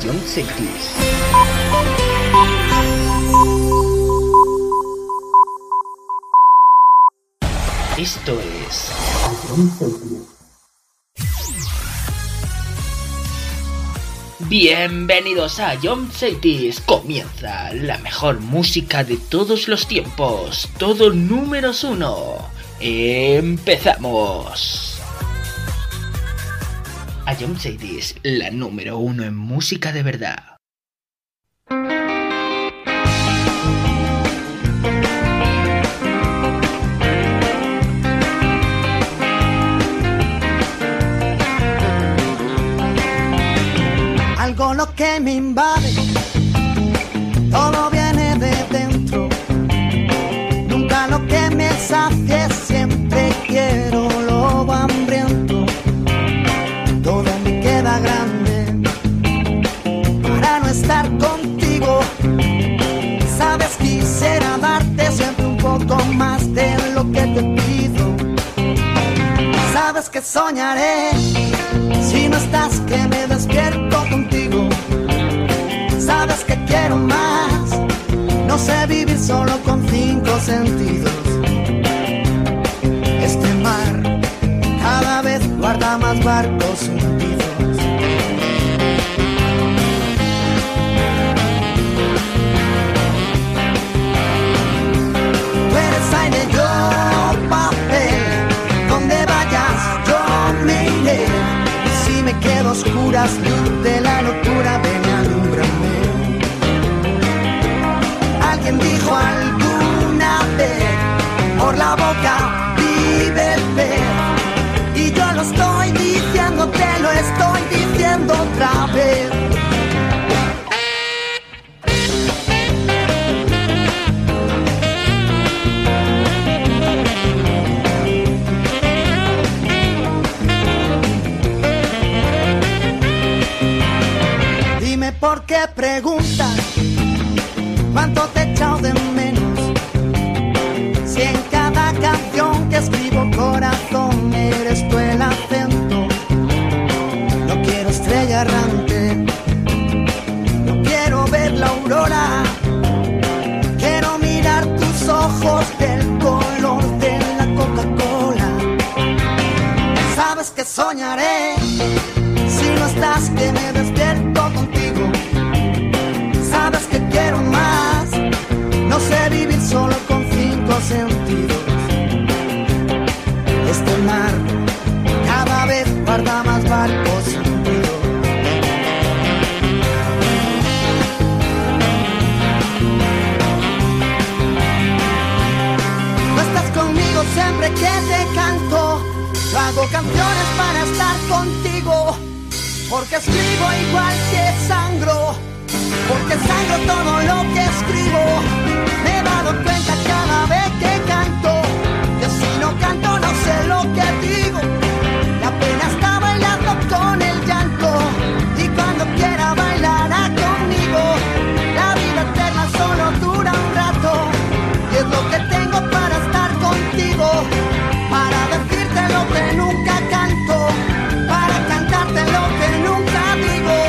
John Celtis. Esto es John Celtis. Bienvenidos a John Celtis. Comienza la mejor música de todos los tiempos. Todo números 1. Empezamos. A John Celtis, la número 1 en música de verdad. Algo lo que me invade, todo viene de dentro. Nunca lo que me sacie, siempre quiero lobo hambriento. Todo me queda grande para no estar contigo. Sabes, quisiera darte siempre un poco más de lo que te pido. Sabes que soñaré si no estás, que me despierto contigo. Sabes que quiero más, no sé vivir solo con 5 sentidos. Este mar cada vez guarda más barcos hundidos. Tú eres aire, yo papel, donde vayas yo me iré. Si me quedo a oscuras, luz de la locura, ven y alúmbrame. Alguien dijo alguna vez, por la boca vive el pez. Y yo lo estoy diciendo, te lo estoy diciendo otra vez. ¿Por qué preguntas cuánto te he echado de menos? Si en cada canción que escribo, corazón, eres tú el acento. No quiero estrella errante, no quiero ver la aurora. Quiero mirar tus ojos del color de la Coca-Cola. Sabes que soñaré si no estás, que me despierto contigo. Sabes que quiero más, no sé vivir solo con 5 sentidos. Este mar cada vez guarda más barcos hundidos. No estás conmigo siempre que te canto. Yo hago canciones para estar contigo, porque escribo igual que sangro, porque sangro todo lo que escribo. Me he dado cuenta cada vez que canto, que si no canto no sé lo que digo. La pena está bailando con el llanto, y cuando quiera bailará conmigo. La vida eterna solo dura un rato, y es lo que tengo para estar contigo, para decirte lo que nunca canto, para cantarte lo que nunca digo.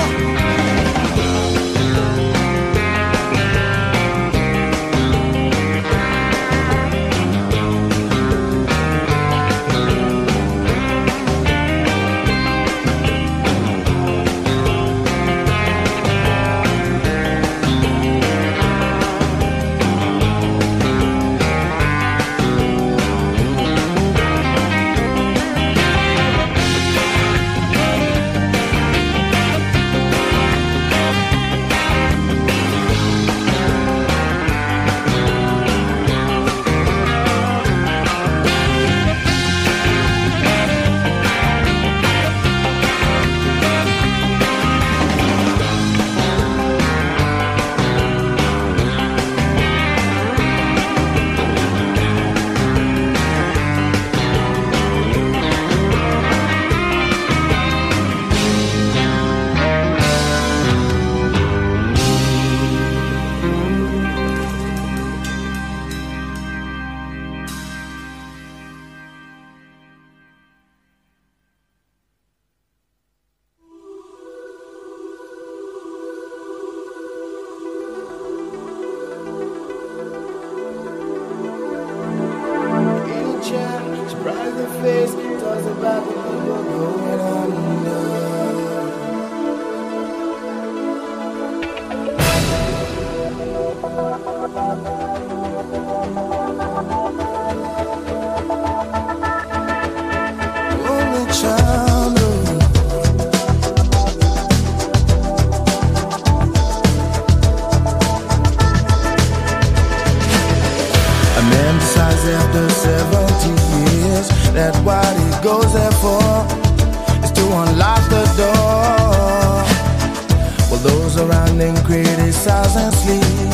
feeling criticized and sleep.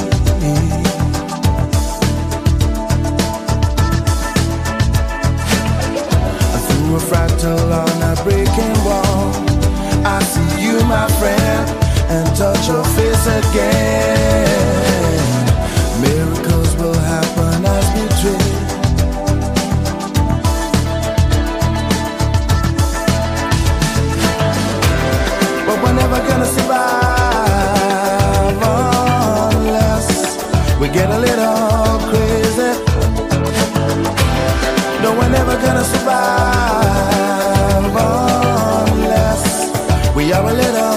Through a fractal on a breaking wall, I see you, my friend, and touch your face again. Miracles will happen as we dream. But we're never gonna survive unless we get a little crazy. No, we're never gonna survive unless we are a little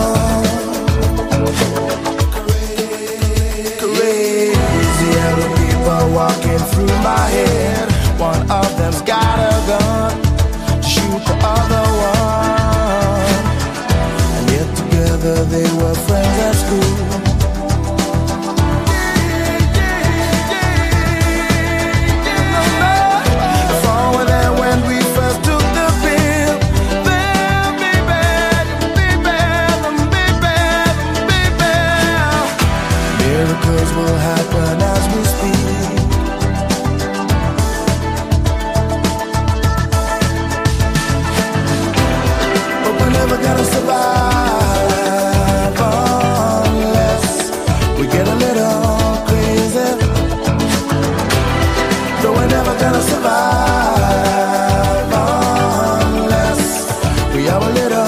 crazy. Other people walking through my head. One of them's got a gun to shoot the other one. And yet together they were friends at school. Miracles will happen as we speak. But we're never gonna survive unless we get a little crazy. No, we're never gonna survive unless we are a little.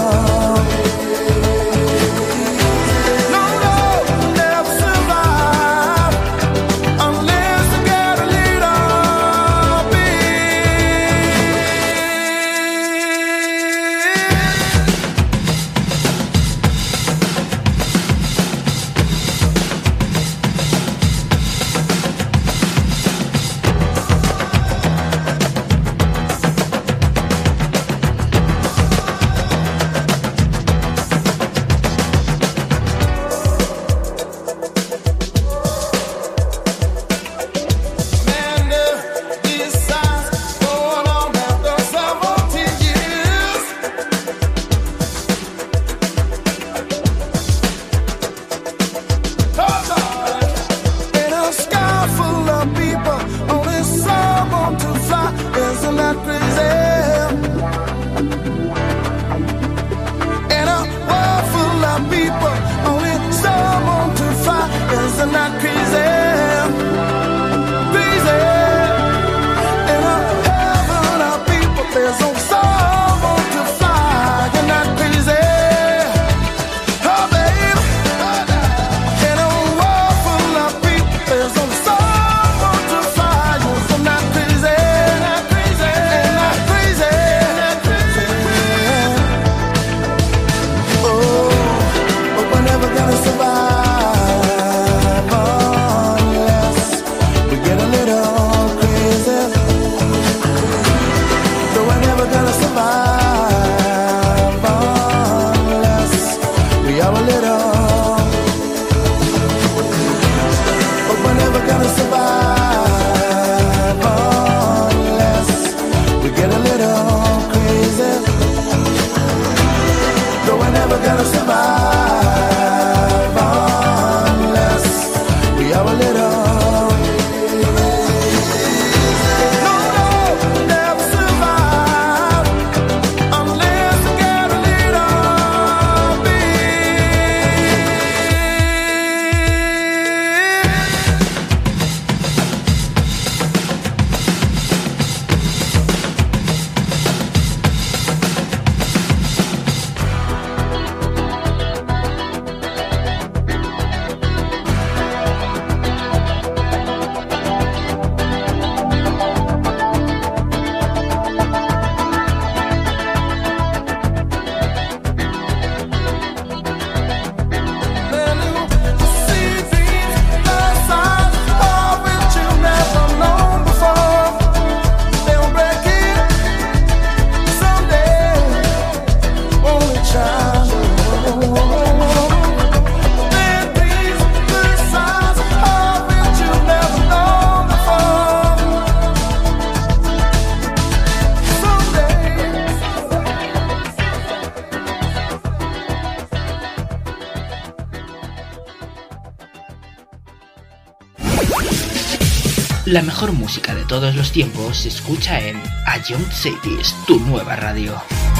La mejor música de todos los tiempos se escucha en A Young Cities, tu nueva radio.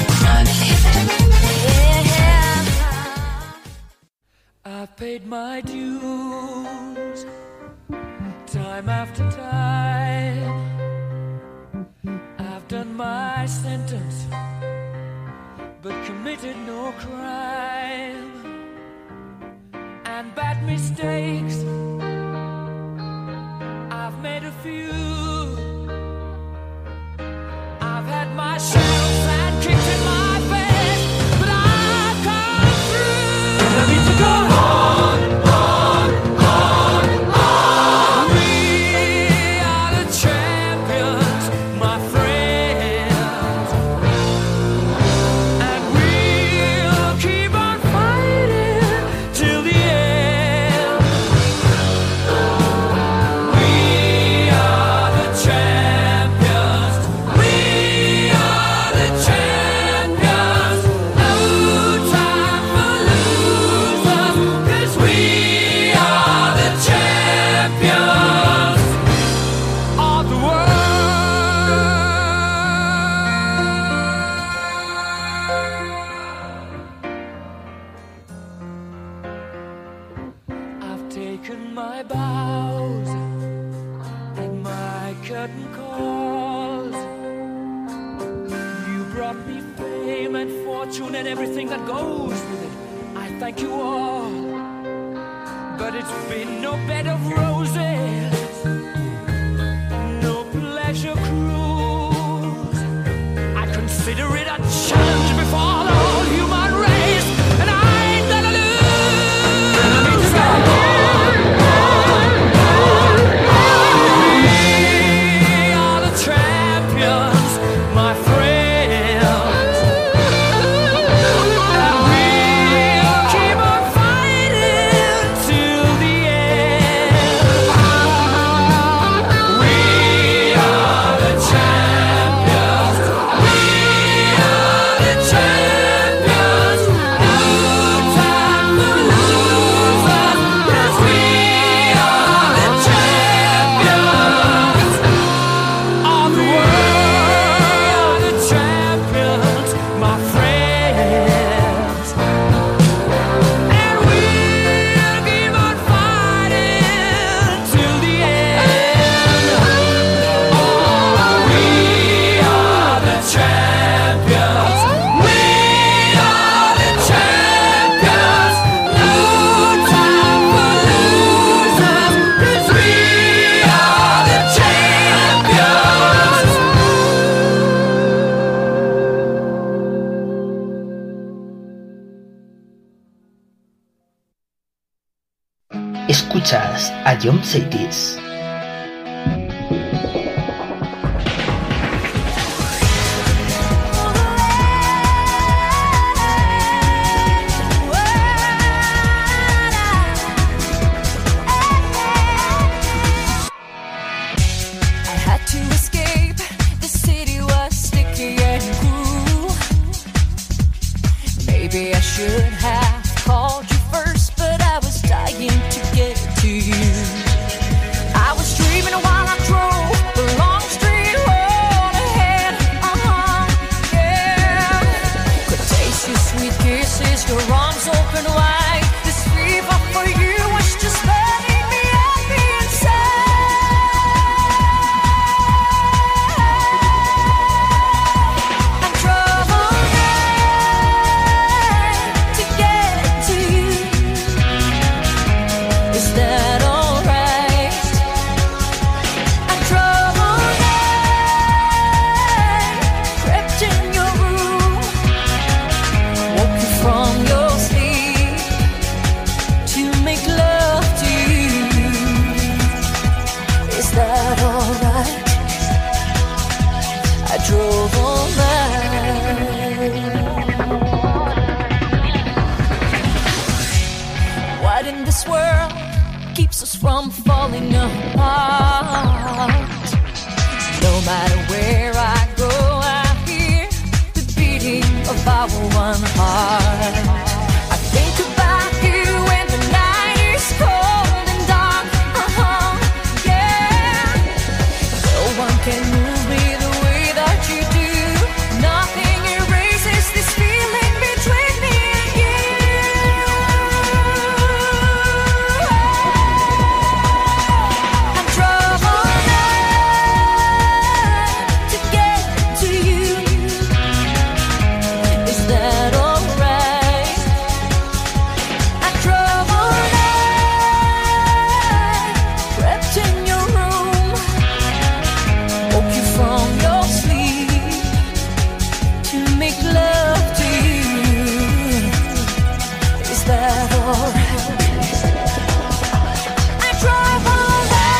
I've paid my dues, time after time. I've done my sentence, but committed no crime. And bad mistakes, I've made a few. I've had my shadows and kicked in my face, but I've come through. I need to go on, on, on. We are the champions, my friends, and we'll keep on fighting till the end. We are the champions. We are the champions. No time for losers, 'cause we are the champions of the world. I've taken my bows and my curtain calls. You brought me fame and fortune and everything that goes with it. I thank you all, but it's been no bed of roses, no pleasure cruise. I consider it a challenge before the whole human race, and I ain't gonna lose. We are the champions, my friends, and we'll keep on fighting till the end. We are the champions. We are the champions. No time for losers, 'cause we are the champions of the world. The champions, my friends, and we'll keep on fighting till the end. Oh, we are the champions. We are the champions. No time for losers, 'cause we are the champions. Escuchas A Young Cities. I had to escape. The city was sticky and cruel. Maybe I should have called you first, but I was dying to get to you. I was dreaming while I drove the long straight road ahead. Yeah. Could taste your sweet kisses, your arms open wide. This fever for you was just burning me up inside. I drove all night to get to you. Is that alright? I drove all night, crept in your room, woke you from your sleep to make love to you. Is that alright? I drove all night. What in this world keeps us from falling apart? No matter where I go, I hear the beating of our one heart. I think about you when the night is cold and dark. Yeah. that alright? I drove all night, crept in your room, woke you from your sleep to make love to you. Is that alright? I drove all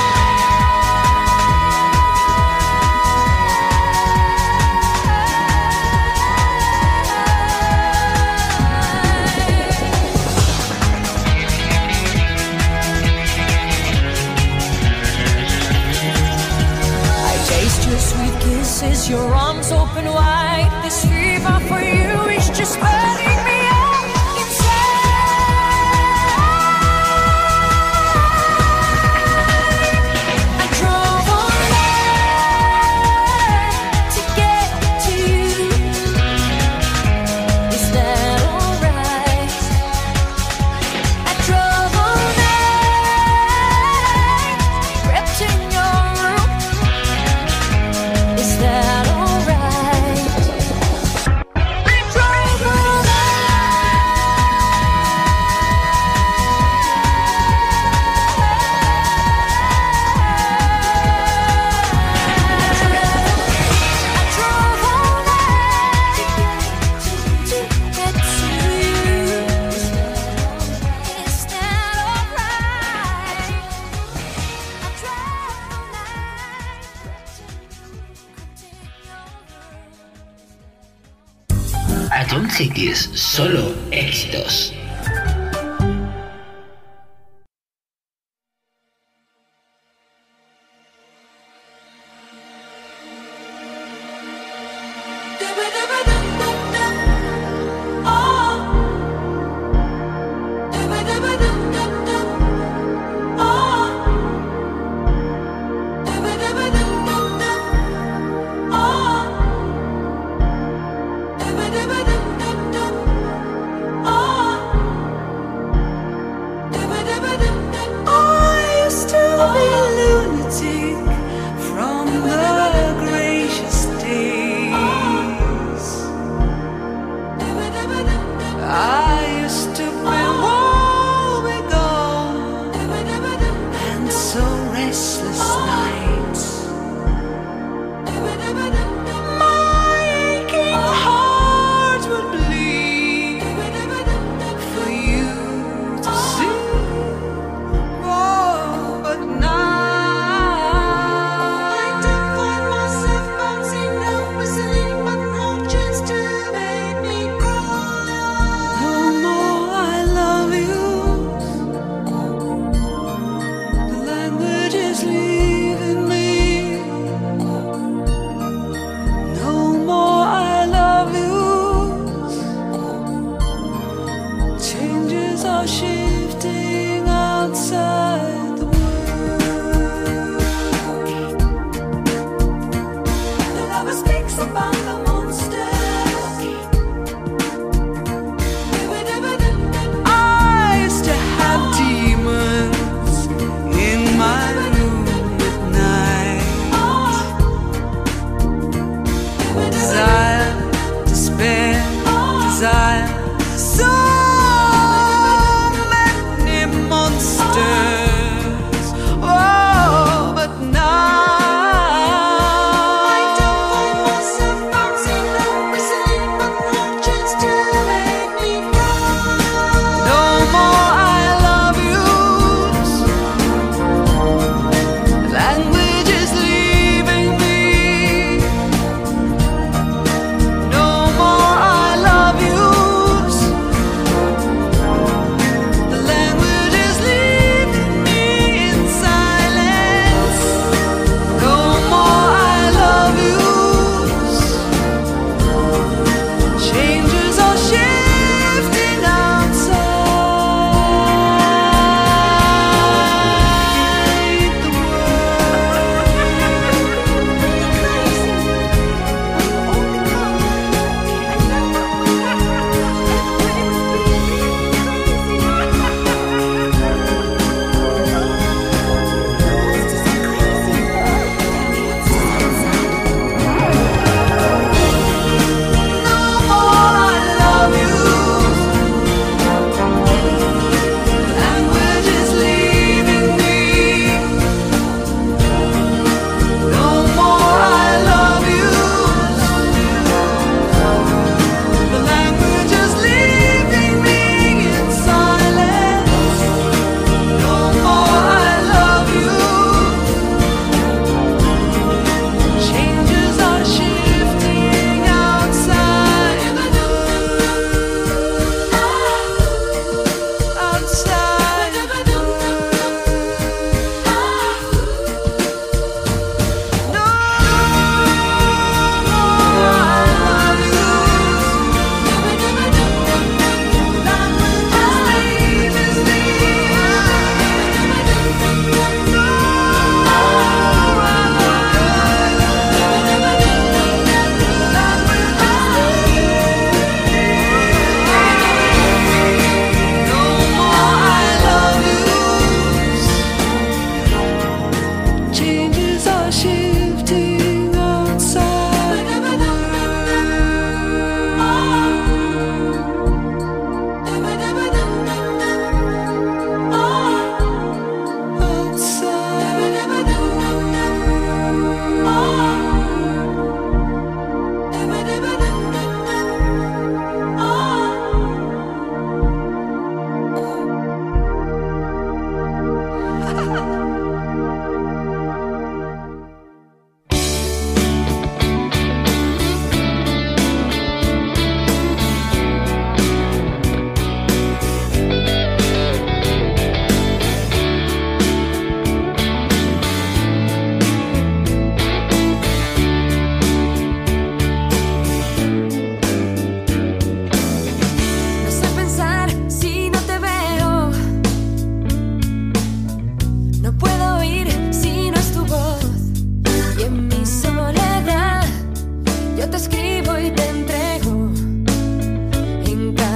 sweet kisses, your arms open wide. This fever for you is just burning me up inside. I drove all night to get to you. Is that alright? I drove all night, crept in your room. Is that alright? I drove all night to get to you. Is that alright? I drove all night. Atom Cities, solo éxitos. I used to be a lunatic from the gracious days. I used to be woebegone and so restless nights. My aching heart would bleed for you to see. Oh, but now I don't find myself bouncing down, whistling, but no chance to make me cry. No more I love you. The language is leaving me. No more I love you. Changes are shifting outside the world. The lover speaks about the monsters. I used to have demons in my room at night. Desire, despair, desire. So many monsters. Oh, but now I don't find myself bouncing down, whistling, but no chance to make me cry. No more I love yous. Language is leaving me. No more I love yous.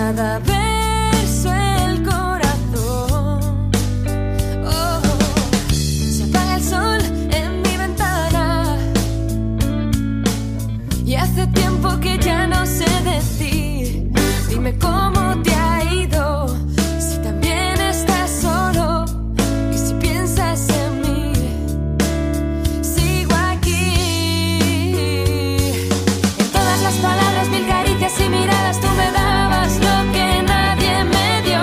cada verso el corazón. Oh, se apaga el sol en mi ventana y hace tiempo que ya no sé de ti. Dime cómo te ha ido, si también estás solo y si piensas en mí. Sigo aquí. En todas las palabras, mil caricias y miradas, tú me dabas lo que nadie me dio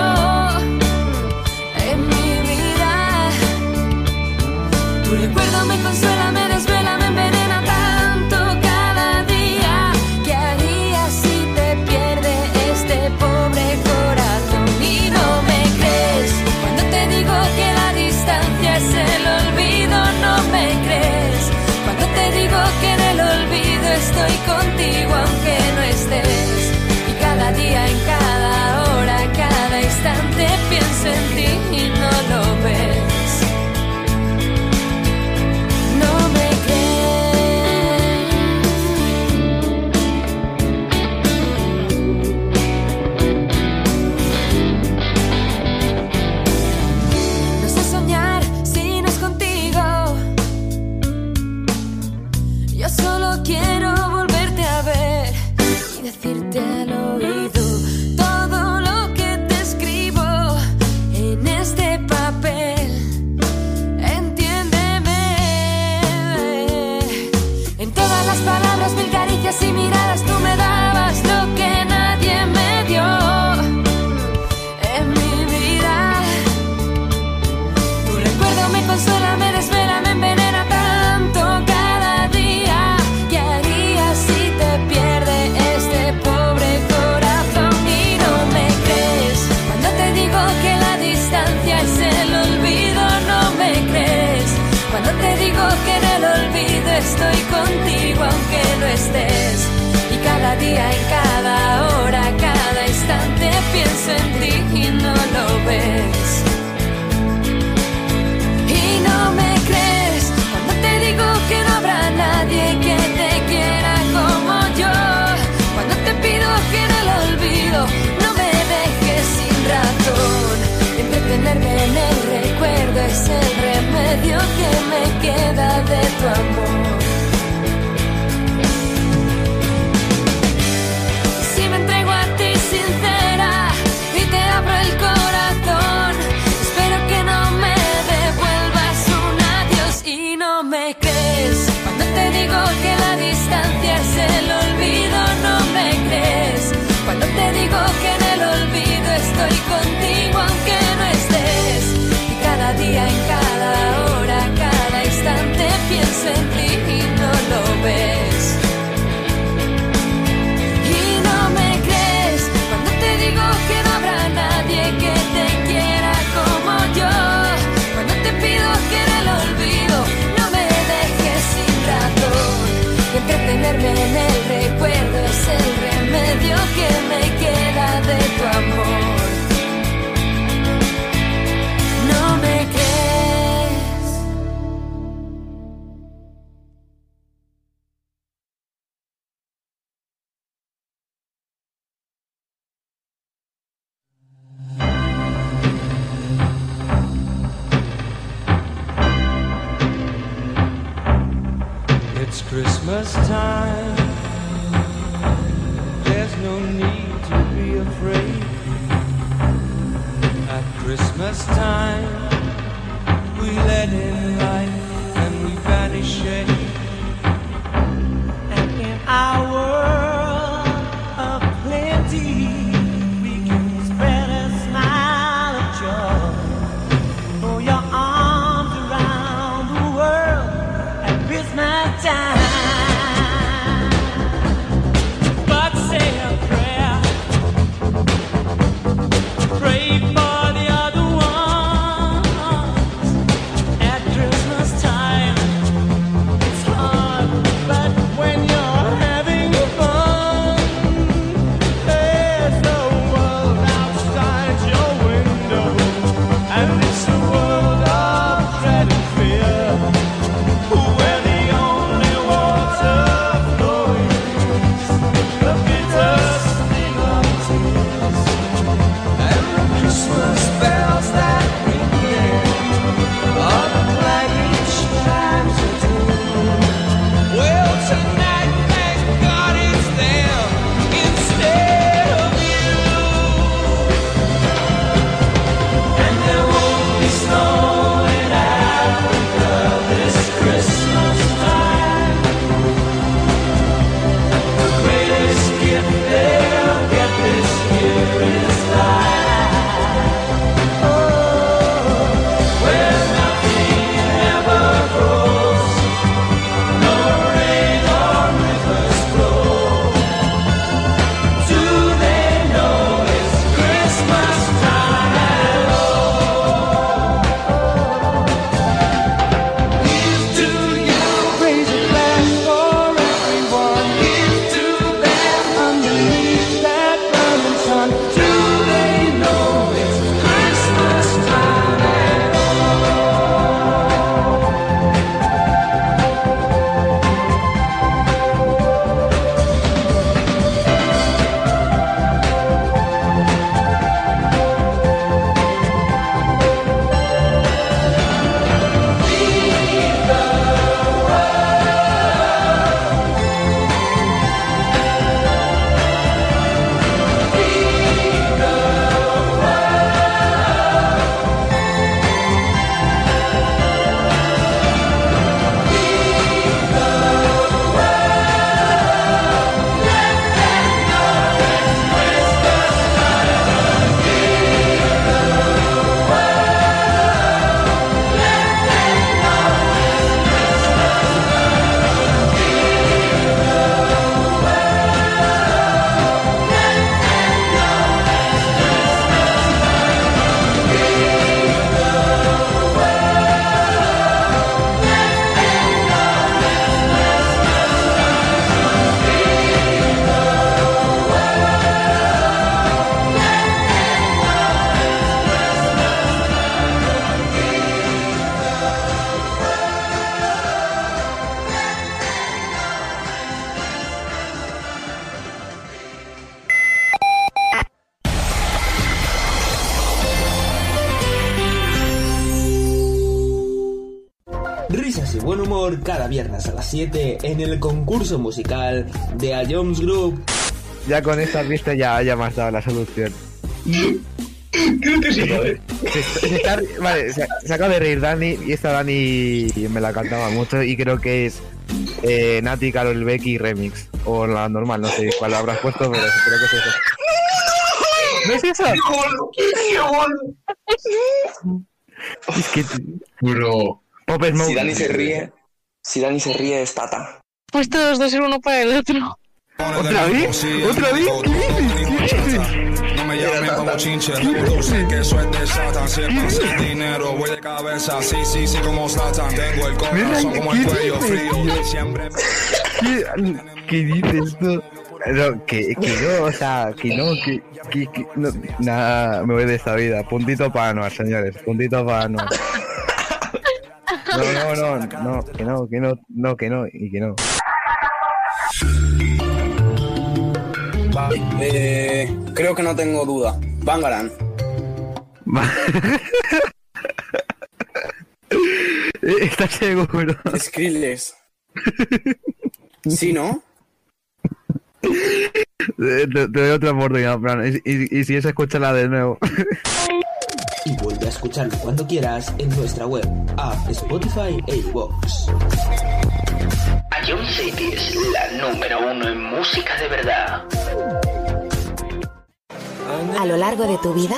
en mi vida. Tu recuerdo me consuela, me desvela, me envenena tanto cada día. ¿Qué harías si te pierde este pobre corazón? Y no me crees cuando te digo que la distancia es el olvido. No me crees cuando te digo que en el olvido estoy contigo aunque no estés. Y cada día, en cada hora, cada instante pienso en ti y no lo ves. No me crees. No sé soñar si no es contigo. Yo solo quiero volverte a ver y decirte al oído todo lo que te escribo en este papel. Entiéndeme. En todas las palabras, mil caricias y miradas, tú me dabas lo que nadie me dio en mi vida. Tu recuerdo me consuela, me desvela, me envenena tanto cada día. ¿Qué harías si te pierde este pobre corazón? Y no me crees cuando te digo que la distancia es el olvido. No me crees cuando te digo que en el olvido estoy contigo aunque no estés. Y cada día, en cada hora, cada instante pienso en ti y no lo ves. Y no me crees cuando te digo que no habrá nadie que te quiera como yo. Cuando te pido que en el olvido no me dejes sin razón. Entretenerme en el recuerdo es el remedio que me queda de tu amor. Si me entrego a ti sincera y te abro el corazón, espero que no me devuelvas un adiós. Y no me crees cuando te digo que la distancia es el olvido. No me crees cuando te digo que en el olvido estoy contigo aunque no estés. Y cada día, en cada hora, cada instante pienso en ti y no lo ves. Y no me crees cuando te digo que no habrá nadie que te quiera como yo. Cuando te pido que en el olvido no me dejes sin razón. Y entretenerme en el recuerdo es el remedio que me queda de tu amor. No me crees. It's Christmas time. There's no need to be afraid. At Christmas time, we let in light and we banish shade. And in our world of plenty, we can spread a smile of joy. Throw your arms around the world at Christmas time. But say a prayer, pray for the other ones. At Christmas time, it's hard, but when you're having buen humor cada viernes a las 7 en el concurso musical de A Jones Group. Ya con estas vistas ya me has dado la solución. Creo que sí, ¿vale? Se acaba de reír Dani, y esta Dani me la cantaba mucho y creo que es Nati, Karol Becky Remix. O la normal, no sé cuál habrás puesto, pero creo que es eso. ¿No es eso? ¡Qué bueno! Es que... Bro. Pop Smoke. Si Dani se ríe es Tata. Pues todos dos ser uno para el otro. ¿Otra vez? ¿Otra vez? ¿Qué dices? No me llamen como chinche, reproduce que eso es de Satan. Si el pase el dinero, voy de cabeza, sí, como Satan. Tengo el corazón como el cuello frío, siempre... ¿Qué dices tú? No, que no, o sea, que no, nada, me voy de esta vida. Puntito para Anuar, señores, puntito para Anuar. No, que no. Vale, creo que no tengo duda. Bangaran. ¿Estás seguro? Skrillex. ¿Sí, no? Te doy otra oportunidad, Fran. Y si es, escúchala de nuevo. Y vuelve a escucharlo cuando quieras en nuestra web, app, Spotify e iVoox. A John City es la número 1 en música de verdad. A lo largo de tu vida,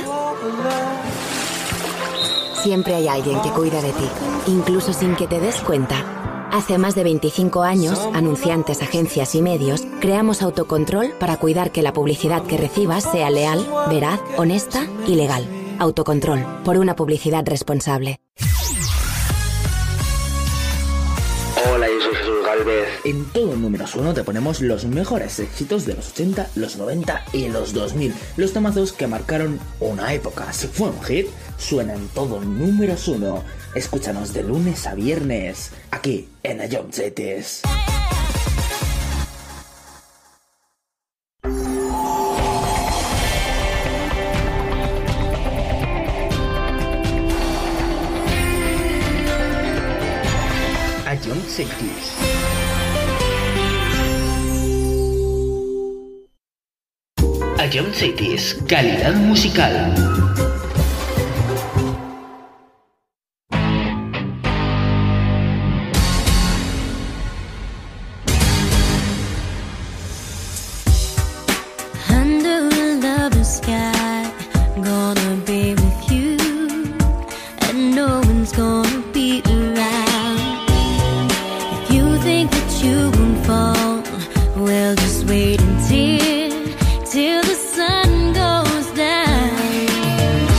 siempre hay alguien que cuida de ti, incluso sin que te des cuenta. Hace más de 25 años, anunciantes, agencias y medios, creamos Autocontrol para cuidar que la publicidad que recibas sea leal, veraz, honesta y legal. Autocontrol, por una publicidad responsable. Hola, yo soy Jesús Galvez. En todo Números 1 te ponemos los mejores éxitos de los 80, los 90 y los 2000. Los temazos que marcaron una época. Si fue un hit, suena en todo Números 1. Escúchanos de lunes a viernes, aquí en A John Cities. A John Cities. A John Cities, calidad musical. Till the sun goes down.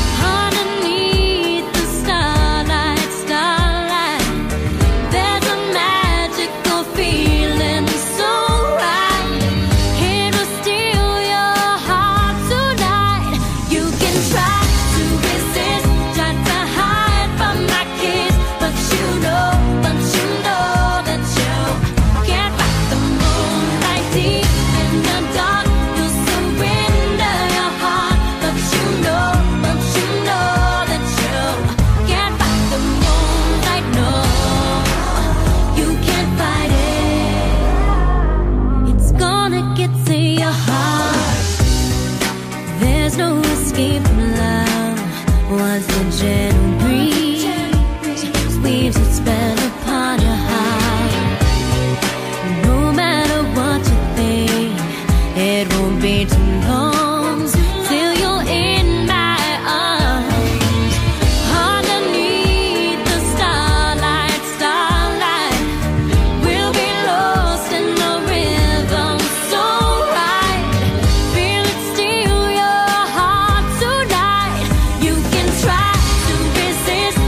resist.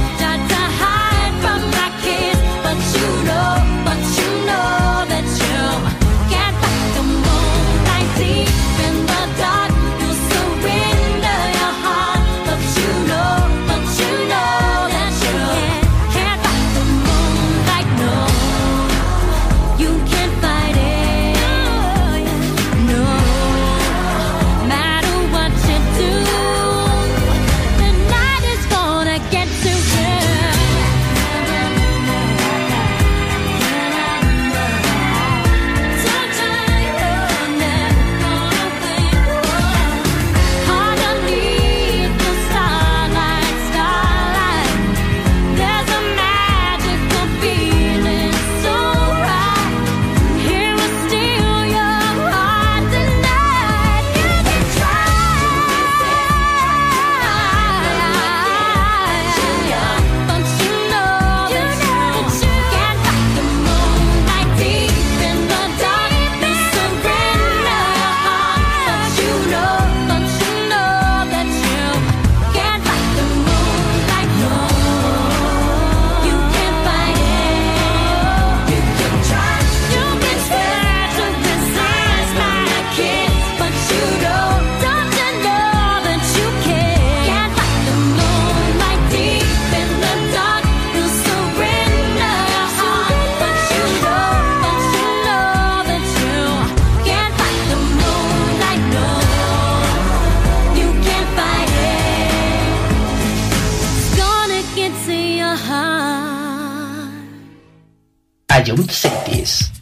Hayum Cities.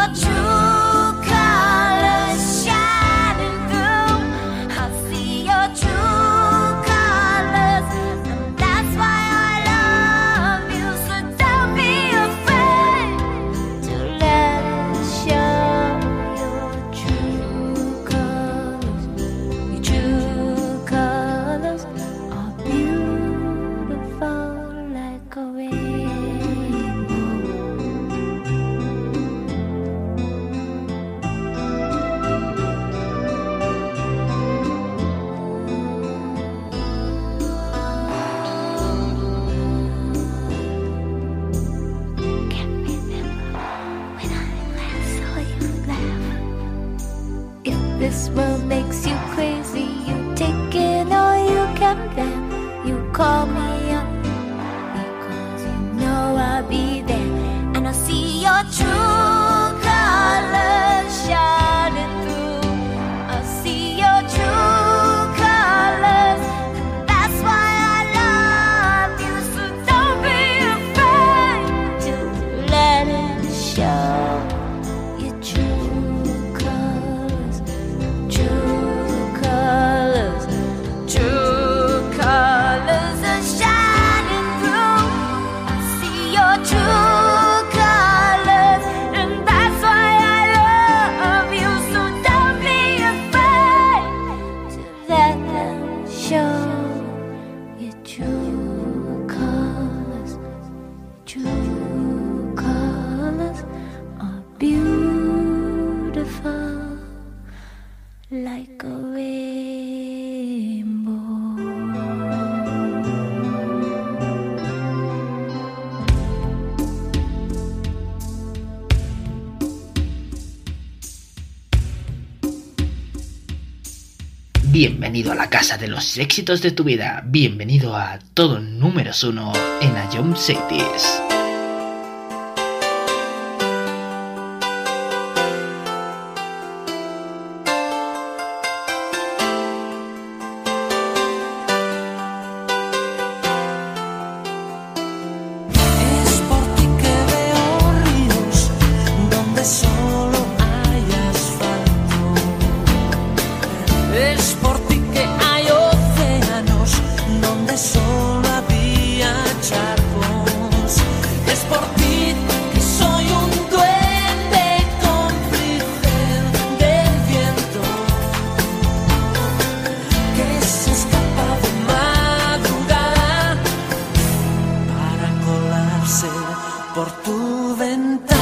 This world makes you crazy. You take it all you can bear. You call me up because you know I'll be there, and I'll see your true colors shining through. I'll see your true colors, and that's why I love you. So don't be afraid to let it show. Your true colors, true colors, true colors are shining through. I see your true colors, and that's why I love you. So don't be afraid to let them show. Your true colors, true colors are beautiful like a rainbow. Bienvenido a la casa de los éxitos de tu vida. Bienvenido a todo números 1 en A Jump Cities. Es por ti que veo ríos donde solo hay asfalto. Es por ti que hay océanos donde solo había charcos. Es por ti que soy un duende cómplice del viento que se escapa de madrugada para colarse por tu ventana.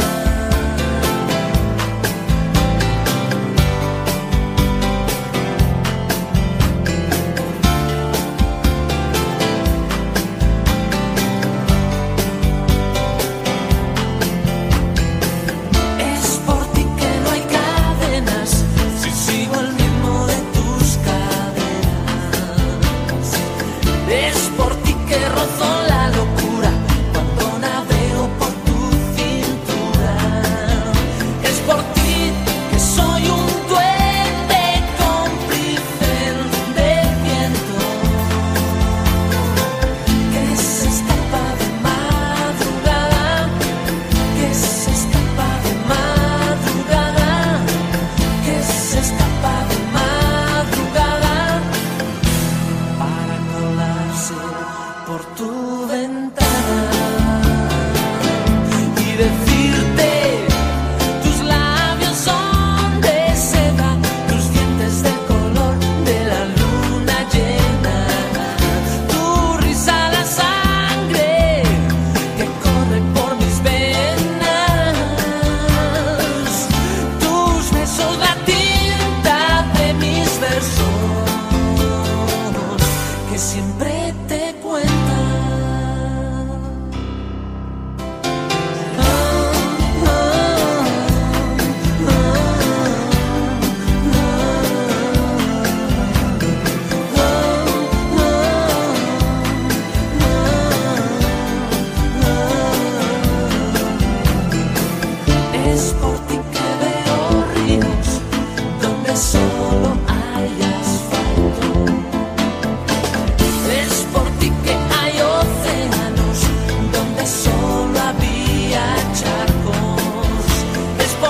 Es por ti que no hay cadenas si sigo el ritmo de tus caderas. Es por ti que rozo la locura cuando navego por tu cintura. Es por ti que soy un duende cómplice del viento que se escapa de madrugada, que se escapa de madrugada, que se escapa de madrugada para colarse por tu ventana y decirte: tus labios son de seda, tus dientes del color de la luna llena, tu risa la sangre que corre por mis venas, tus besos la tinta de mis versos que siempre te cuentan. Es por ti que veo ríos donde solo hay asfalto. Es por ti que hay océanos donde solo había charcos. Es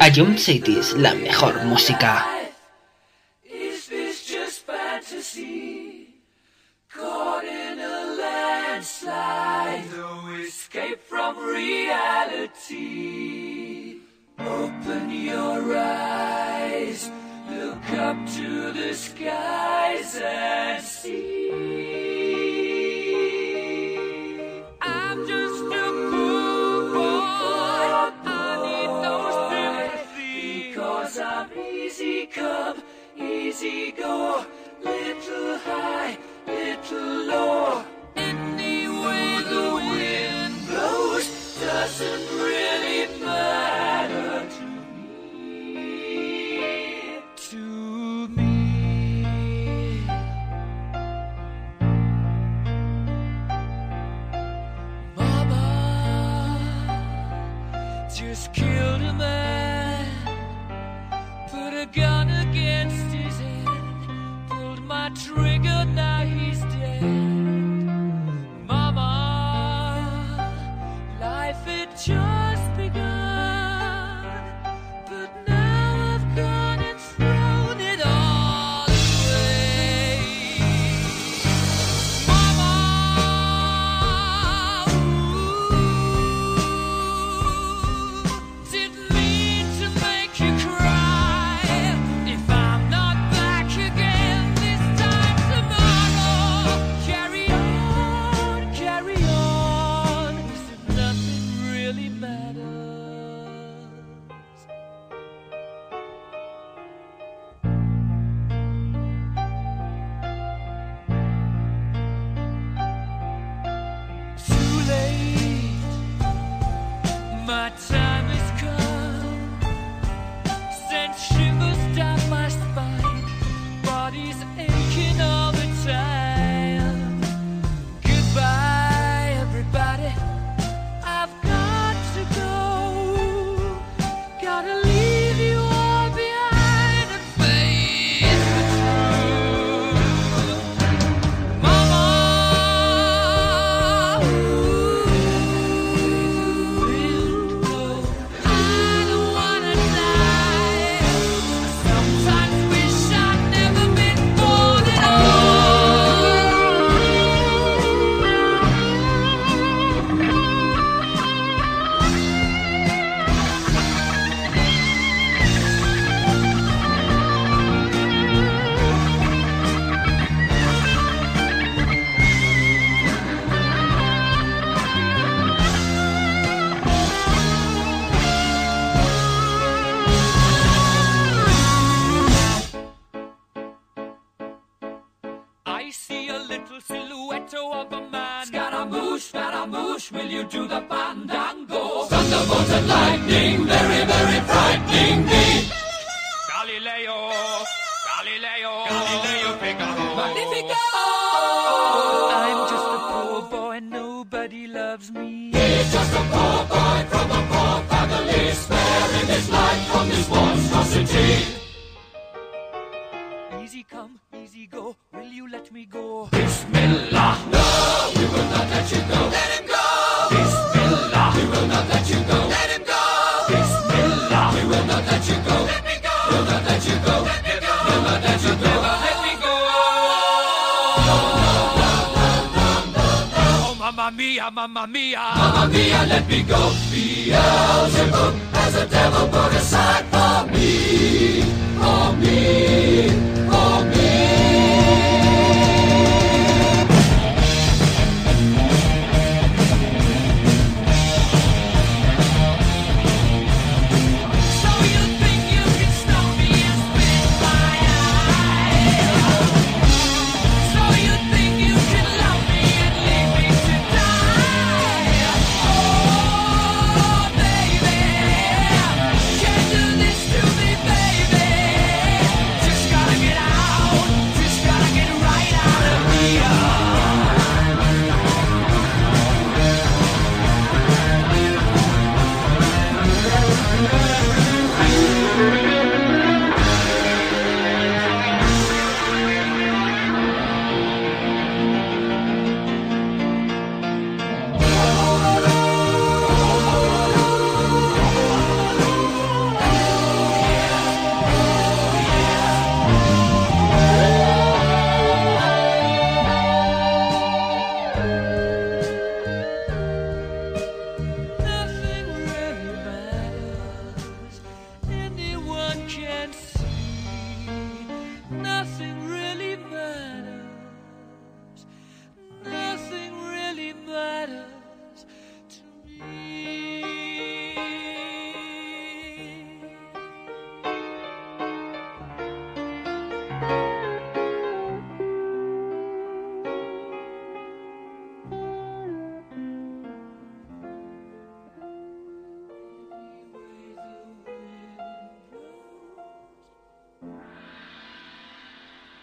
Jump City es la mejor música. Caught in a landslide, no escape from reality. Open your eyes, look up to the skies and see. I'm just a poor boy, I need no sympathy, because I'm easy come, easy go, little high, little low. Any way the wind blows doesn't really matter to me. To me. Mama just killed a man, put a gun against his head, pulled my trigger, now he's dead. Mama, life had just begun, but now I've gone and thrown it all away. Mama, didn't mean to make you cry. If I'm not back again this time tomorrow, carry on, as if nothing really matters. Too late, my time has come. Sent shivers down my spine, body's aching all the time. Goodbye, everybody, I've got to go. Gotta leave you all behind and face the truth. Mama, I don't wanna die. Sometimes wish I'd never been born at I see a little silhouette of a man. Scaramouche, will you do the fandango? Thunderbolt and lightning, very, very frightening me. Galileo, Figaro. Magnifico! I'm just a poor boy, nobody loves me. He's just a poor boy from a poor family, sparing his life from this monstrosity. Easy come, easy go, will you let me go? Bismillah, no, we will not let you go. Let him go! Bismillah, we will not let you go. Let him go! Bismillah, we will not let you go. Let me go! We'll not let you go. Let me go! We'll not let you go. Never let me go! Oh, mamma mia, mamma mia! Mamma mia, let me go! Beelzebub has a devil put aside for me! For me! For me! So you think you can stop me and spit my eye? So you think you can love me and leave me to die? Oh, baby, can't do this to me, baby. Just gotta get out.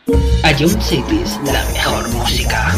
Ion Cities, la mejor música.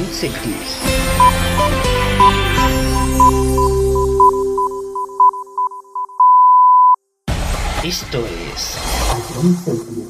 Cities. Esto es Ion Cities.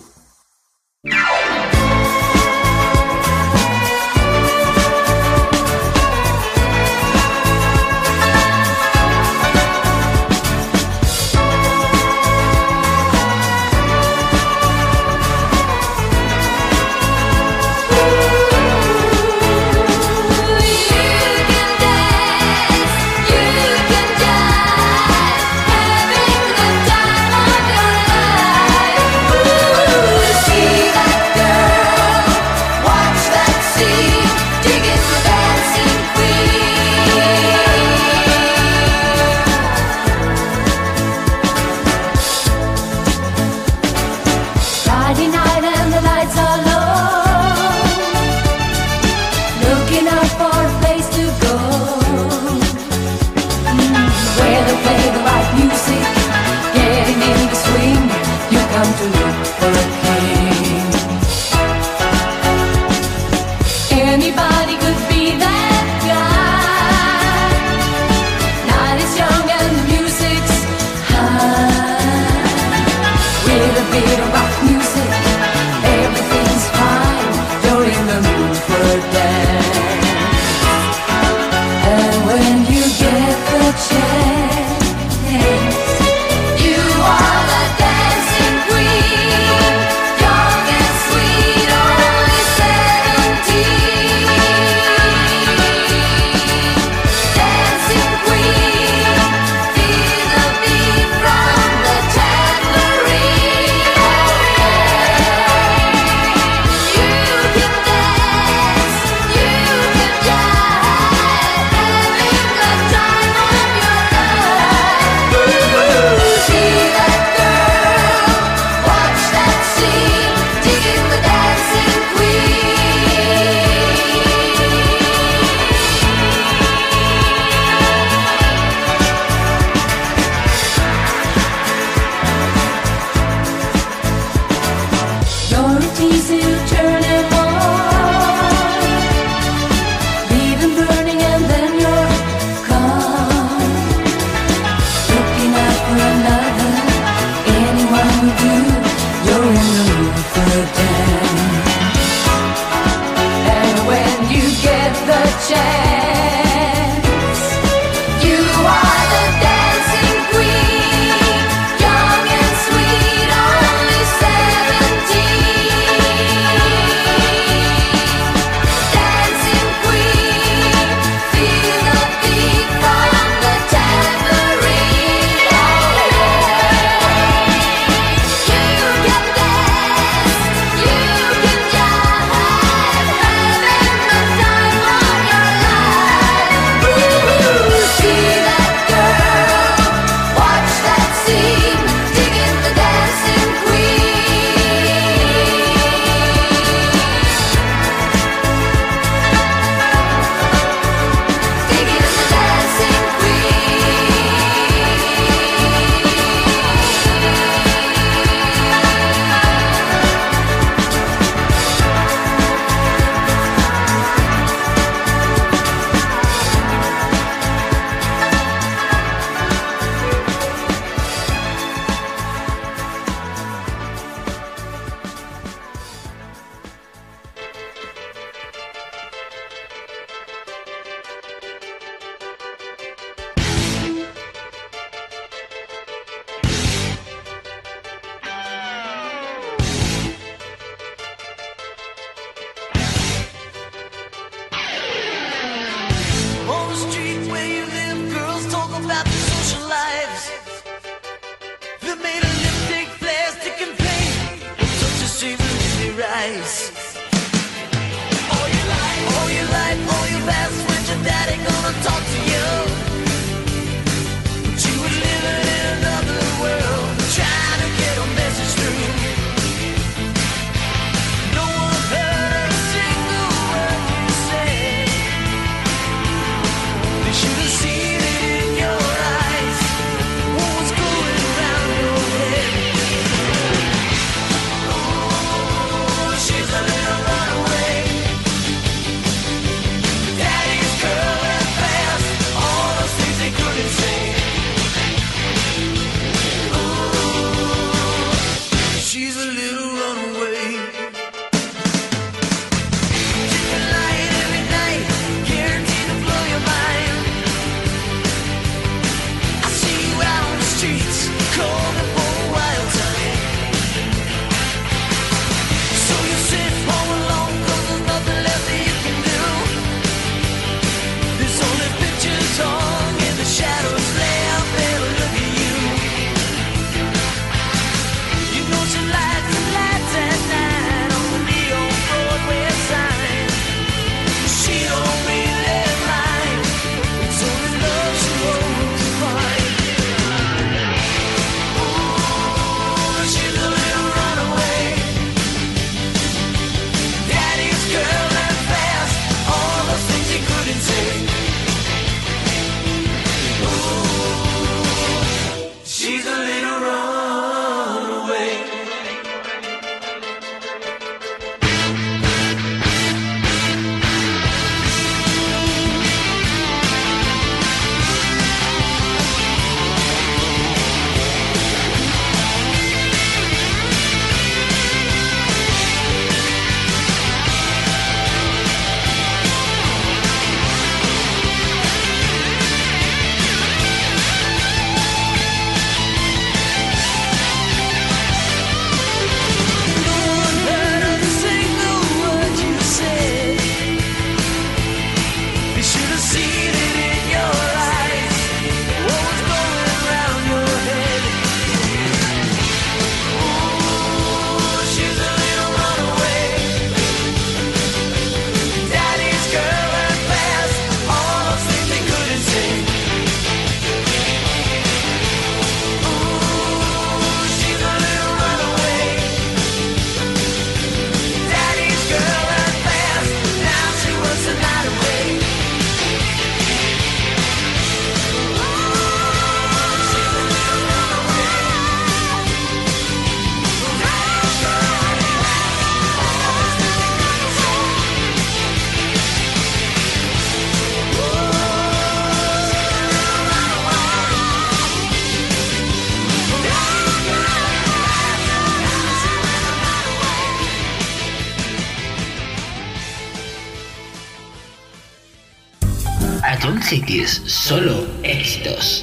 Ion Cities, solo éxitos.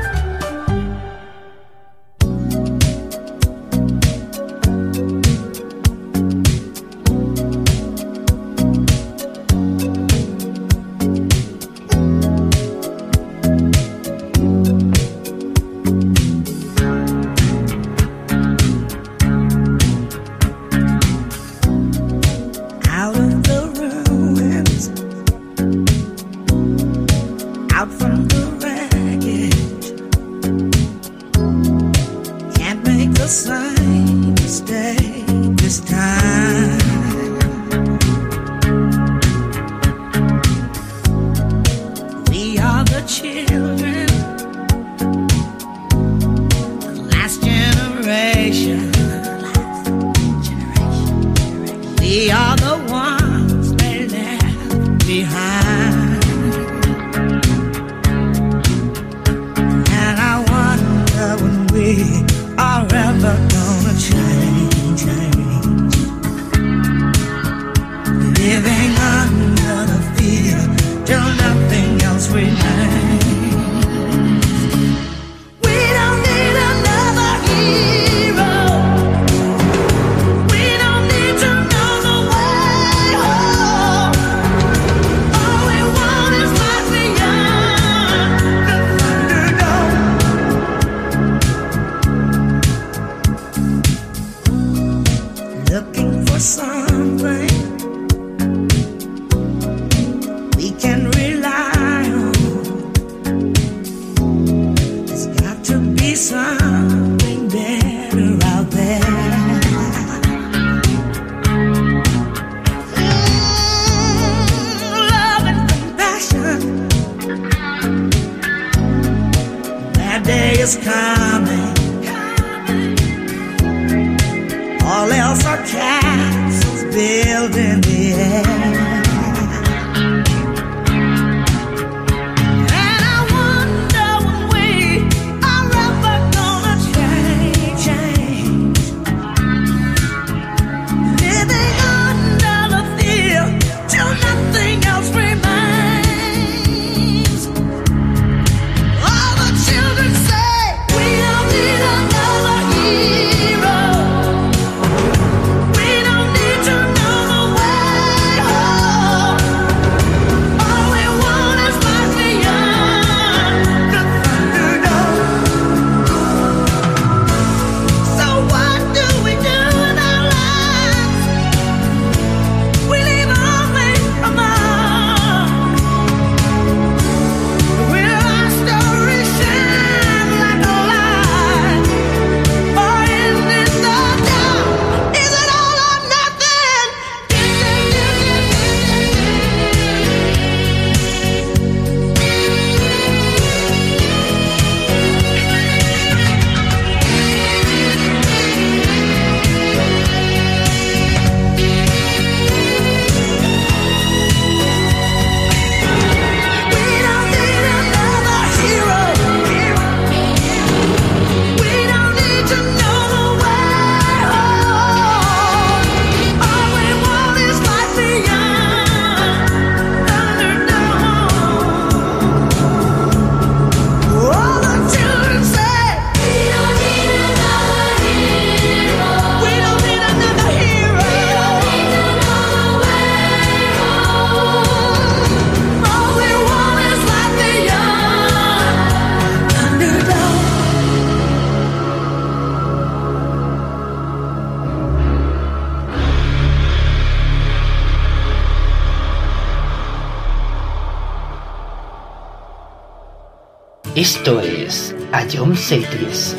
Esto es Ion Cities.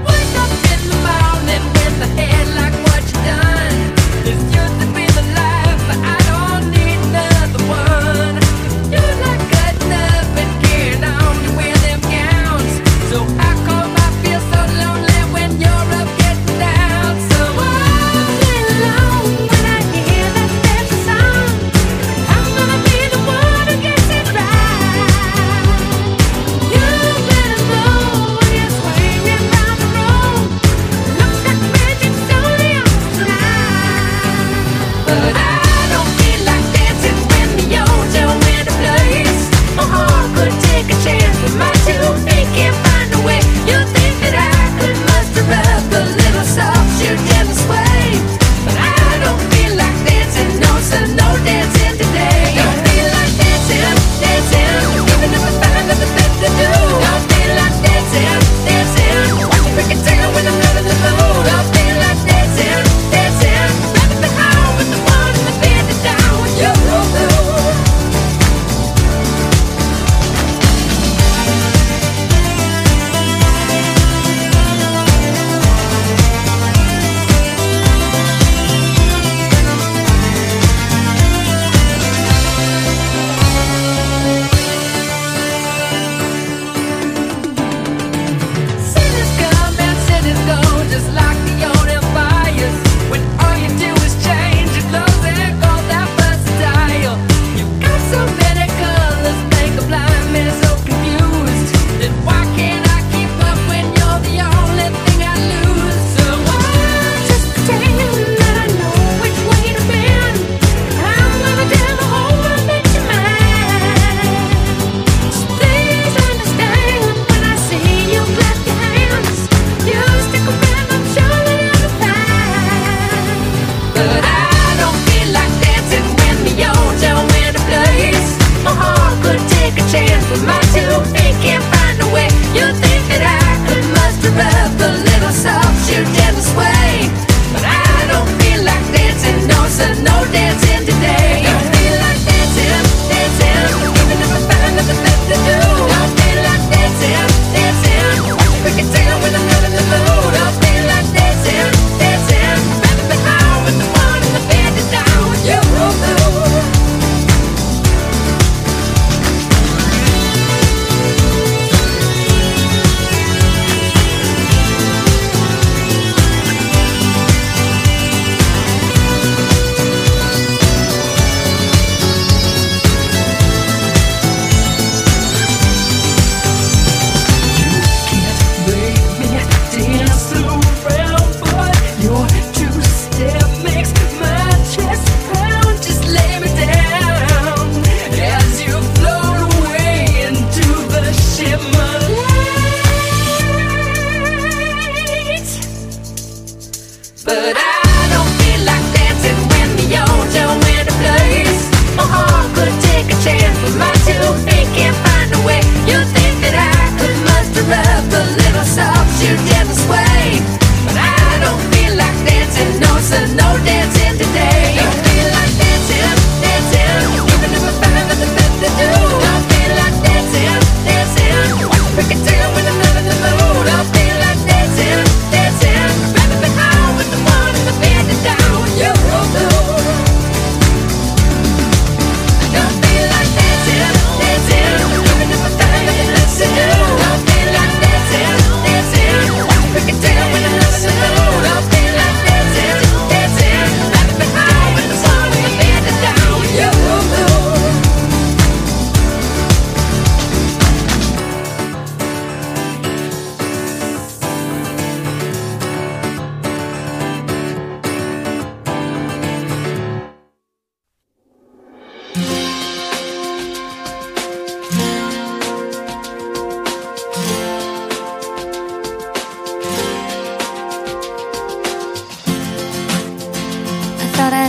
Wake up in the morning with a head like what you done. This used to be the life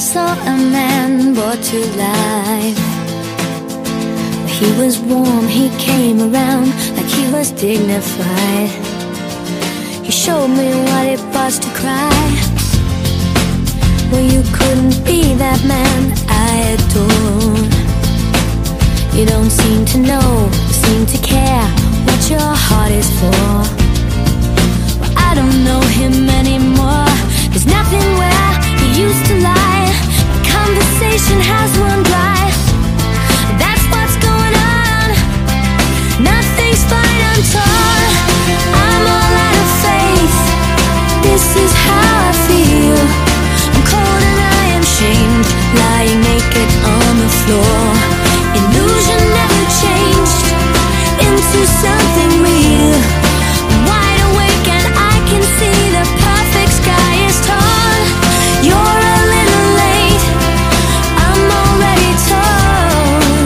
saw a man brought to life. He was warm, he came around like he was dignified. He showed me what it was to cry. Well, you couldn't be that man I adored. You don't seem to know, seem to care what your heart is for. Well, I don't know him anymore. There's nothing where he used to lie. My conversation has run dry. That's what's going on. Nothing's fine, I'm torn. I'm all out of faith. This is how I feel. I'm cold and I am shamed, lying naked on the floor. Illusion never changed into something real. I'm wide awake and I can see the perfect sky is torn. You're a little late, I'm already torn.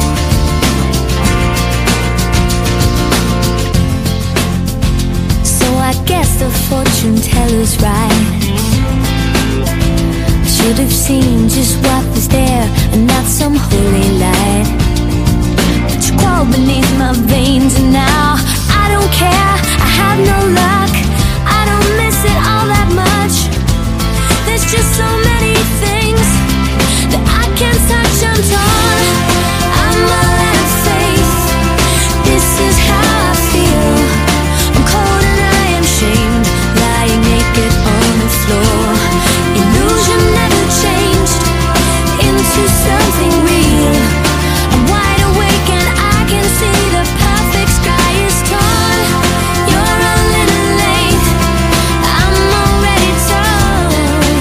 So I guess the fortune teller's right. I should have seen just what was there and not some holy light. But you crawled beneath my veins and now I don't care, I have no luck. I don't miss it all that much. There's just so many things that I can't touch. I'm torn, I'm all out of faith. This is how I feel. I'm cold and I am shamed, lying naked on the floor. Illusion never changed into something real. I'm wide awake and I can see the perfect sky is torn. You're a little late, I'm already torn.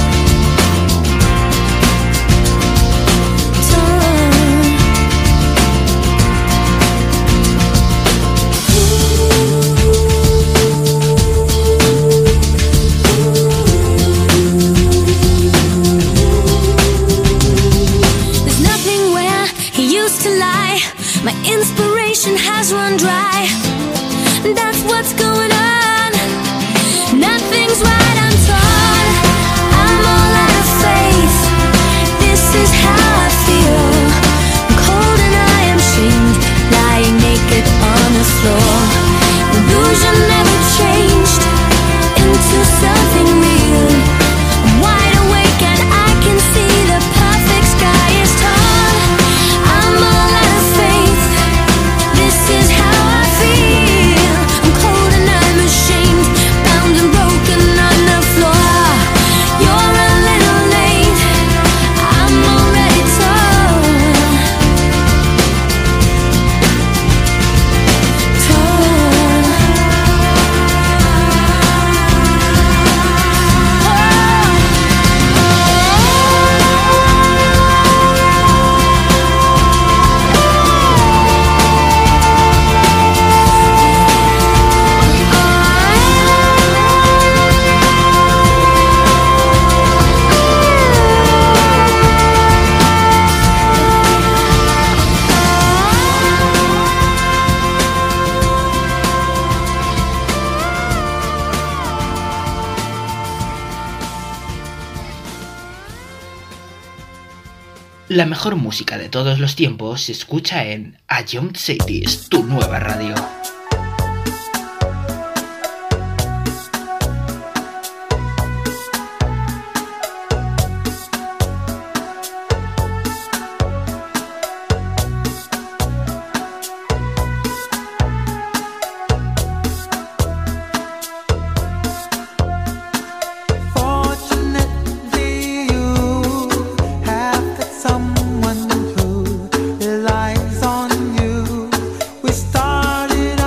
There's nothing where he used to lie. My inspiration has run dry. That's what's going on. Nothing's right, I'm torn. I'm all out of faith. This is how I feel. I'm cold and I am shamed, lying naked on the floor. Illusion never changed into something real. I'm wide awake and I can see the perfect sky is torn. I'm all out of faith. This is how I feel. I'm cold and I'm ashamed, bound and broken on the floor. You're a little late, I'm already torn. La mejor música de todos los tiempos se escucha en A Young Cities, tu nueva radio. Someone who relies on you. We started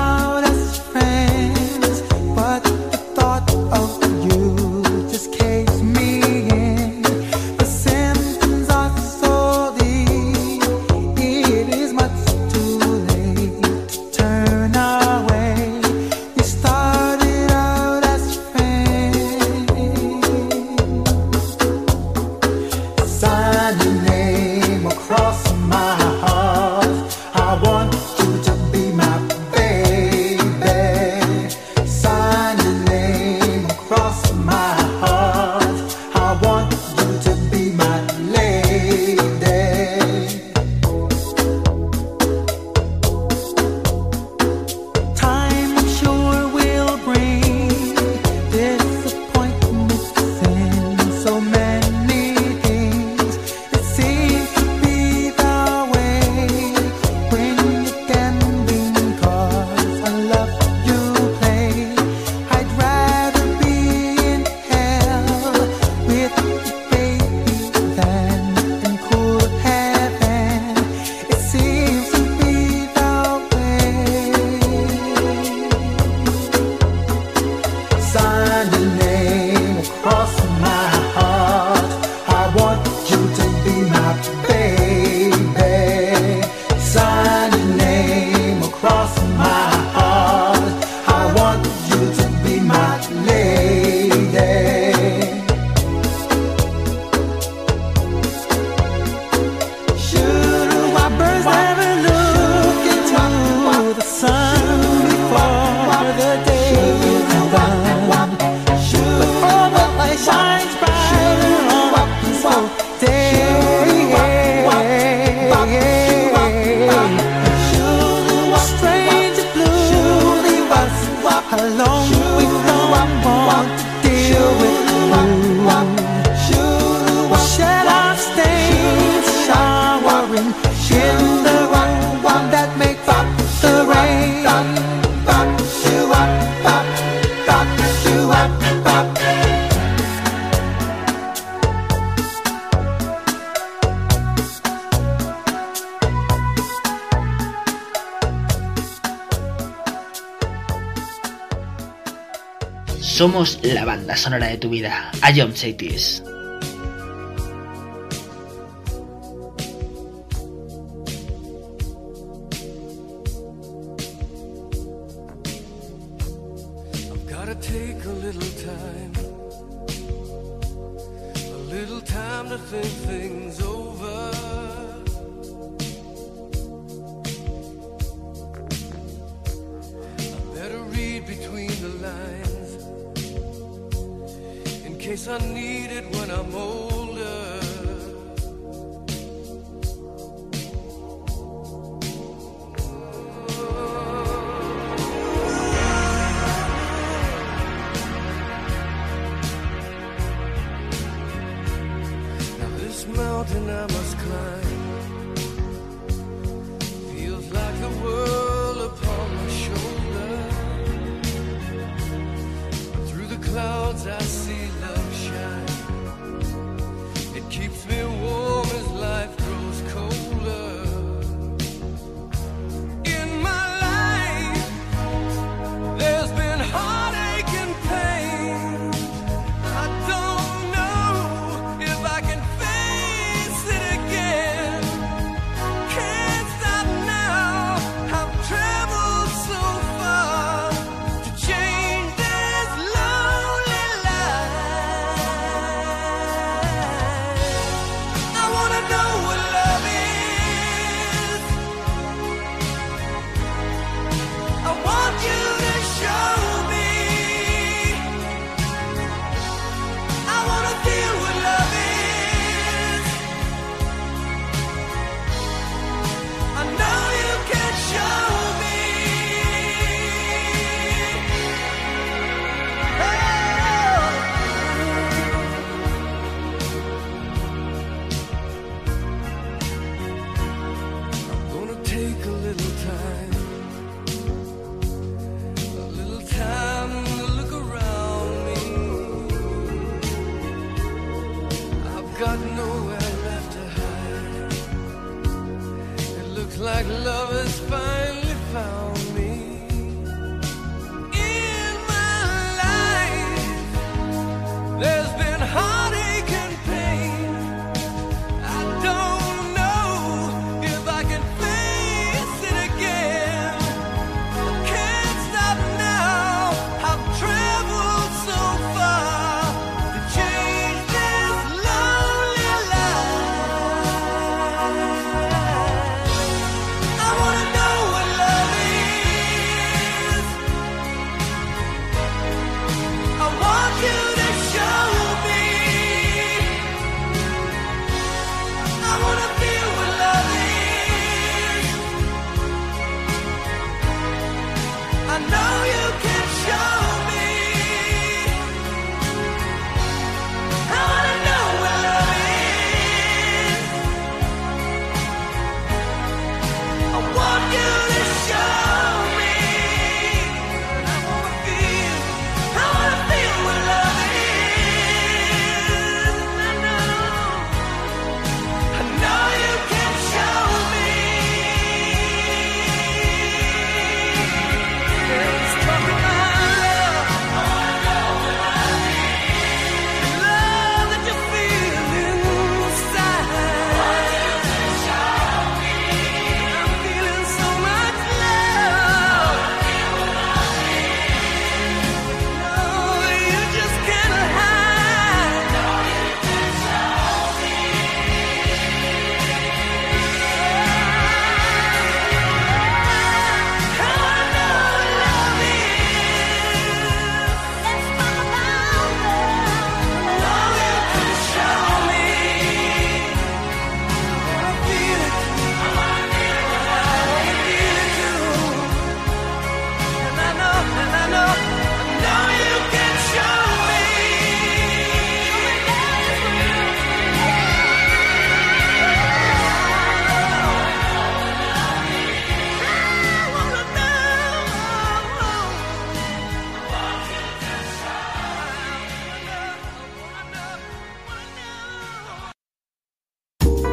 Somos la banda sonora de tu vida. A John Cities.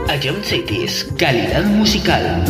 Ion Cities, calidad musical.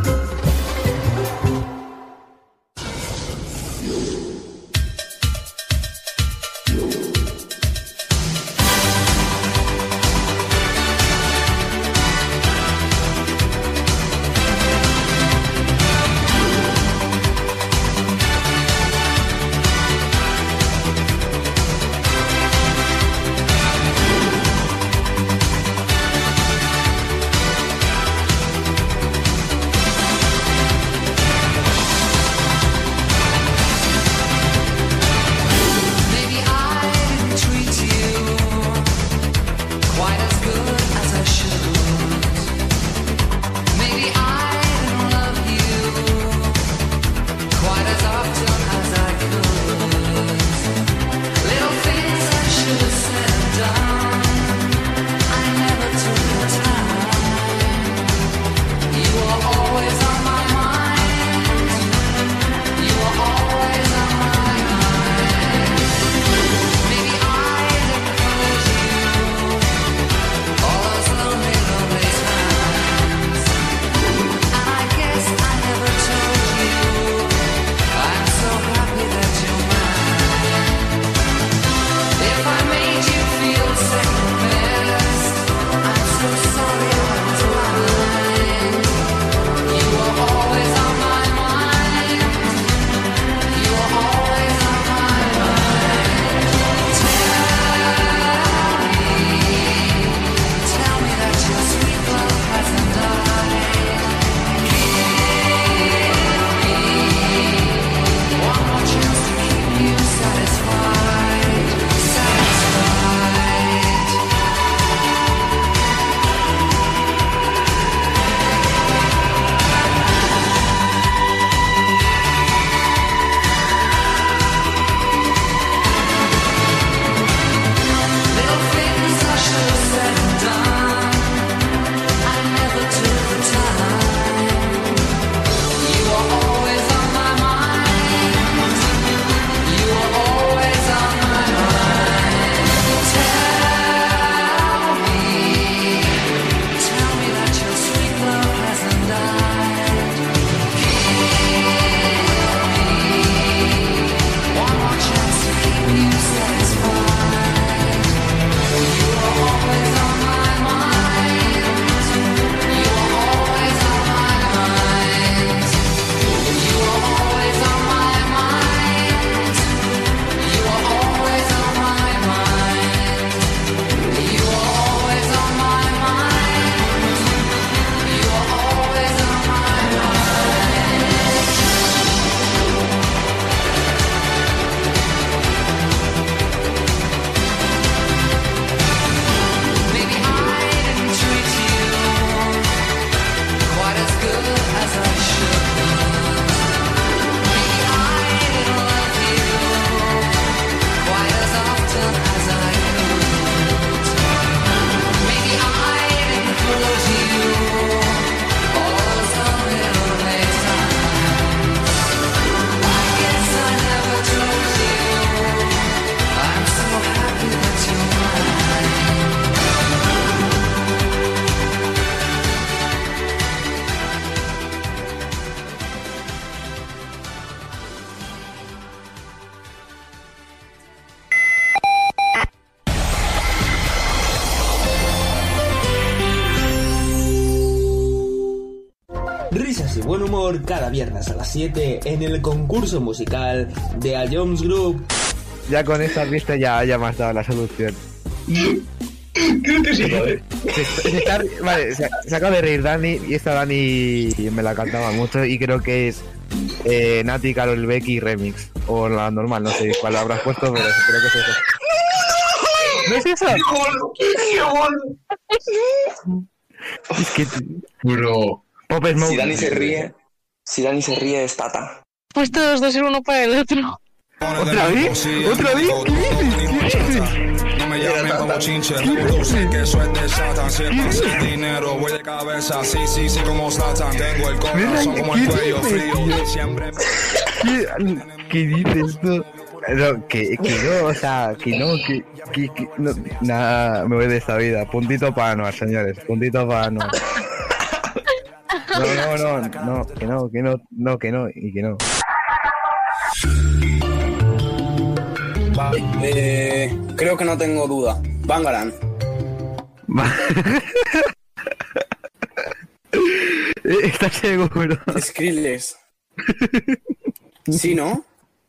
Risas y buen humor cada viernes a las 7 en el concurso musical de A Jones Group. Ya con esta pista ya me has dado la solución. Creo que sí, joder. Se acaba de reír Dani y esta Dani me la cantaba mucho y creo que es Nati, Karol Becky Remix. O la normal, no sé cuál habrás puesto, pero creo que es eso. ¿No es eso? ¡Qué gol! Es que... Bro. Si Dani se ríe es Tata. Pues todos dos ser uno para el otro. ¿Otra vez? ¿Otra vez? ¿Qué dices? No me llamen como chinche, tú sé que eso es de Satan. Si el pase el dinero, voy de cabeza, sí, como Satan. Tengo el corazón como el cuello frío. Siempre. ¿Qué dices tú? No, que no, o sea, que no, no, nada, me voy de esta vida. Puntito para Anuar, señores, puntito para Anuar. No, que no, y que no. Vale, creo que no tengo duda. Bangarang. ¿Estás seguro? Skrillex. ¿Sí, no?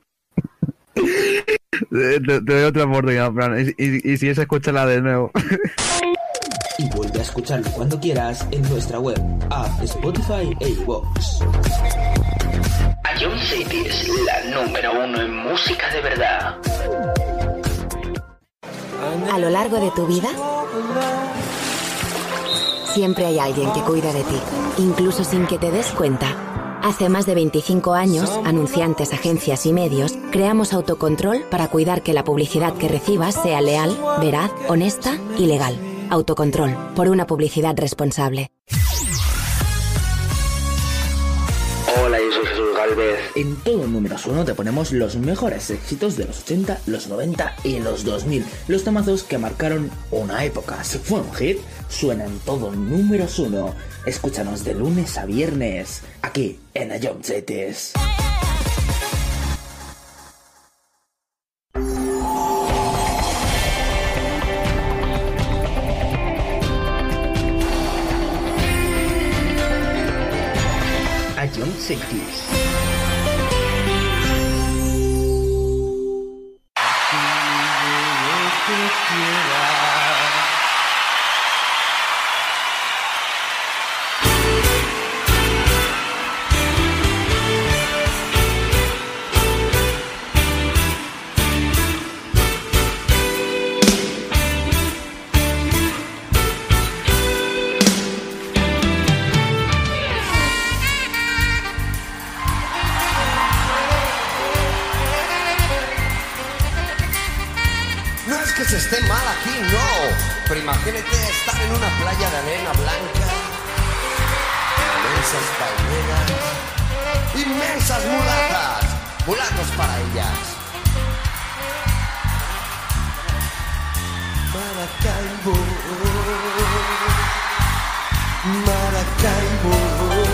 Te doy otra oportunidad, Fran. Y si es, escúchala de nuevo. Y vuelve a escucharlo cuando quieras en nuestra web, app, Spotify e iVoox. Ion City es la número 1 en música de verdad. A lo largo de tu vida, siempre hay alguien que cuida de ti, incluso sin que te des cuenta. Hace más de 25 años, anunciantes, agencias y medios, creamos Autocontrol para cuidar que la publicidad que recibas sea leal, veraz, honesta y legal. Autocontrol, por una publicidad responsable. Hola, yo soy Jesús Galvez. En todo Números 1 te ponemos los mejores éxitos de los 80, los 90 y los 2000. Los temazos que marcaron una época. Si fue un hit, suena en todo Números 1. Escúchanos de lunes a viernes, aquí en Ion Cities. Ion Cities. Se esté mal aquí, no. Pero imagínate estar en una playa de arena blanca, inmensas palmeras, inmensas mulatas, mulatos para ellas. Maracaibo, Maracaibo.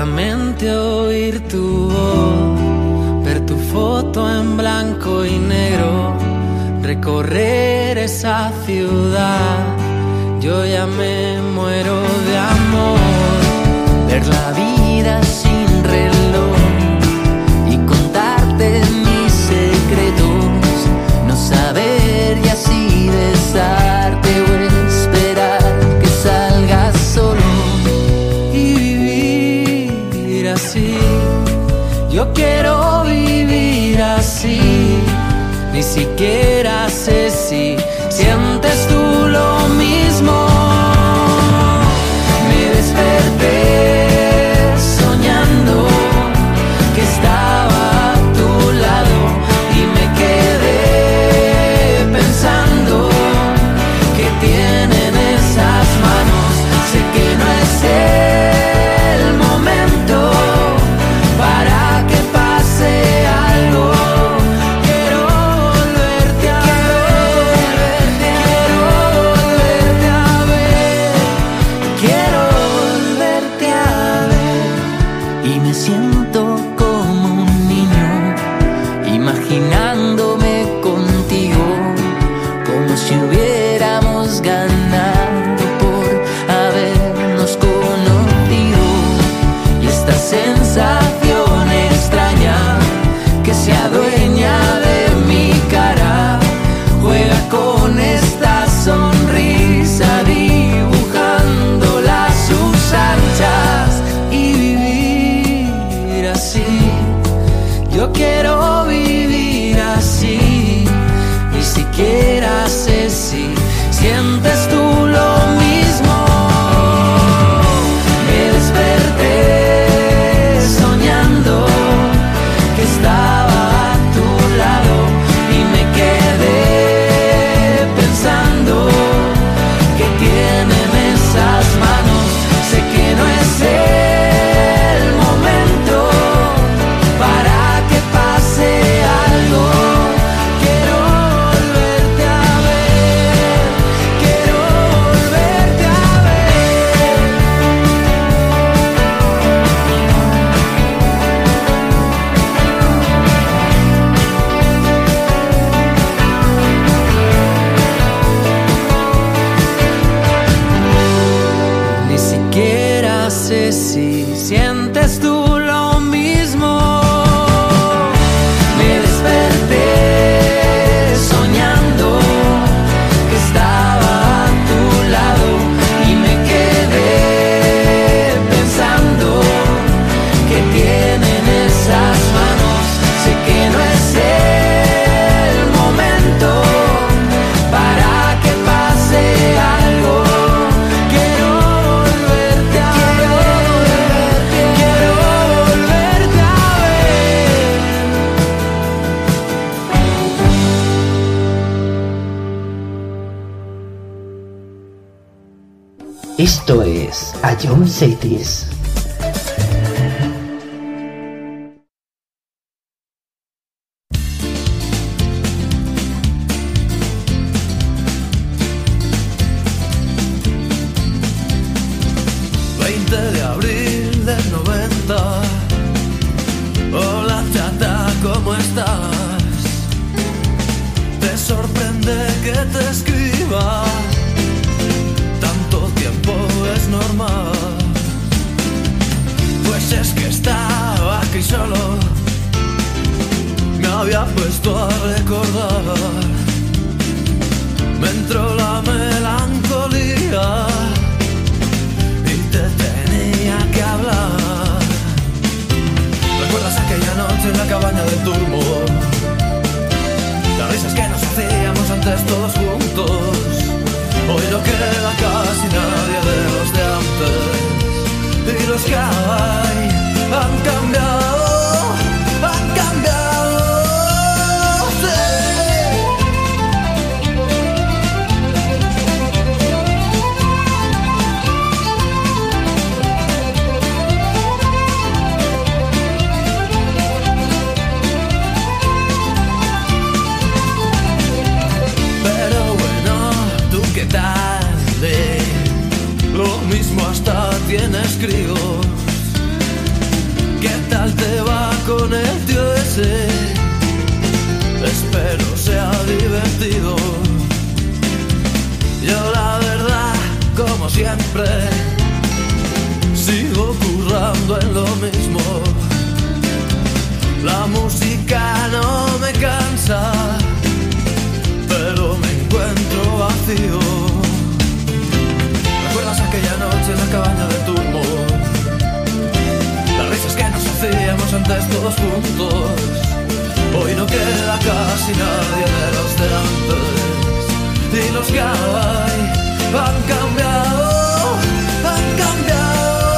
solamente oír tu voz, ver tu foto en blanco y negro, recorrer esa ciudad. Yo ya me muero de amor, ver la vida sin reloj y contarte mis secretos, no saber y así besarte o esperar que salgas solo y vivir así. Yo quiero vivir así, ni siquiera sé si sientes tú lo mismo. Me desperté soñando que estaba a tu lado y me quedé pensando que tienen esas manos. Sé que no es el momento para que pase algo. Quiero volverte a ver, quiero volverte a ver, quiero volverte a ver. Y me siento como un niño, imaginándome contigo, como si hubiéramos ganado por habernos conocido. Y esta sensación extraña que se adueña de mi cara, juega con esta sonrisa, dibujándola a sus anchas. Y vivir así, yo quiero vivir así, ni siquiera sé si sientes tú lo mismo. Me desperté soñando que estaba a tu lado y me quedé pensando que tienen esas manos. Sé que no es el momento para que pase algo. Quiero volverte a ver, quiero volverte a ver. Ni siquiera sé si sientes tú lo mismo. Me desperté soñando que estaba a tu lado y me quedé pensando que tienen esas manos. Sé que no es el momento para que pase algo. Quiero volverte a ver, quiero volverte a ver. Esto es A John Cities. De abril del 90. Hola chata, ¿cómo estás? Te sorprende que te escriba, tanto tiempo es normal. Pues es que estaba aquí solo, me había puesto a recordar. Me entró la melancolía y te tenía que hablar. ¿Recuerdas aquella noche en la cabaña del turbo? Las risas que nos hacíamos antes todos juntos. Hoy no queda casi nadie de los de antes, y los que hay han cambiado, han cambiado, sí. Pero siempre. Sigo currando en lo mismo. La música no me cansa, pero me encuentro vacío. ¿Recuerdas aquella noche en la cabaña de Turmo? Las risas que nos hacíamos antes todos juntos. Hoy no queda casi nadie de los de antes. Y los que hay han cambiado, han cambiado.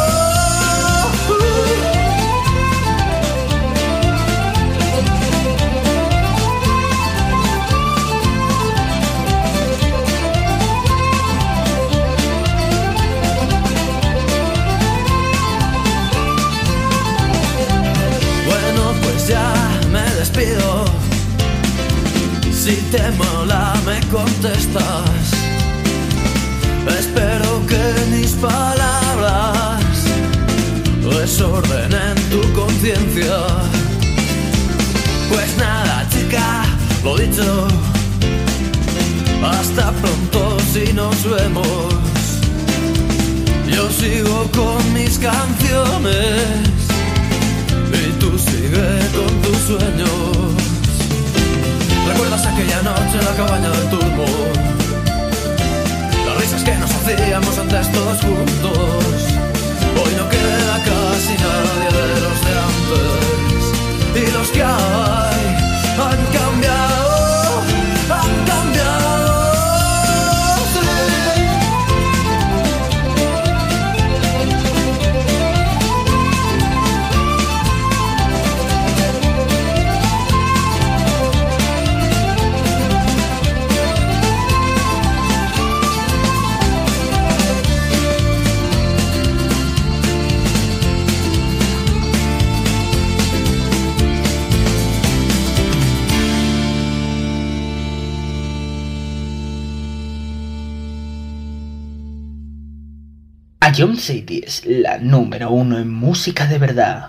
Bueno, pues ya me despido. Si te mola me contestas. Espero que mis palabras desordenen tu conciencia. Pues nada, chica, lo dicho. Hasta pronto si nos vemos. Yo sigo con mis canciones y tú sigue con tus sueños. ¿Recuerdas aquella noche en la cabaña del Turbo? Las risas que nos hacíamos antes todos juntos. Hoy no queda casi nadie de los de antes. Y los que hay han cambiado, han cambiado. Ion City es la número 1 en música de verdad.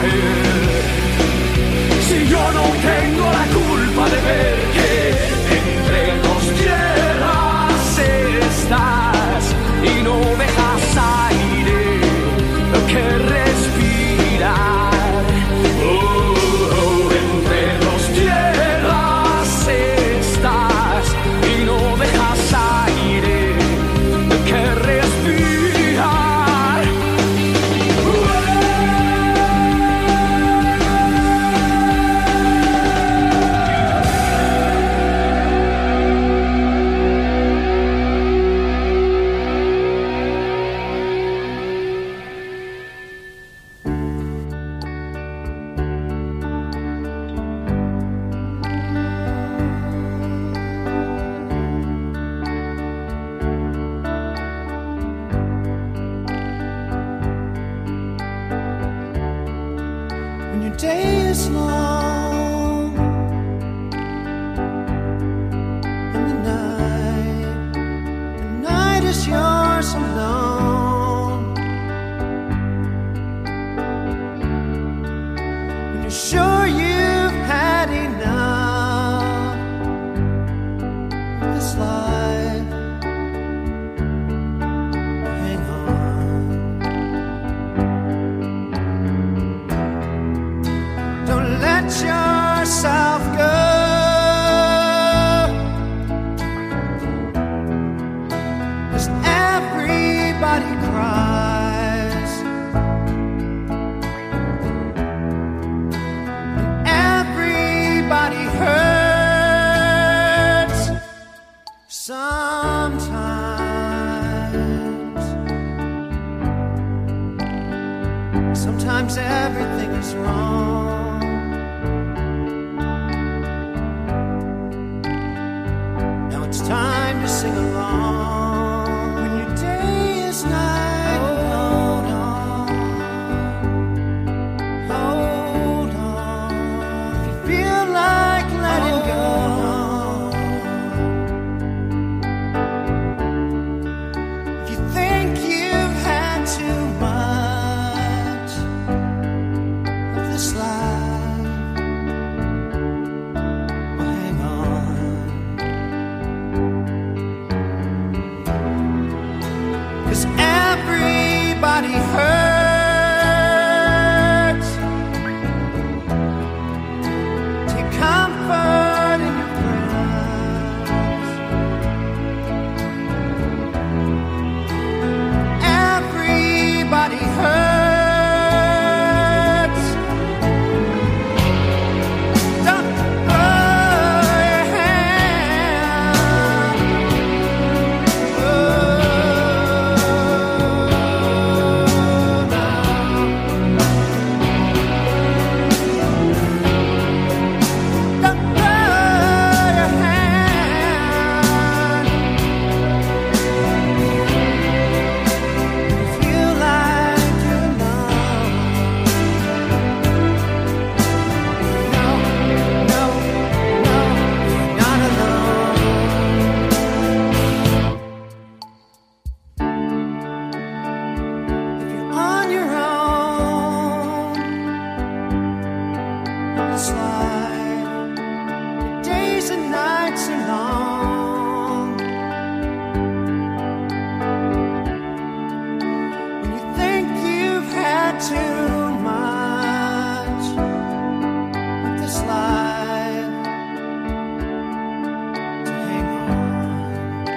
Si yo no tengo la culpa de ver que entre dos tierras estás y no dejas aire que respirar. Entre dos tierras estás y no dejas aire que respirar. When your day is long and the night is yours alone. When you're sure you've had enough of this life, hang on. Don't let yourself go. 'Cause everybody cries, and everybody hurts sometimes. Sometimes everything is wrong. Now it's time to sing along. When your day is night, hold on, hold on. If you feel like letting go, if you think you've had too much of this life, well, hang on. 'Cause everybody hurts. Take comfort in your prayers. Everybody hurts. Don't throw your hand. Don't throw your hand. Feel like you're alone. No, no, no, you're not alone. If you're on your own in this life, your days and nights are long. When you think you've had too much of this life, to hang on.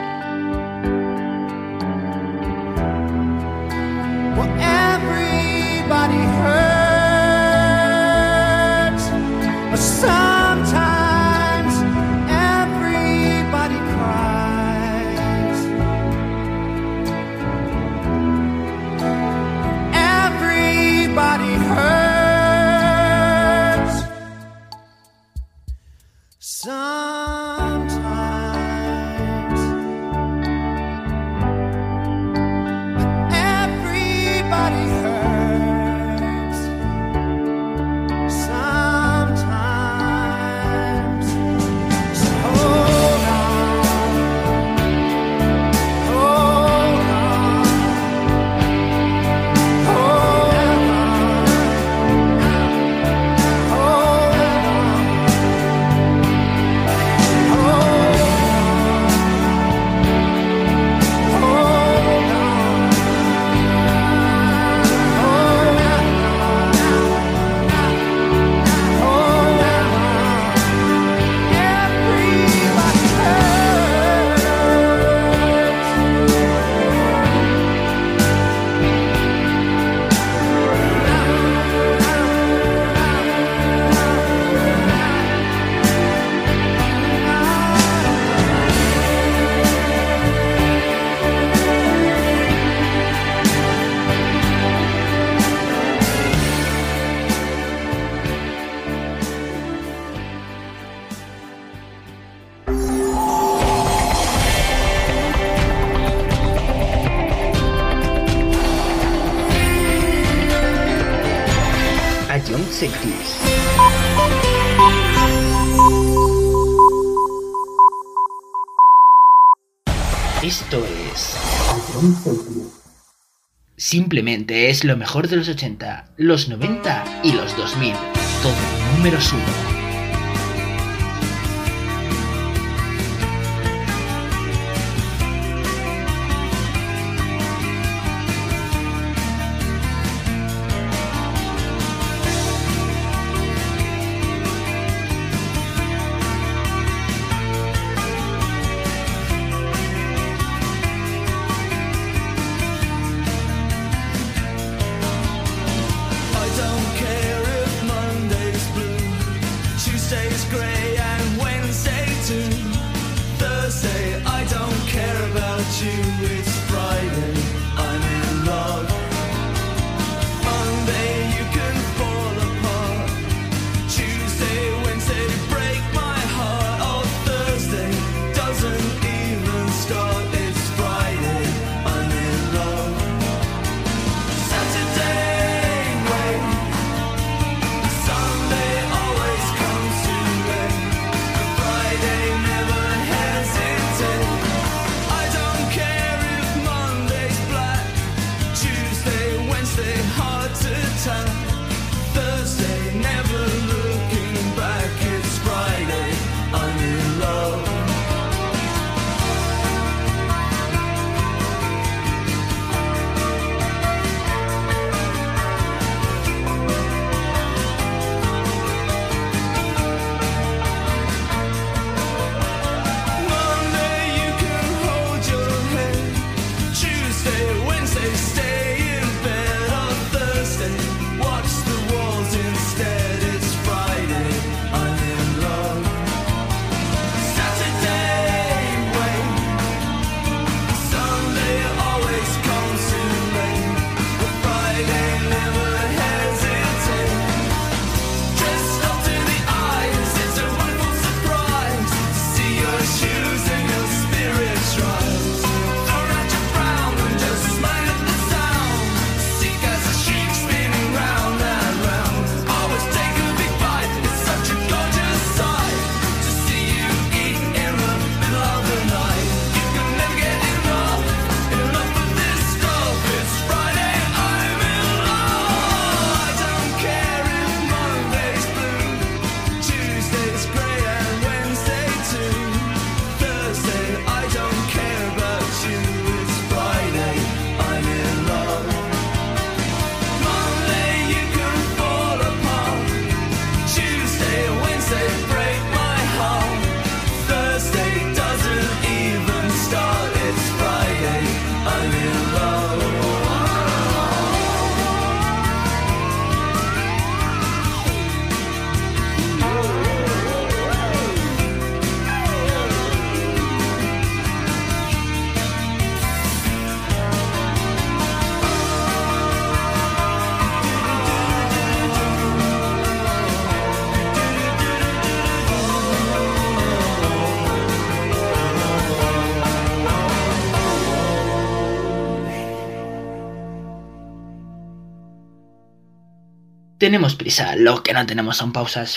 Well, everybody hurts, but sometimes everybody cries. Everybody hurts sometimes. Everybody hurts sometimes. So hold on, hold on, hold on. 60s. Esto es... Simplemente es lo mejor de los 80, los 90 y los 2000. Todo números 1. Tenemos prisa, lo que no tenemos son pausas.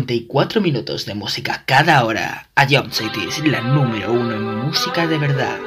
54 minutos de música cada hora. A Jump City es la número 1 en música de verdad.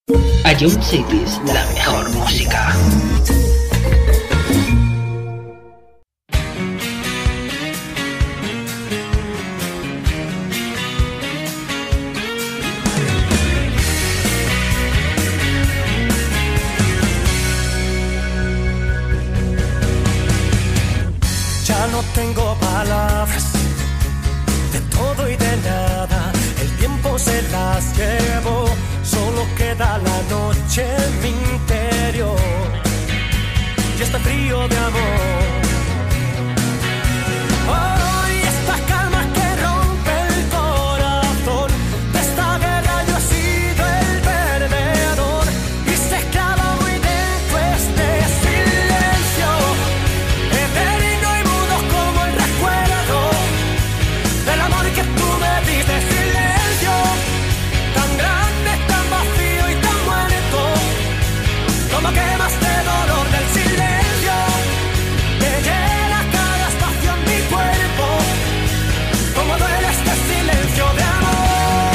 Ion Cities, la mejor música. Ya no tengo palabras, de todo y de nada, el tiempo se las llevó, solo queda la noche en mi interior y este frío de amor. Hoy esta calma que rompe el corazón, de esta guerra yo he sido el perdedor y se clava muy dentro este silencio eterno y mudo como el recuerdo del amor que tú me diste. Silencio tan grande, tan vacío y tan muerto, como quemas de dolor del silencio que llena cada espacio en mi cuerpo, como duele este silencio de amor.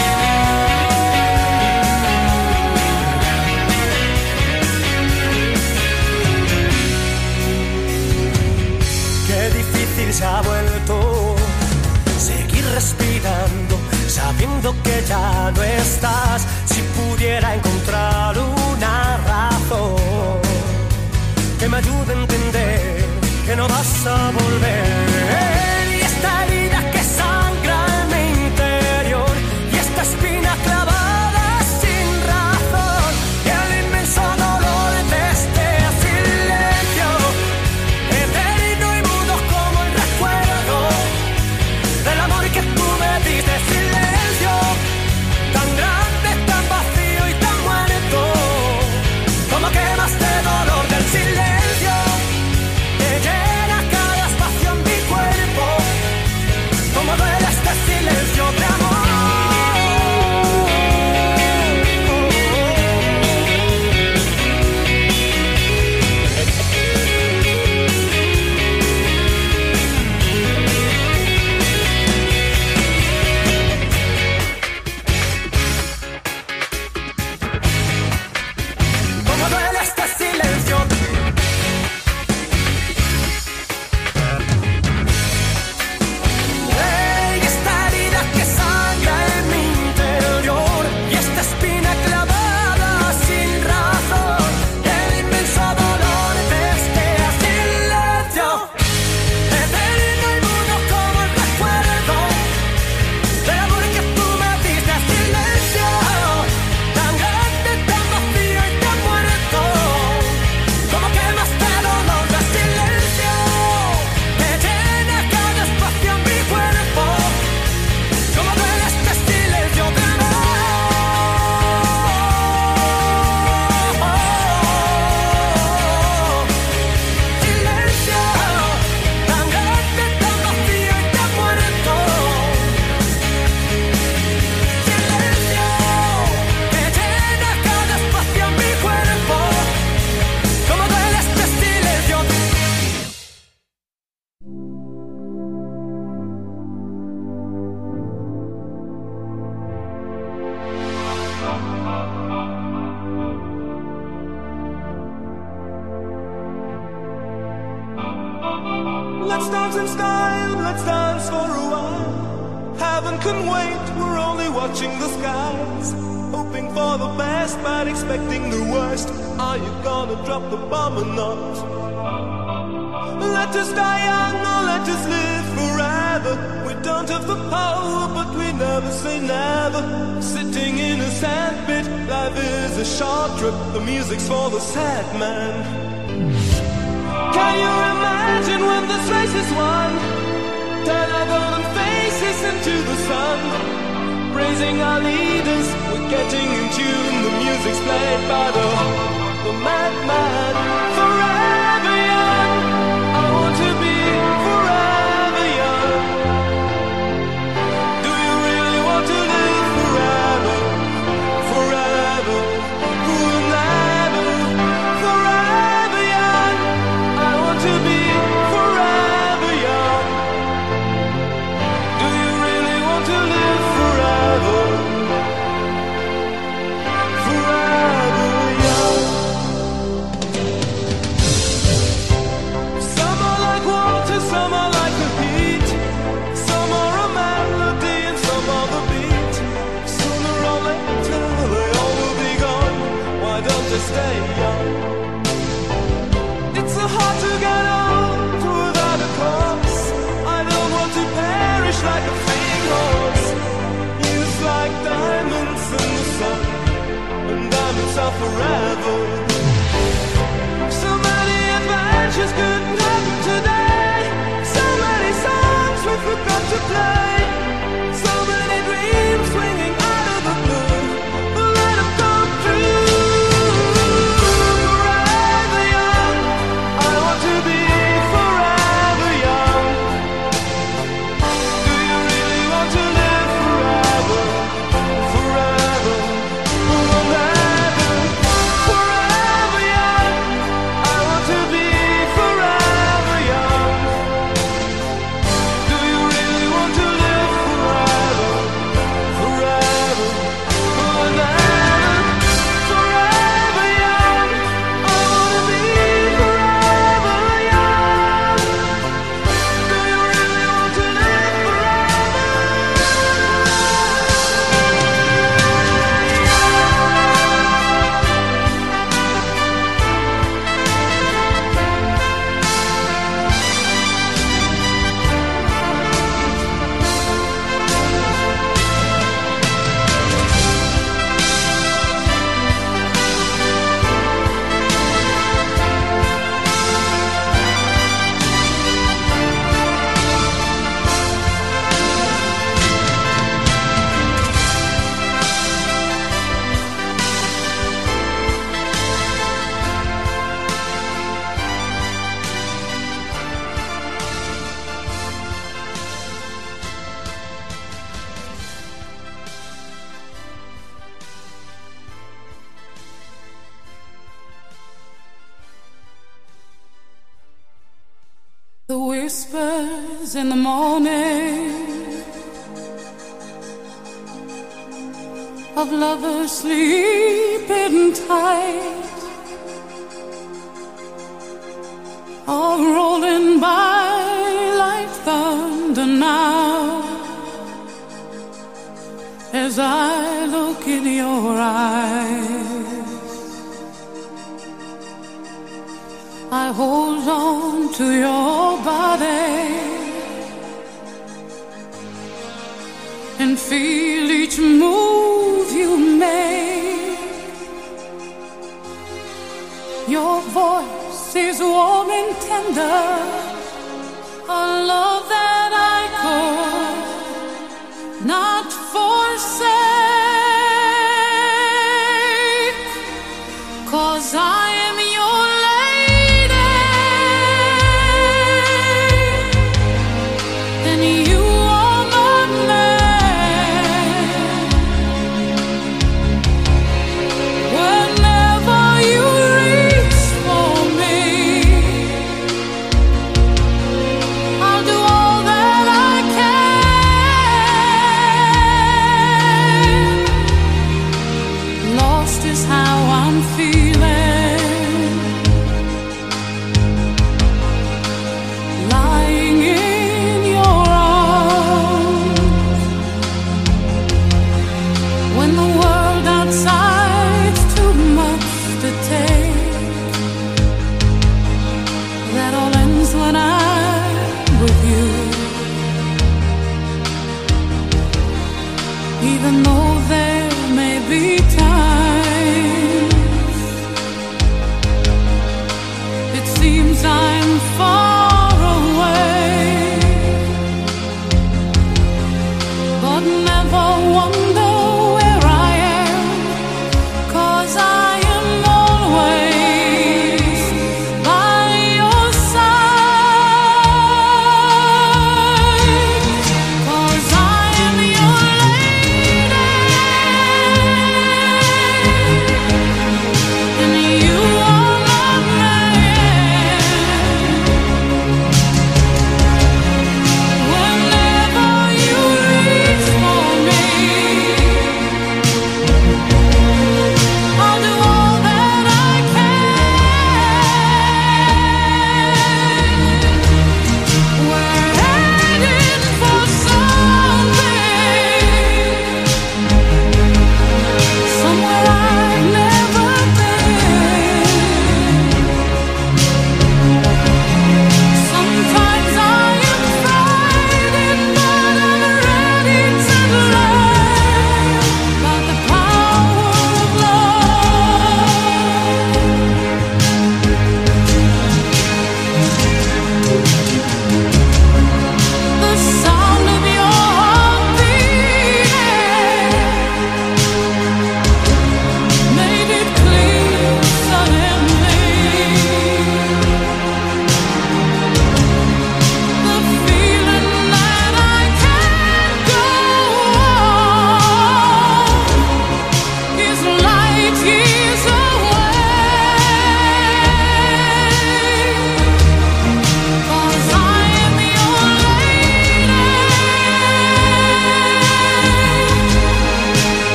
Qué difícil se ha vuelto seguir respirando, sabiendo que ya no estás. Si pudiera encontrar una razón que me ayude a entender que no vas a volver, y esta herida que sangra en mi interior, y esta espina clavada sin razón, y el inmenso dolor de este silencio eterno y mudo como el recuerdo del amor que tú me diste. Silencio tan grande, tan vacío y tan muerto, como quemas de dolor del silencio que llena cada espacio en mi cuerpo, como duele este silencio de amor. Como duele este silencio. Ey, esta herida que sangra en mi interior, y esta espina clavada sin razón, el inmenso dolor de este silencio eterno y mudo como el recuerdo del amor que tú me diste. Silencio tan grande, tan vacío y tan muerto, como quemas de dolor del silencio que llena cada espacio en mi cuerpo, como duele este silencio de amor. Silencio tan grande, tan vacío y tan muerto, silencio que llena cada espacio en mi cuerpo, como duele este silencio. Let's dance in style, let's dance for a while. Heaven can wait, we're only watching the skies. Hoping for the best, but expecting the worst. Are you gonna drop the bomb or not? Let us die young or let us live forever. We don't have the power, but we never say never. Sitting in a sandpit, life is a short trip. The music's for the sad man. Can you imagine when this race is won? Turn our golden faces into the sun, praising our leaders, we're getting in tune. The music's played by the madman. Forever young, I want to be forever young. Do you really want to live forever? Forever, forever, forever young. I want to be forever young. Do you really want to live forever? Forever. The whispers in the morning of lovers sleeping tight are rolling by like thunder now as I look in your eyes. I hold on to your body and feel each move you make. Your voice is warm and tender, a love that I could not forsake, 'cause I am your lady and you are my man. Whenever you reach for me,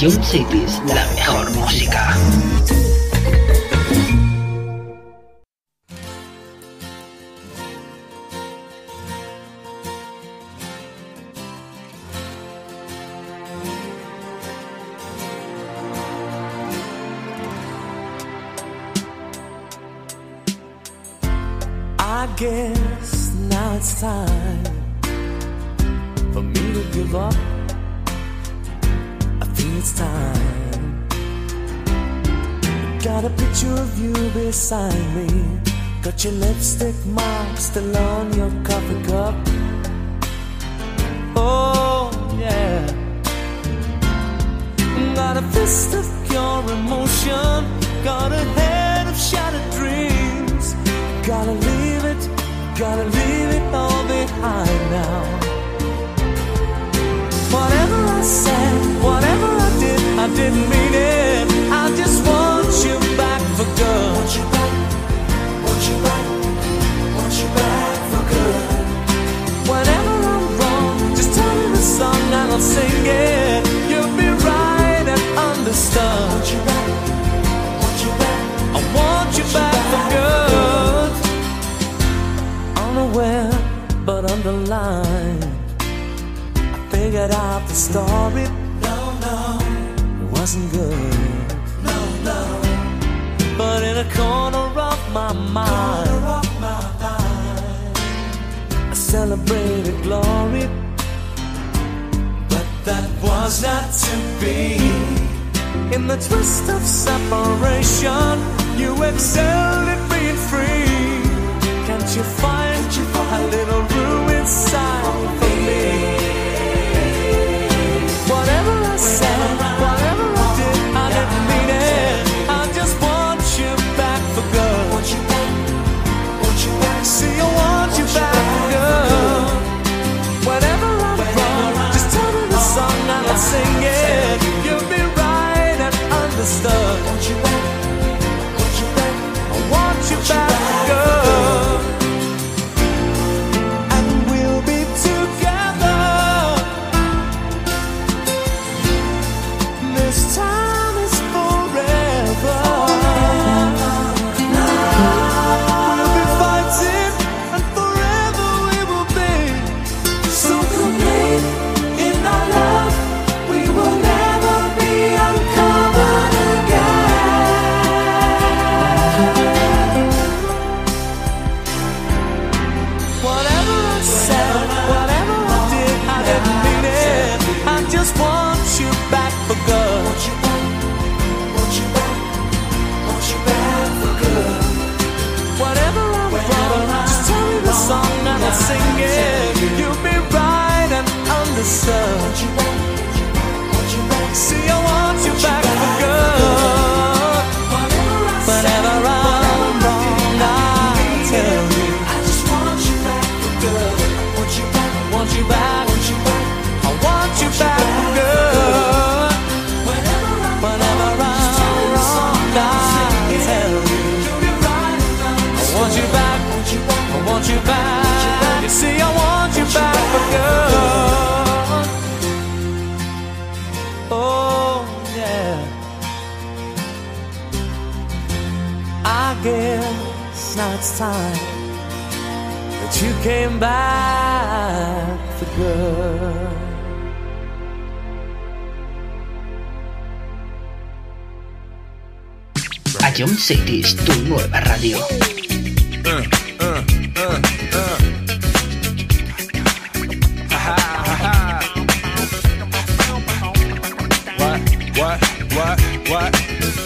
Jump Cities, la mejor música. I guess now it's time for me to give up. I think it's time. Got a picture of you beside me. Got your lipstick mark still on your coffee cup. Oh yeah. Got a fist of pure emotion. Got a head of shattered dreams. Gotta leave it all behind now. Whatever I said, whatever I didn't mean it. I just want you back for good. Want you back, want you back, want you back for good. Whenever I'm wrong, just tell me the song and I'll sing it. You'll be right and understood. Want you back, want you back, I want you back for good. Unaware but underlined, I figured out the story. No, it wasn't good. No, but in a corner of my mind, I celebrated glory. But that was not to be. In the twist of separation, you excelled at being free. Can't you find a little room inside for me? Whatever I said, whatever I didn't mean it. I just want you back for good. Want you back, want you back. See, I want you back for good. Whenever I'm wrong, just tell me the song and I'll sing it. You'll be right and understood. Want you back, want you back. I want you back for good. Sing it, you'll be right and understood. See, I want you back for good. Whenever I'm wrong, I'll tell you. I just want you back for good. I want you back, I want you back for good. Whenever I'm wrong, I'll tell you. I want you back, I want you back. You see, I want you back for good. Oh, yeah. I guess now it's time that you came back for good. A Jump Cities, tu nueva radio. What?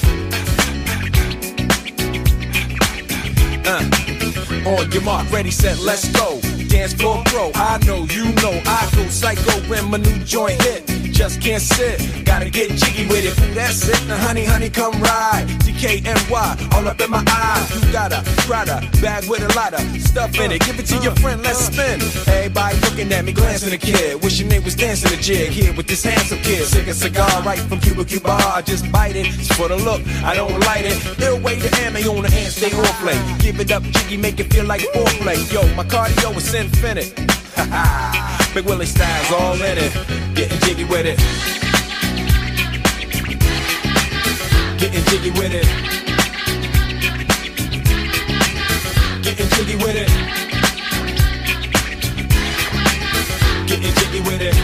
On your mark, ready, set, let's go. Dance floor pro, I know, you know, I go psycho when my new joint hit. Just can't sit, gotta get jiggy with it. Ooh, that's it, now honey, come ride. DKNY, all up in my eyes. You got a Prada bag with a lot of stuff in it. Give it to your friend, let's spin. Everybody looking at me, glancing a kid. Wishing they was dancing a jig here with this handsome kid. Sick a cigar right from Cuba Cuba. I just bite it, it's for the look, I don't light it. Ill way to ammo on the hand, stay on play. Give it up, jiggy, make it feel like foreplay. Yo, my cardio is infinite. Big Willie style's all in it. Getting jiggy with it. Getting jiggy with it. Getting jiggy with it. Getting jiggy with it.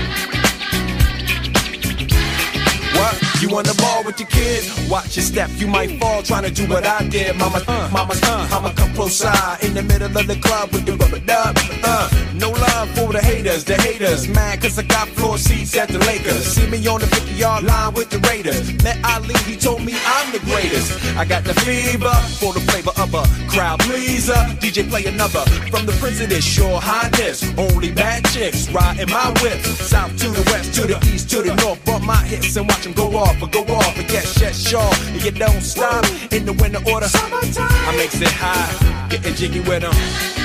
What? You on the ball with your kid? Watch your step, you might fall trying to do what I did. Mama, I'ma come close side in the middle of the club with the rubber dub. No love for the haters. Mad cause I got floor seats at the Lakers. See me on the 50-yard line with the Raiders. Met Ali, he told me I'm the greatest. I got the fever for the flavor of a crowd pleaser. DJ play another from the President's Your Highness. Only bad chicks riding my whip. South to the west, to the east, to the north. Bump my hips and watch them go off. And yes, sure. And you don't stop in the winter order. I makes it high, getting jiggy with them.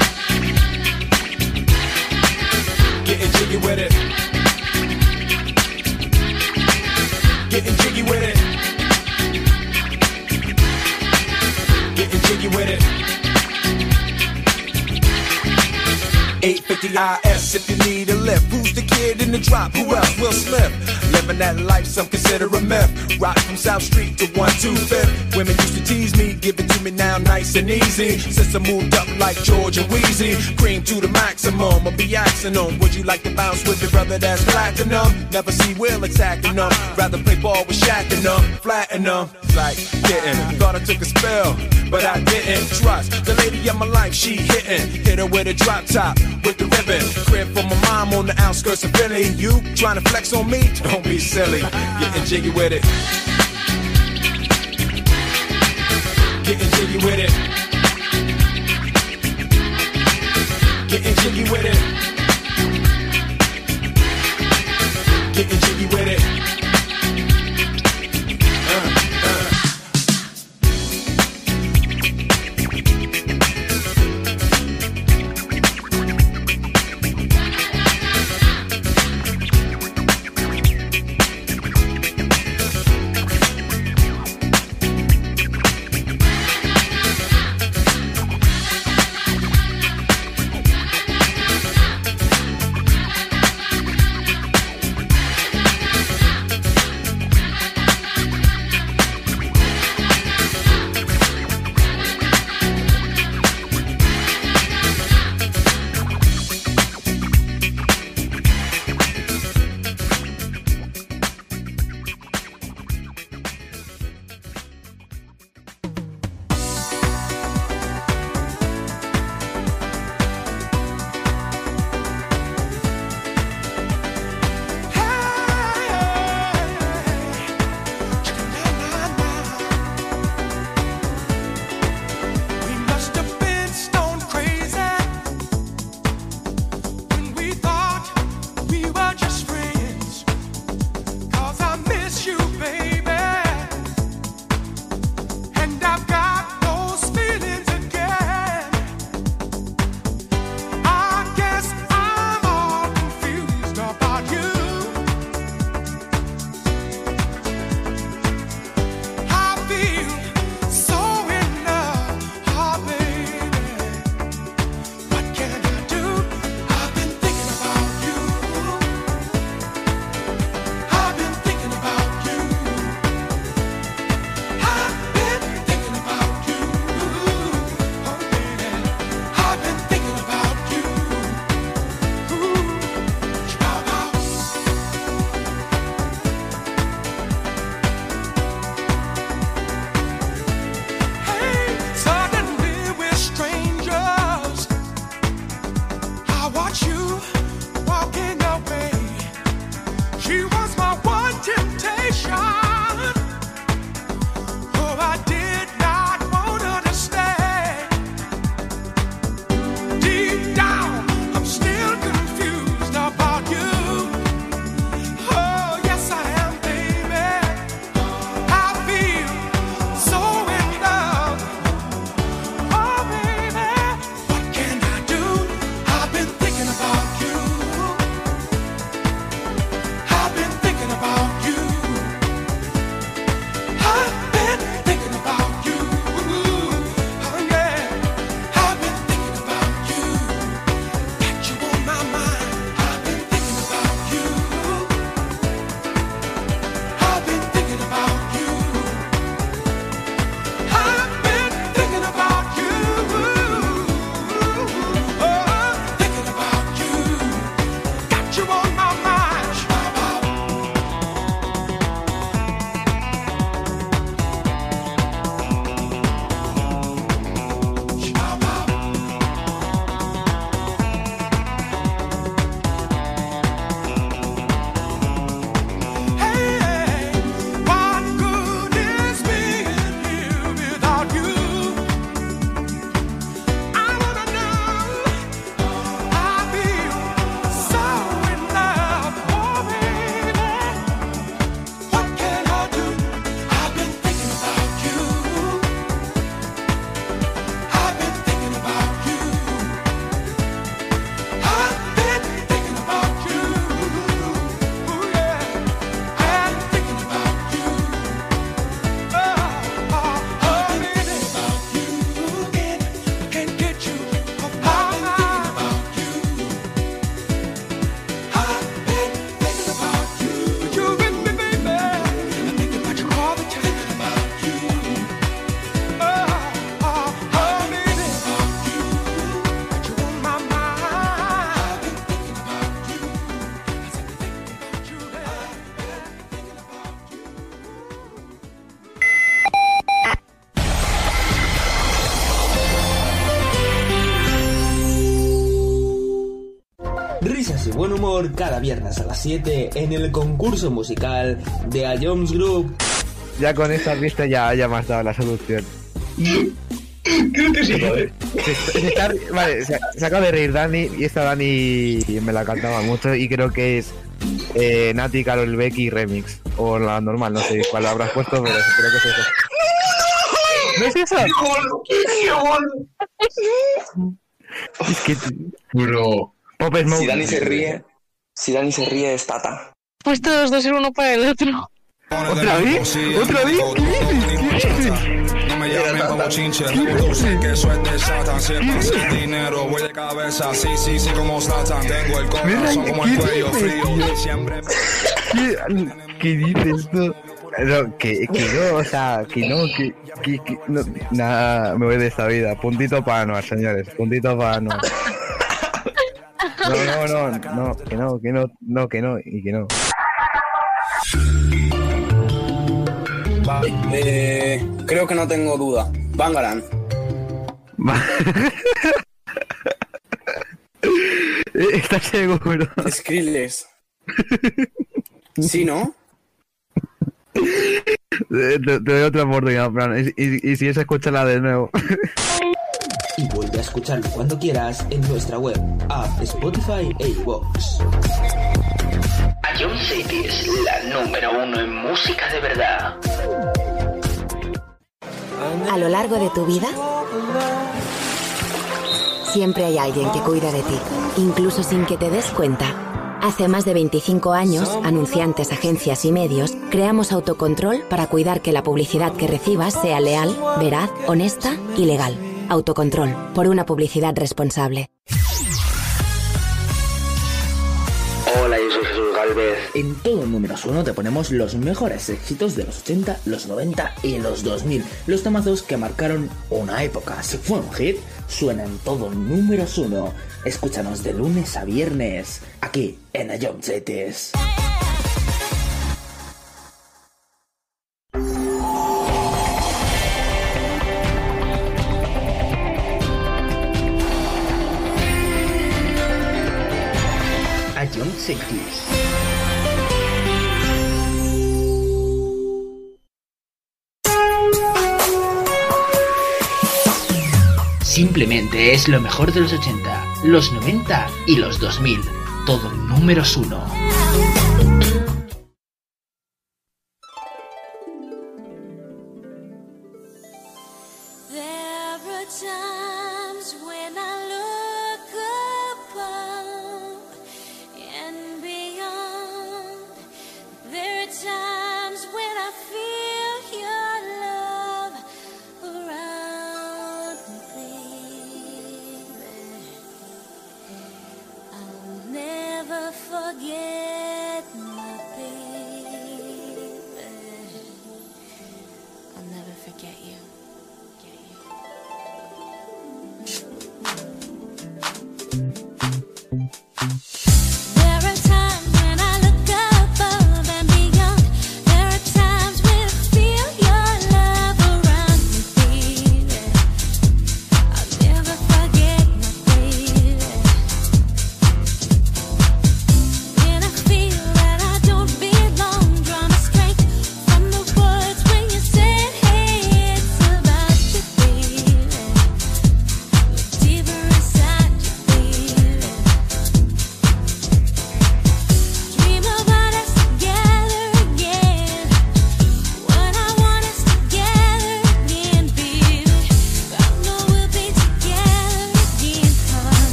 Getting jiggy with it. Getting jiggy with it. Getting jiggy with it. 850 IS if you need a lift. Who's the kid in the drop? Who else? Will Smith. Living that life, some consider a myth. Rock from South Street to 125th. Women used to tease me, give it to me now nice and easy. Since I moved up like George and Wheezy, cream to the maximum, I'll be axing them. Would you like to bounce with your brother that's platinum? Never see Will attacking them. Rather play ball with Shaq and them, flatten them. Like getting, thought I took a spell, but I didn't trust the lady of my life, she hitting. Hit her with a drop top, with the ribbon. Crib for my mom on the outskirts of Philly. You trying to flex on me? Don't be silly. Getting jiggy with it. Getting jiggy with it. Getting jiggy with it. Getting jiggy with it. risas y buen humor cada viernes a las 7 en el concurso musical de A Jones Group. Ya con esta pista ya me has dado la solución. Creo que sí, joder. Vale, se acaba de reír Dani, y esta Dani me la cantaba mucho y creo que es Nati, Karol Becky Remix. O la normal, no sé cuál habrás puesto, pero creo que es eso. ¿No es eso? ¡Qué bueno! Es que... Bro. Pop Smoke. Si Dani se ríe es Tata. Pues todos dos ser uno para el otro. ¿Otra vez? ¿Otra vez? ¿Qué dices? No me llamen como chinche, reproduce que eso es de Satan. Si el pase el dinero, voy de cabeza, sí, como Satan. Tengo el corazón como el cuello frío, siempre. ¿Qué dices tú? No, que no, o sea, que no, nada, me voy de esta vida. Puntito para Anuar, señores, puntito para Anuar. No, que no. Vale, creo que no tengo duda. Bangaran. ¿Estás seguro? Skrillex. ¿Sí, no? Te doy otra oportunidad, Fran. Y si es, escúchala de nuevo. Y vuelve a escucharlo cuando quieras en nuestra web, app, Spotify e iVoox. A John City es la número 1 en música de verdad. A lo largo de tu vida, siempre hay alguien que cuida de ti, incluso sin que te des cuenta. Hace más de 25 años, anunciantes, agencias y medios, creamos Autocontrol para cuidar que la publicidad que recibas sea leal, veraz, honesta y legal. Autocontrol, por una publicidad responsable. Hola, yo soy Jesús Galvez. En todo Números 1 te ponemos los mejores éxitos de los 80, los 90 y los 2000. Los temazos que marcaron una época. Si fue un hit, suena en todo Números 1. Escúchanos de lunes a viernes, aquí en A John Cities. A John Cities. Simplemente es lo mejor de los 80, los 90 y los 2000. Todo Números 1.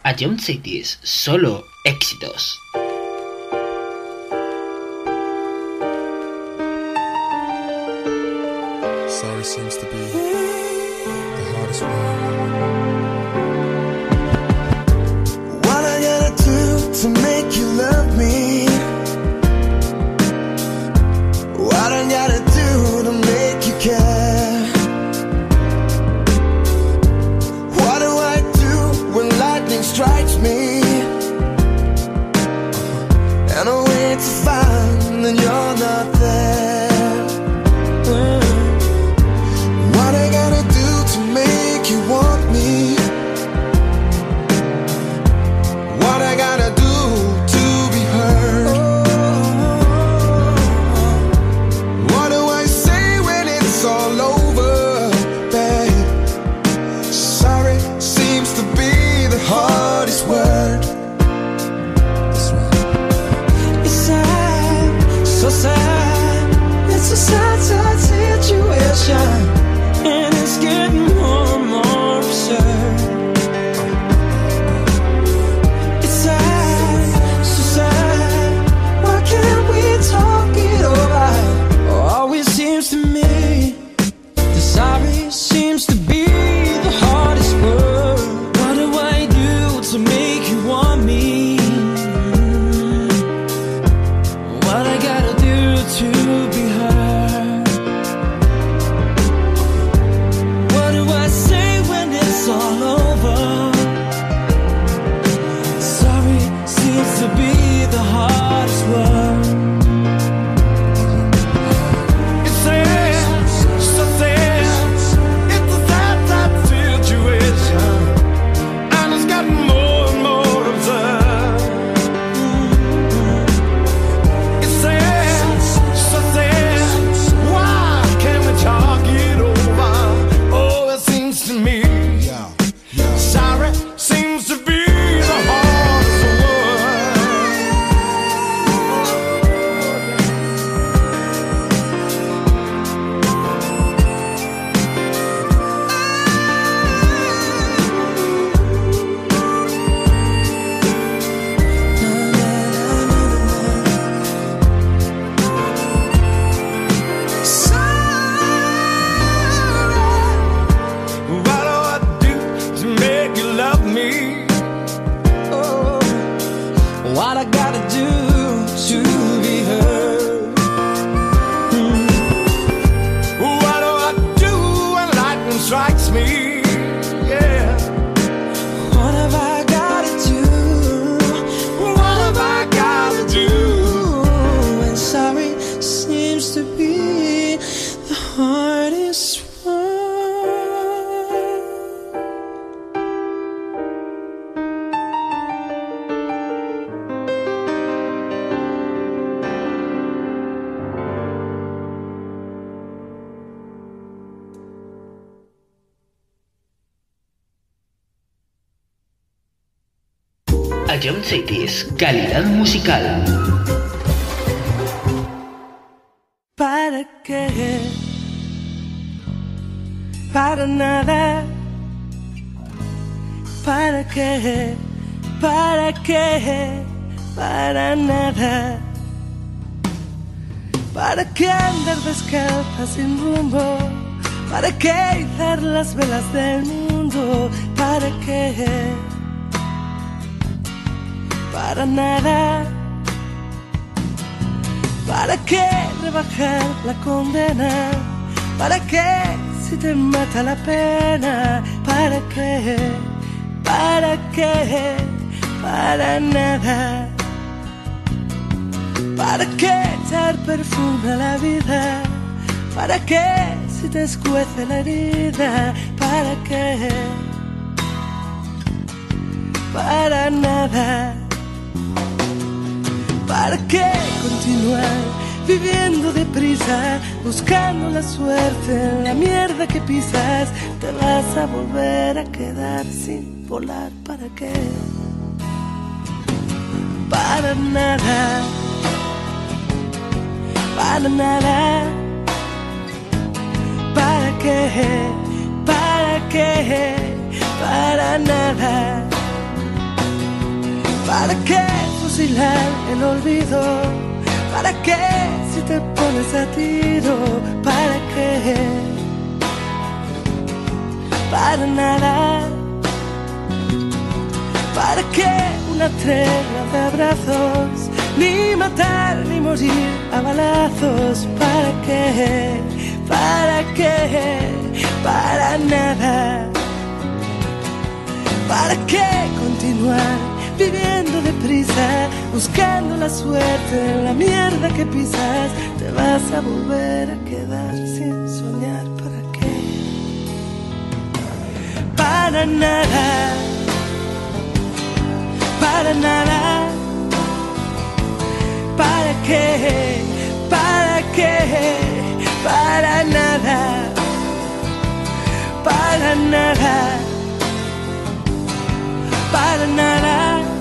Ion Cities, solo éxitos. Sorry seems to be the hardest word. What I gotta do to make you love me? What I gotta do to make you care? What do I do when lightning strikes me? And I wait to find that you're not there. What I gotta do to make you want me? What I gotta do to be heard? What do I say when it's all over, babe? Sorry seems to be the hardest word. It's sad, so sad. It's a sad, sad situation, and it's getting more and more absurd. It's sad, so sad. Why can't we talk it over? Always seems to me the sorry seems to be the hardest word. What do I do to make you want me? What I gotta do to be heard? What do I say when it's all over? Sorry seems to be the hardest word. It's sad, so sad. It's a sad, sad situation, and it's gotten more and more absurd. It's sad, so sad. Why can't we talk it over? Oh, it seems to me sorry seems to be the hardest word. What do I do to make you love me? Oh, what I gotta do to be heard? What do I do when lightning strikes me? Yeah. What have I gotta do? What have I gotta do? And sorry seems to be the hardest one. Ion Cities, calidad musical. ¿Para qué? Para nada. ¿Para qué? ¿Para qué? Para nada. ¿Para qué andar descalza sin rumbo? ¿Para qué izar las velas del mundo? ¿Para qué? Para nada. ¿Para qué rebajar la condena? ¿Para qué si te mata la pena? ¿Para qué? ¿Para qué? Para nada. ¿Para qué echar perfume a la vida? ¿Para qué si te escuece la herida? ¿Para qué? Para nada. ¿Para qué continuar viviendo deprisa, buscando la suerte en la mierda que pisas? Te vas a volver a quedar sin volar. ¿Para qué? Para nada. Para nada. ¿Para qué? ¿Para qué? Para nada. ¿Para qué fusilar el olvido? ¿Para qué si te pones a tiro? ¿Para qué? Para nada. ¿Para qué una tregua de abrazos? Ni matar ni morir a balazos. ¿Para qué? ¿Para qué? Para nada. ¿Para qué continuar viviendo deprisa, buscando la suerte en la mierda que pisas? Te vas a volver a quedar sin soñar. ¿Para qué? Para nada. Para nada. ¿Para qué? ¿Para qué? Para nada. Para nada. Para nada.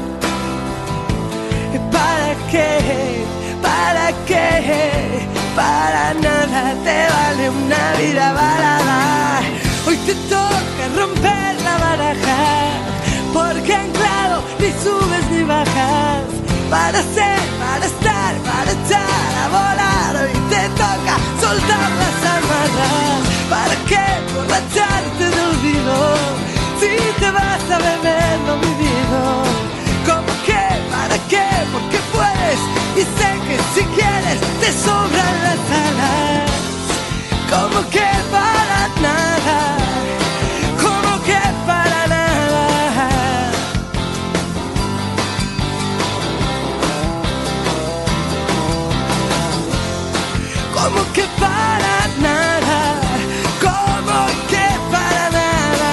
¿Para qué? ¿Para qué? Para nada. Te vale una vida balada. Hoy te toca romper la baraja, porque anclado ni subes ni bajas. Para ser, para estar, para echar a volar. Hoy te toca soltar las amarras. ¿Para qué borracharte de olvido si te vas a beber lo vivido? ¿Cómo que? ¿Para qué? Porque puedes y sé que si quieres te sobran las alas. ¿Cómo que para nada? ¿Cómo que para nada? ¿Cómo que para nada? ¿Cómo que para nada?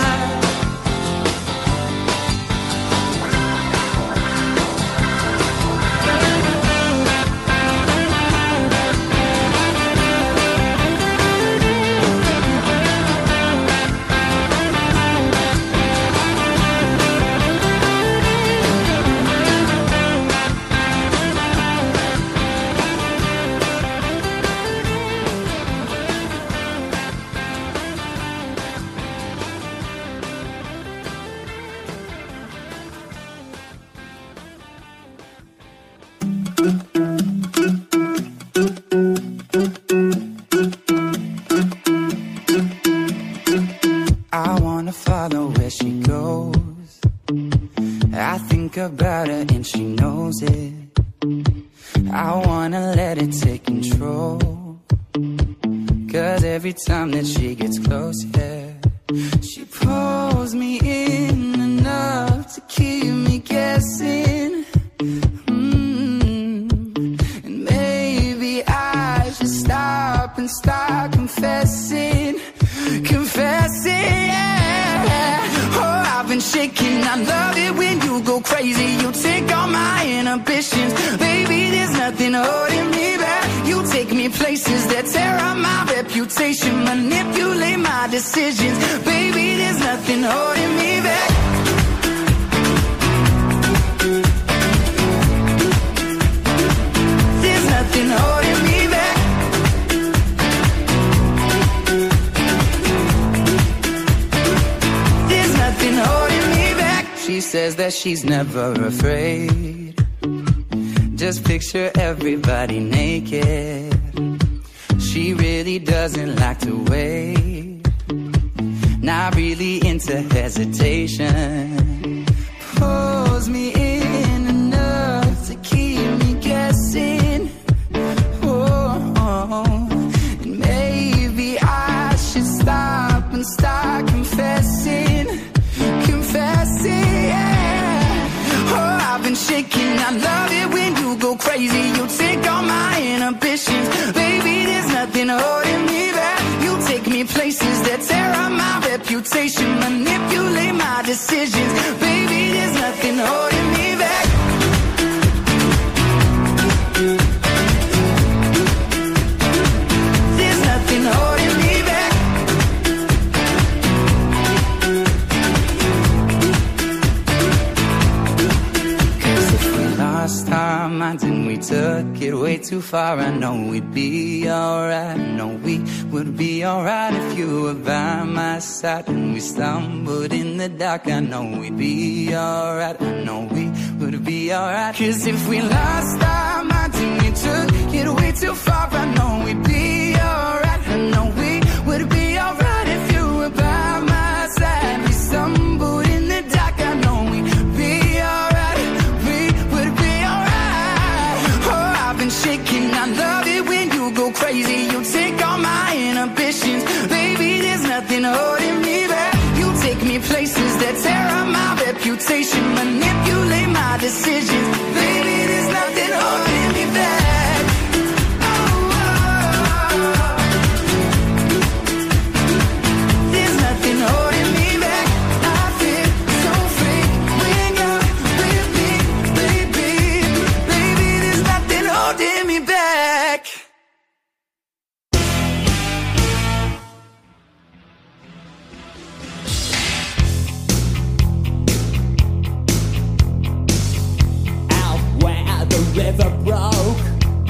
I wanna follow where she goes. I think about her and she knows it. I wanna let it take control, 'cause every time that she gets close, yeah, she pulls me in enough to keep me guessing. And maybe I should stop and start confessing. Confessing, yeah. Oh, I've been shaking. I love it when you go crazy. You take all my inhibitions. Baby, there's nothing holding me back. You take me places that tear up my reputation. Manipulate my decisions. Baby, there's nothing holding me back. There's nothing holding me back. Holding me back. She says that she's never afraid. Just picture everybody naked. She really doesn't like to wait. Not really into hesitation. Pulls me in enough to keep me guessing. Oh, and maybe I should stop and start confessing. Yeah. Oh, I've been shaking. I love it when you go crazy. You take all my inhibitions. Baby, there's nothing holding me back. You take me places that tear up my reputation. Manipulate my decisions. Baby, there's nothing holding me back. There's nothing holding me back. Lost our minds and we took it way too far. I know we'd be alright. I know we would be alright if you were by my side. And we stumbled in the dark. I know we'd be alright. I know we would would it be alright? 'Cause if we lost our minds and we took it way too far, I know we'd be alright. I know we would be alright if you were by my side. We stumbled in the dark, I know we'd be alright. We would be alright. Oh, I've been shaking, I love it when you go crazy. You take all my inhibitions, baby, there's nothing holding me back. You take me places that tear up my reputation, manipulate my decisions, baby, there's nothing holding me back. Oh, oh, oh. There's nothing holding me back. I feel so free when you're with me, baby. Baby, there's nothing holding me back. Out where the river broke,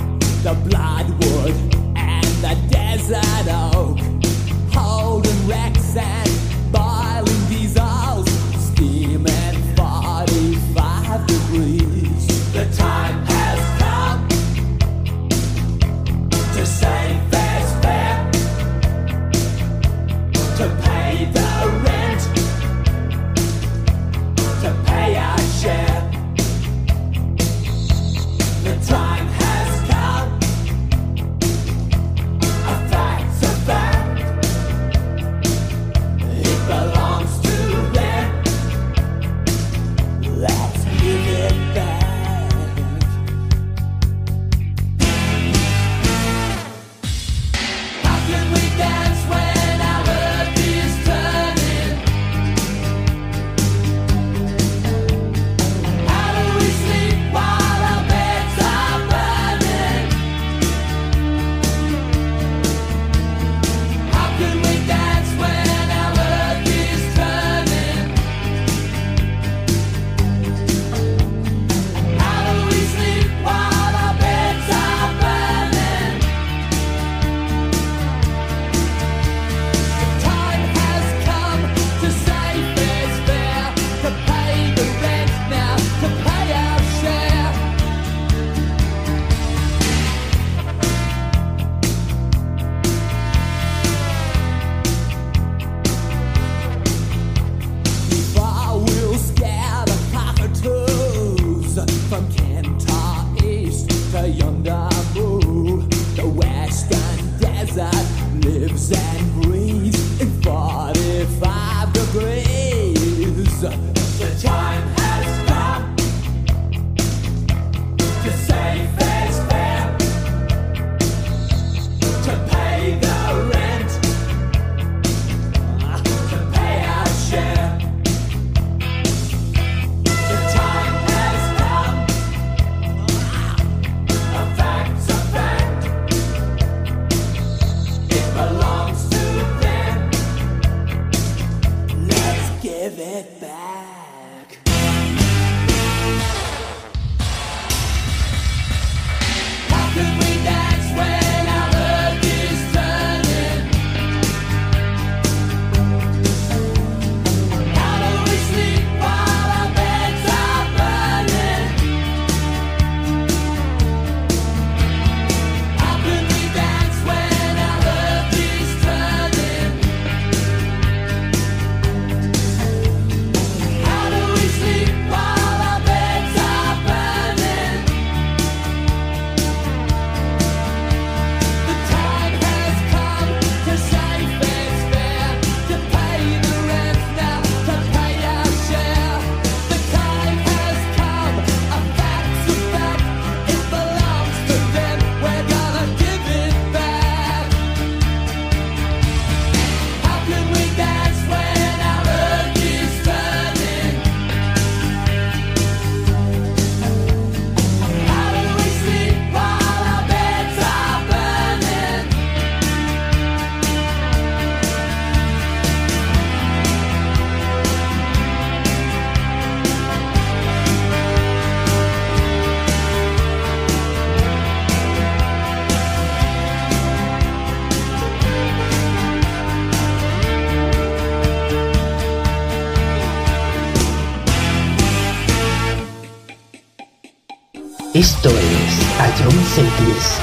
Esto es A John Series.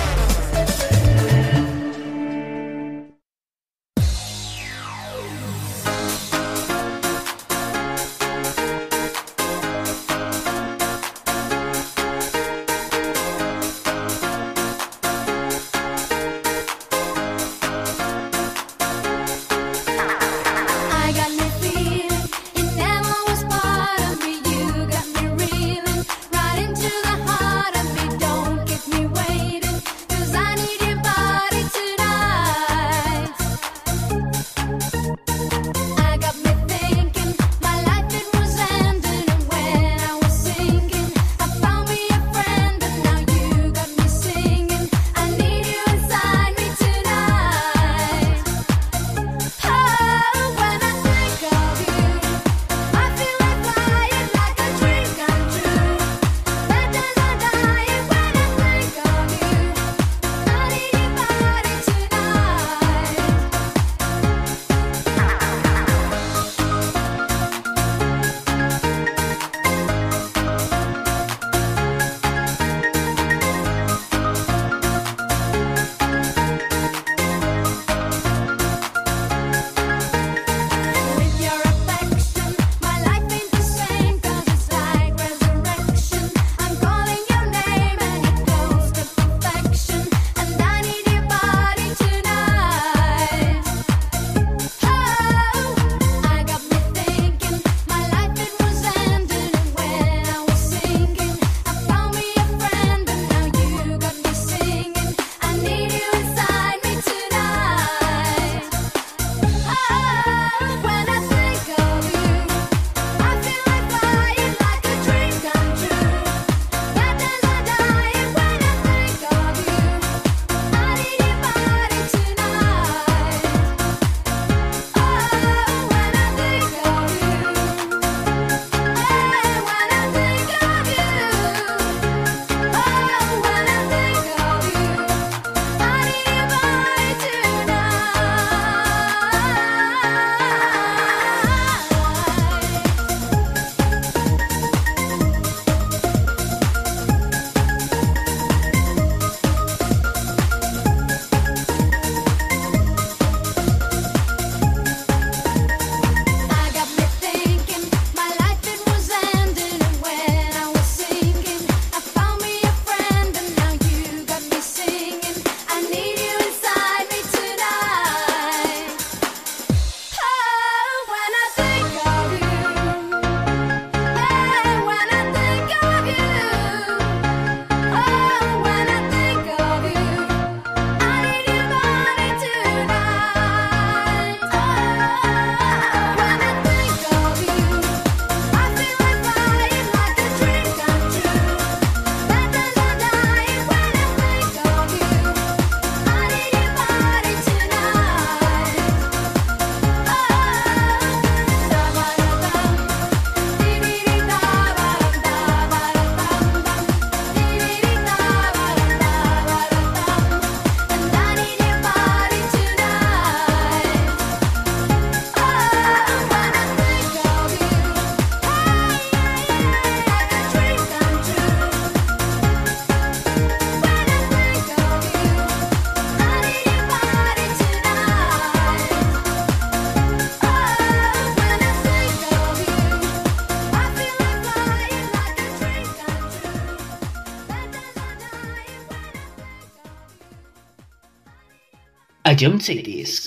A John Series.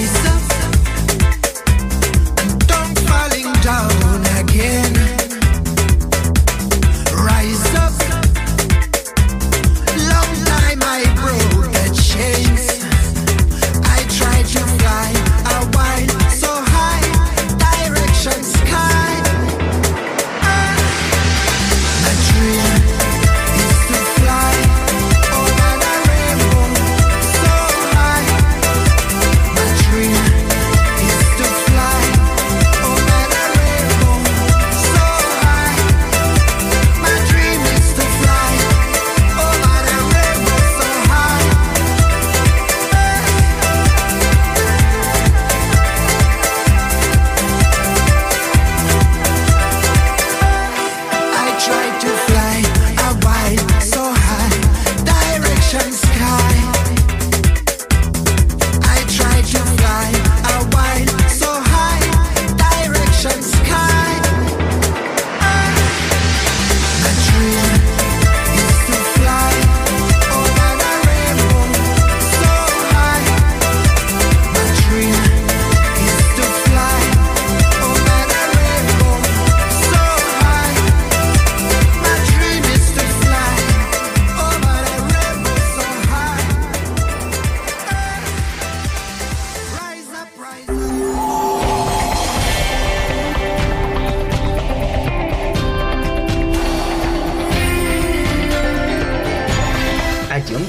Falling down again.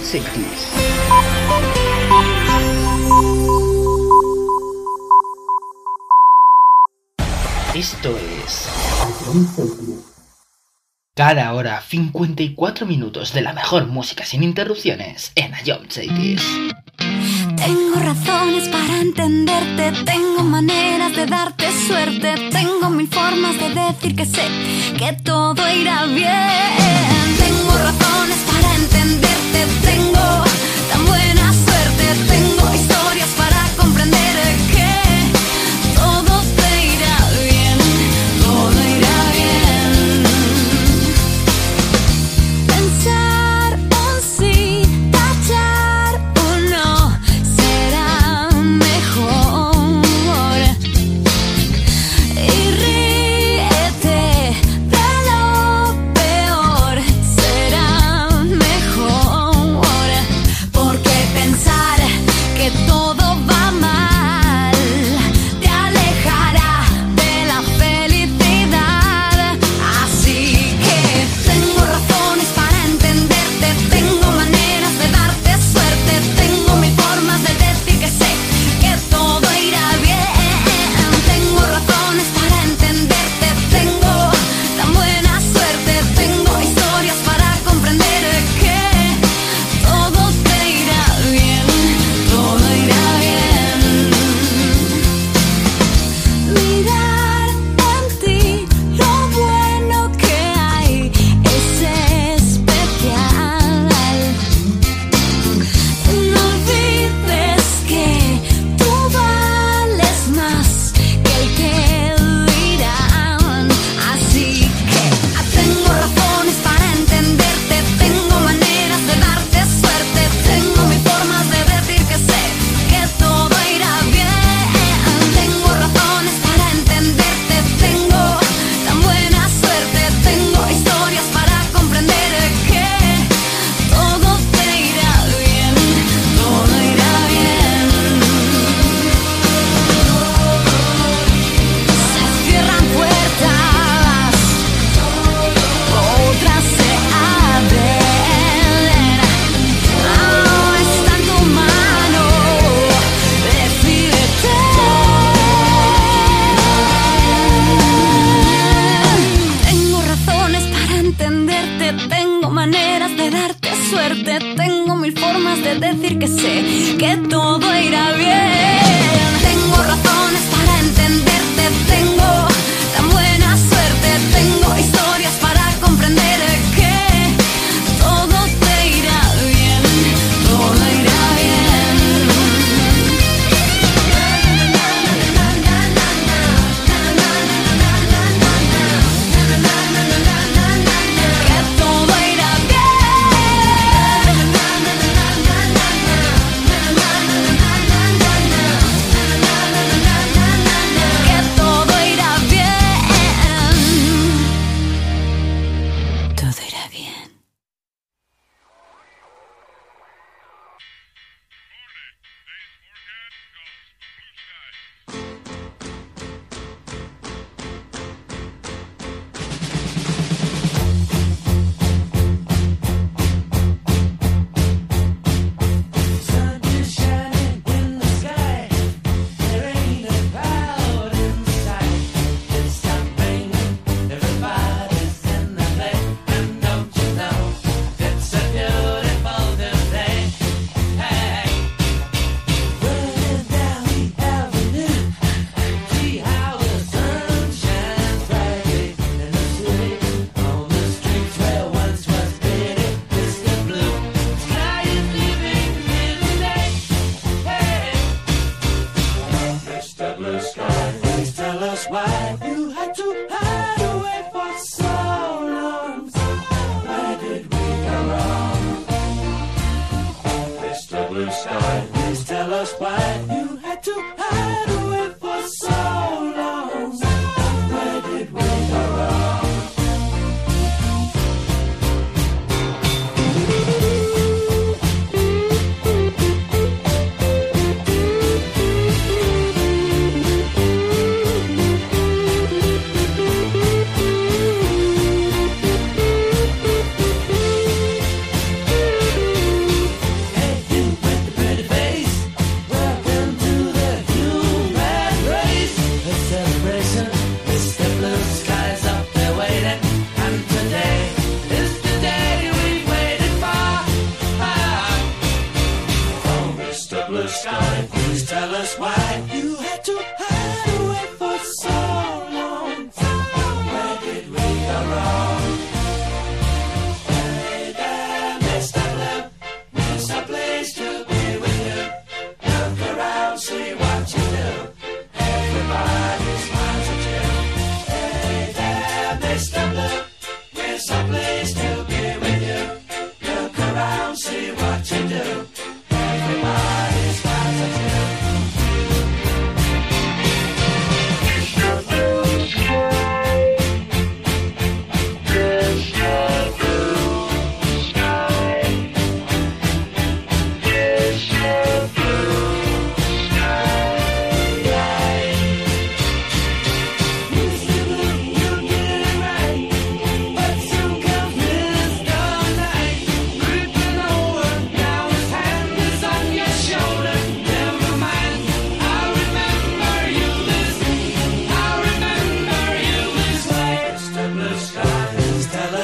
Cities. Esto es cada hora 54 minutos de la mejor música sin interrupciones en Ion Cities. Tengo razones para entenderte, tengo maneras de darte suerte, tengo mil formas de decir que sé que todo irá bien. Tengo razones para entenderte, tengo tan buena suerte, tengo historias para comprender que todo te irá bien, todo irá bien. Pensar un sí, tachar un no, será mejor. Y ríete de lo peor, será mejor. Porque pensar que todo va mal te alejará de la felicidad. Así que tengo razones para entenderte, tengo maneras de darte suerte, tengo mil formas de decir que sé que todo irá bien. Tengo razones para entenderte, tengo tan buena suerte, tengo historias para comprender que todo te irá bien, todo irá bien. Mirar en ti lo bueno que hay es especial. No olvides que tú vales más que el que dirán. Así que tengo razones para entenderte, tengo maneras de darte suerte, tengo mil formas de decir que sé que todo irá bien. Tengo razones para entenderte, tengo tan buena suerte, tengo historias para comprender que todo te irá bien, todo irá bien. Se cierran puertas, otras se abren. Ahora está en tu mano, decídete. Tengo razones para entenderte, tengo maneras de darte suerte, tengo mil formas de decir que sé que todo irá bien. Tengo razones para entenderte, tengo tan buena suerte, tengo historias para comprender que todo te irá bien, todo irá bien. Que todo irá bien. Que todo irá bien. Todo irá bien. Sun is shining in the sky. There ain't a cloud in sight. It's something everybody's in the play. And don't you know it's a beautiful new day? Hey, running down the avenue, see how the sun shines brightly in the city. On the streets where once was pretty, Mr. Blue. Sky is living in the day. Hey, Mr. Blue Sky, please tell us why you had to hide away for so long. Where did we go wrong? Mr. Blue Sky, please tell us why you had to hide away for so long. Where did we go wrong?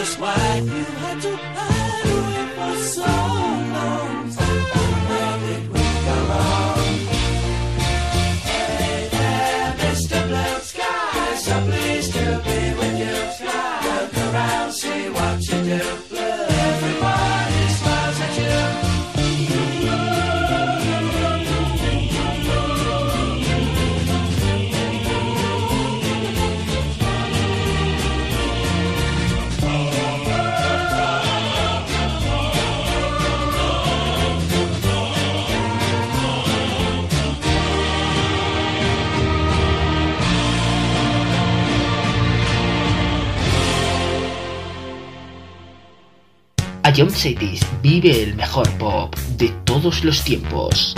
just why you had to hide away for so long. Where did we go wrong? Hey there, Mr. Blue Sky, so pleased to be with you. Look around, see what you do. Everybody smiles at you. Ion Cities vive el mejor pop de todos los tiempos.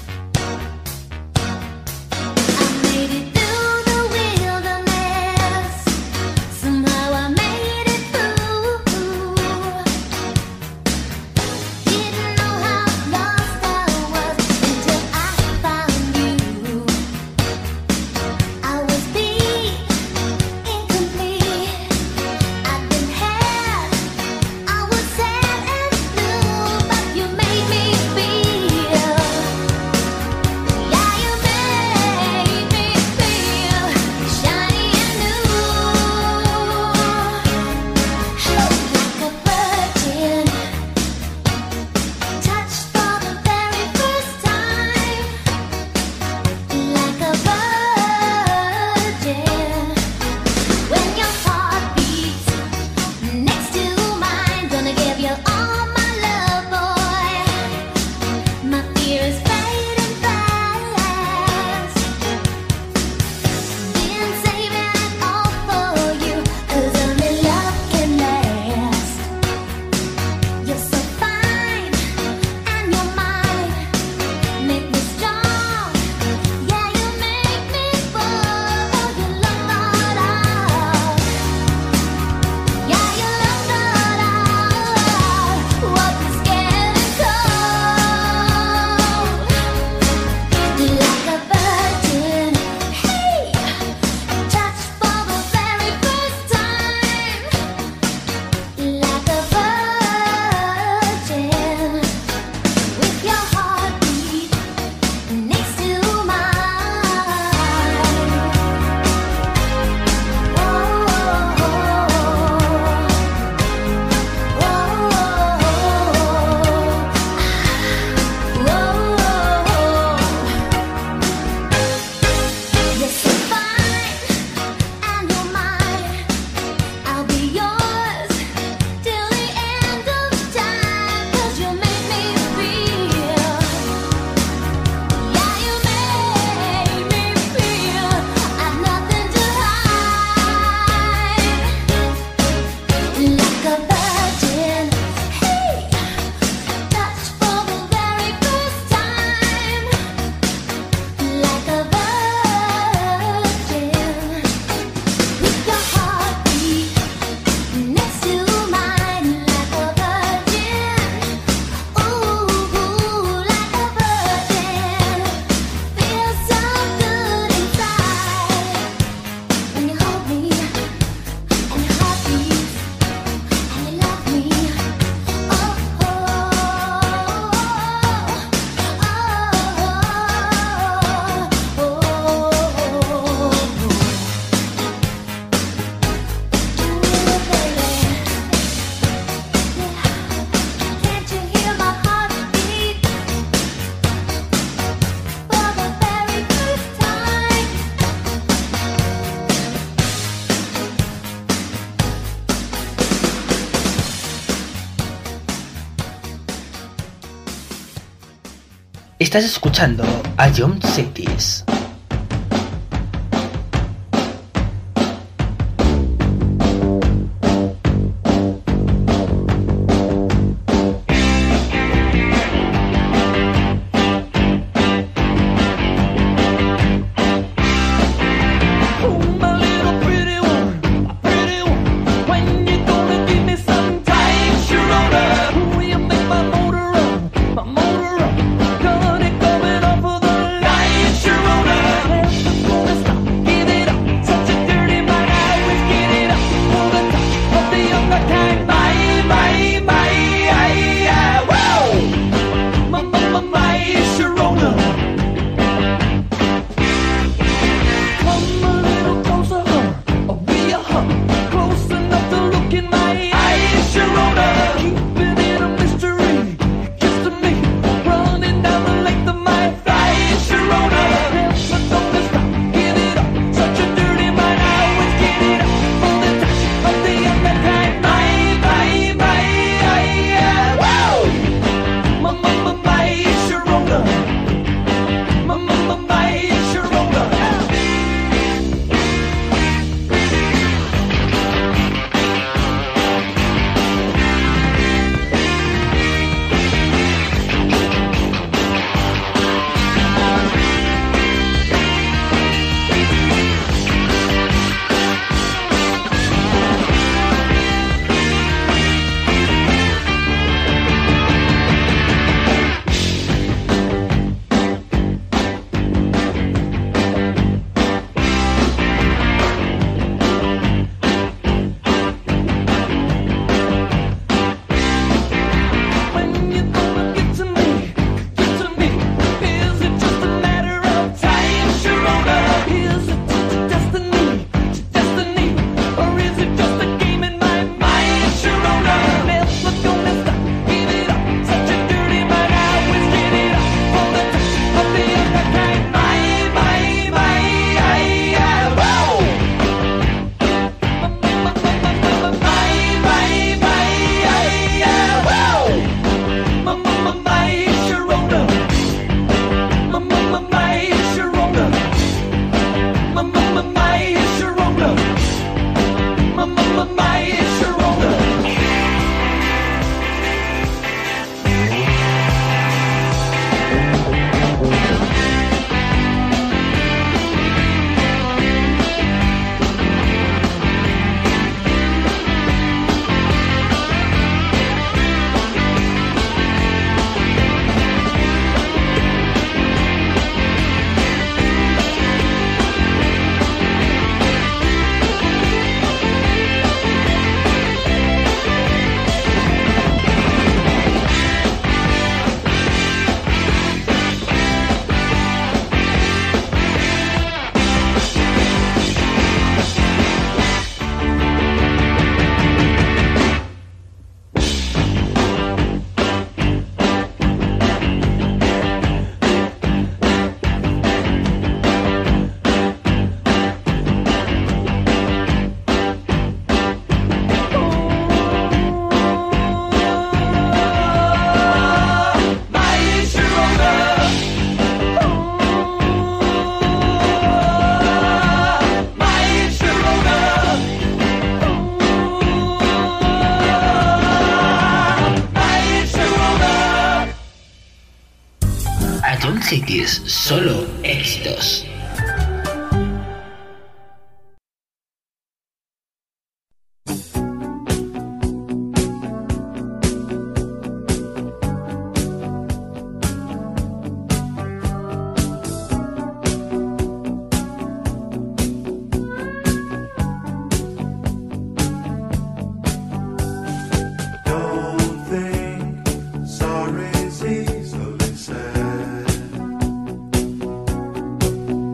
Estás escuchando Ion Cities. Sharona. Cities, solo éxitos. Sorry's easily said.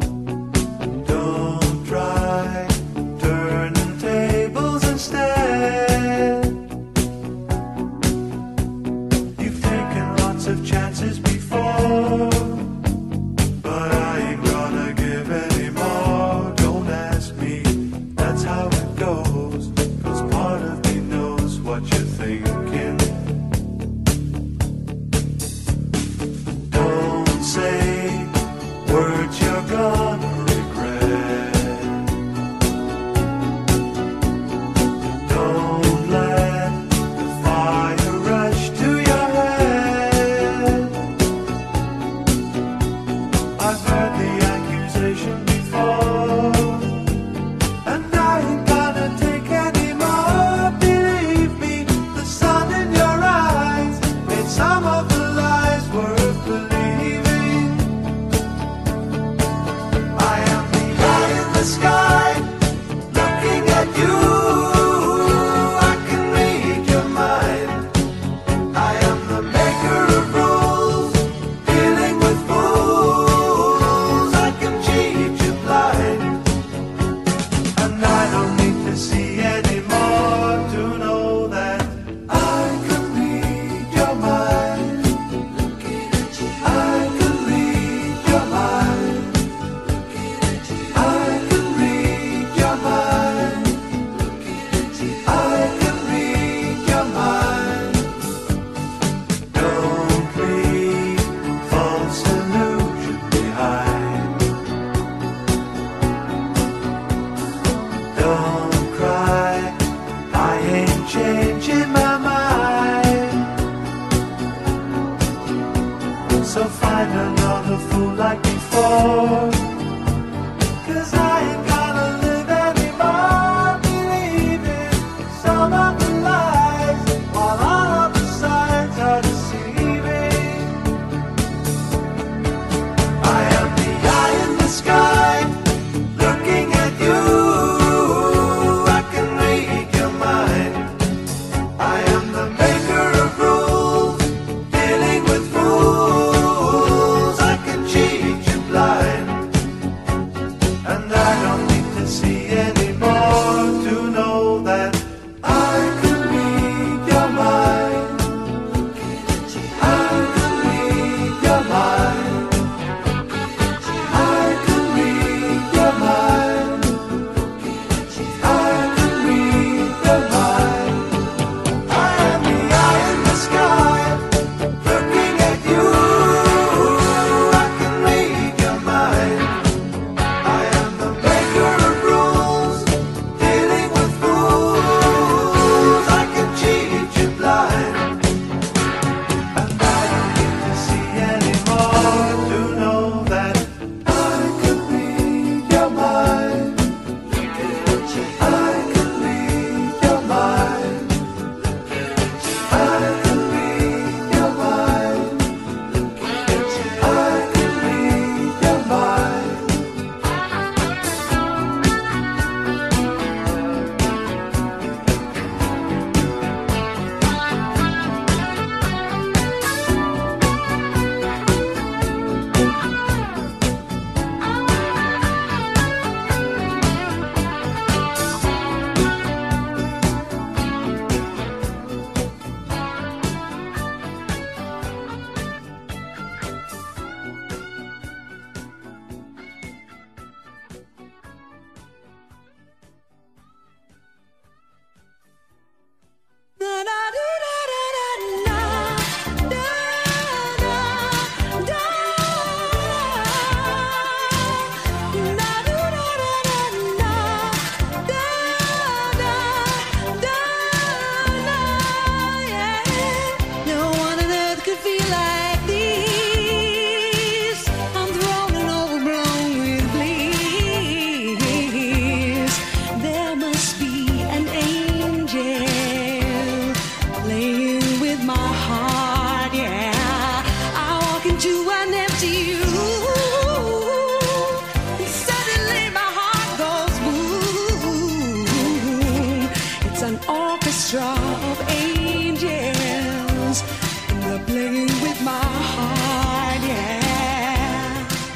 of angels, and they're playing with my heart, yeah.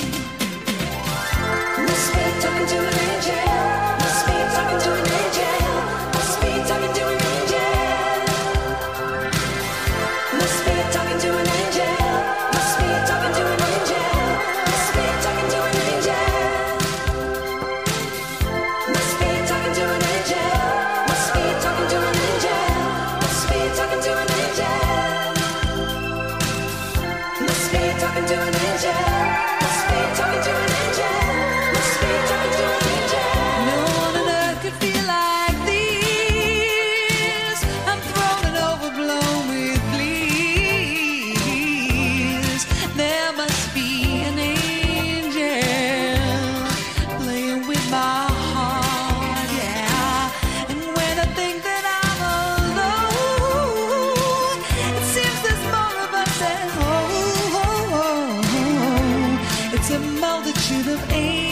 Must be talking to an angel. Must be talking to an angel. Must be talking to an angel. Must be talking to an angel. Must be talking to an angel. Must be talking to an angel. Must be talking to an angel. Must be talking to an angel. Must be talking to an angel. Must be talking to an angel. Must be talking to an angel. Must be talking to an angel. No one on earth could feel like this. I'm thrown and overblown with bliss. There must be an angel playing with my heart, yeah. And when I think that I'm alone, it seems there's more of us at home. It's a multitude of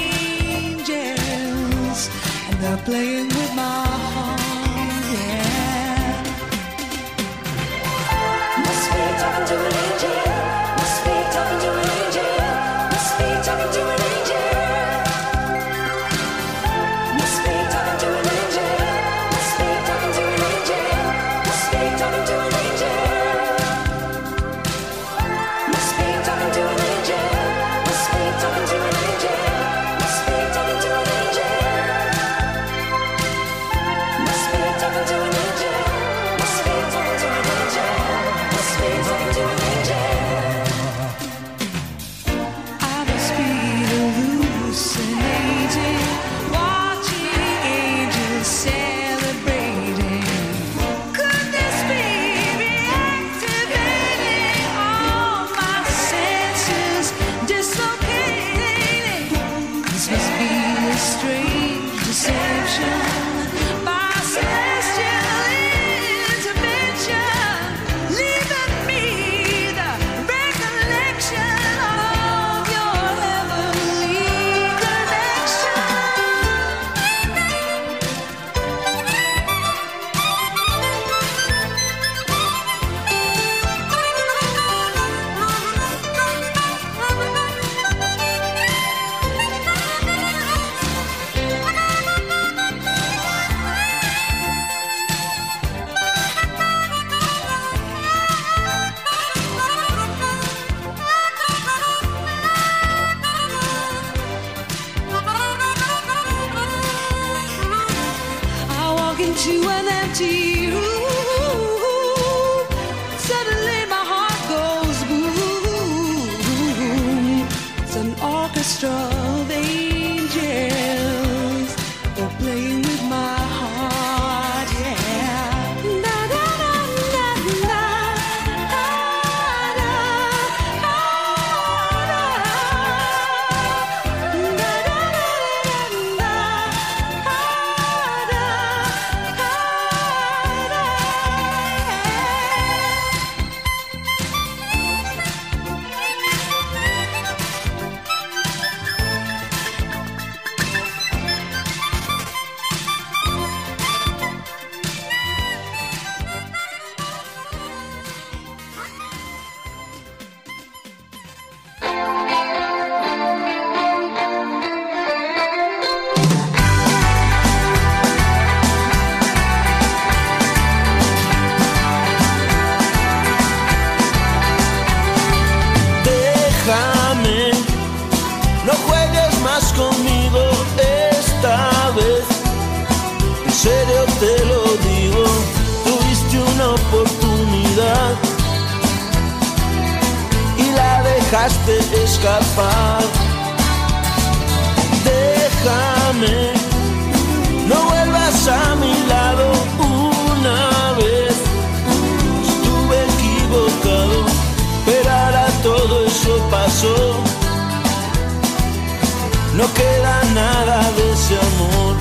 angels, and they're playing with my heart, yeah. Must be talking to an angel. Must be talking to an angel. Must be talking to an angel. Must be talking to an angel. Must be talking to an angel. Must be talking to an angel. Must be talking to an angel. Must be talking to an angel. Must be talking to an angel. Must be talking to an angel. Must be talking to an angel. Must be talking to an angel. I must be hallucinating, watching angels celebrating. Could this be reactivating all my senses, dislocating? This must be a strange deception by celestial intervention, leaving me the recollection of your heavenly connection. I walk into an empty room. Suddenly my heart goes boom. It's an orchestra of angels. They're playing with my heart, yeah. Na na na na na. Ah, na, ah, na. Na na na na na. Ah, na, Déjame, no juegues más conmigo esta vez. En serio te lo digo, tuviste una oportunidad y la dejaste escapar. Déjame, no vuelvas a mi lado una vez. Estuve equivocado, pero ahora todo eso pasó. No queda nada de ese amor.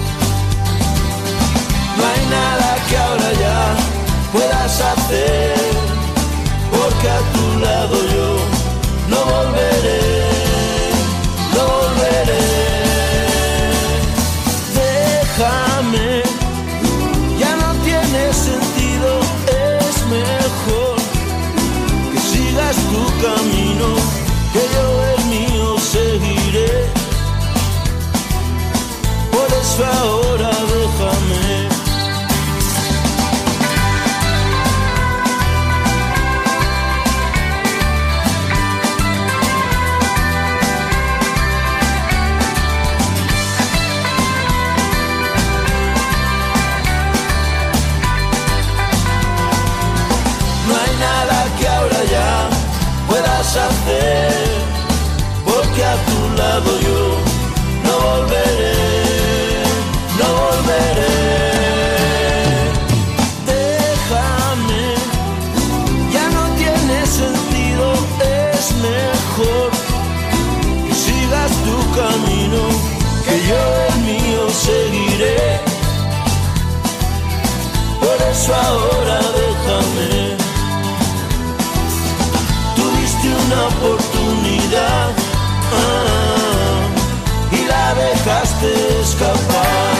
No hay nada que ahora ya puedas hacer, porque a tu lado yo no volveré, no volveré. Déjame, ya no tiene sentido deshacer, porque a tu lado yo no volveré, no volveré. Déjame, ya no tiene sentido, es mejor que sigas tu camino, que yo el mío seguiré. Por eso ahora déjame. Tuviste una oportunidad y la dejaste escapar.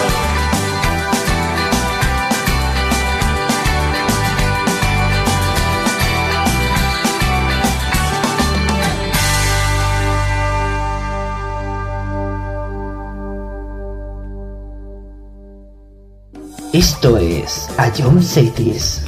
Esto es Ion Cities.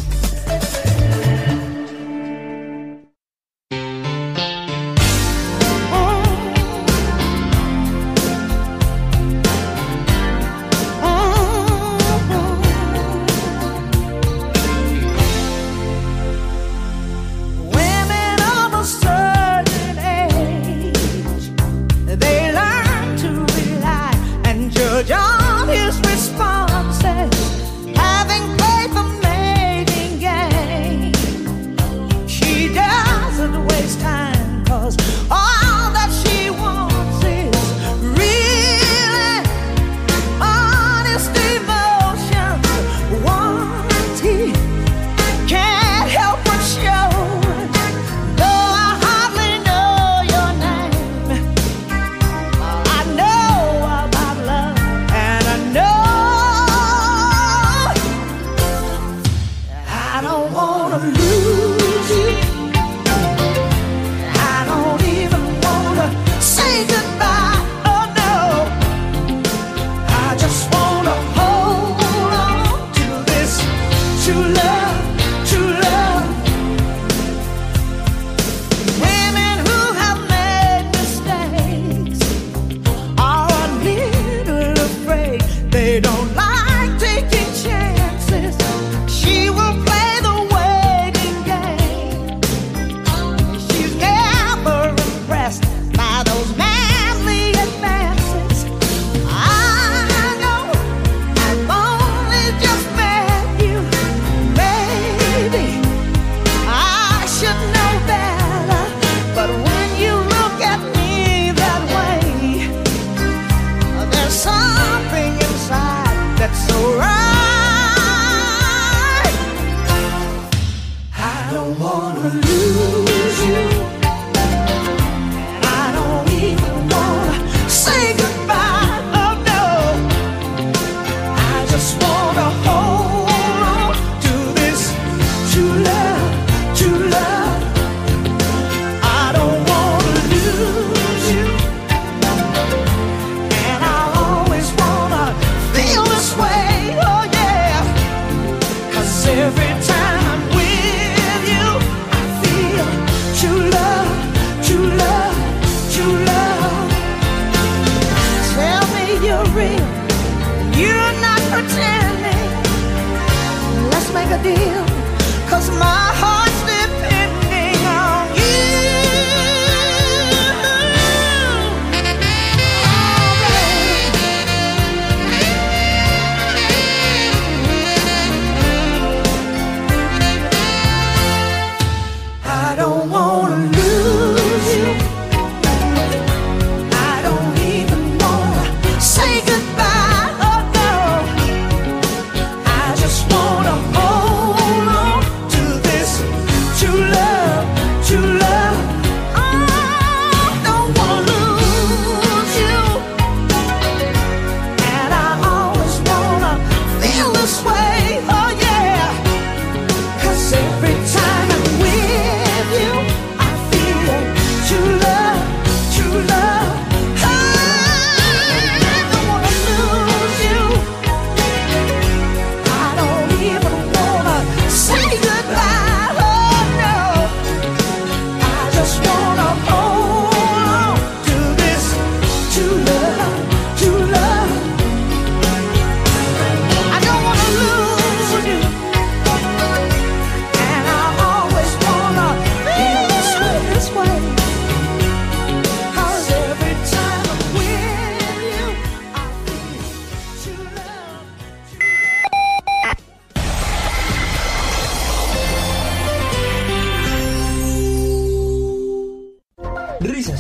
Just wanna hold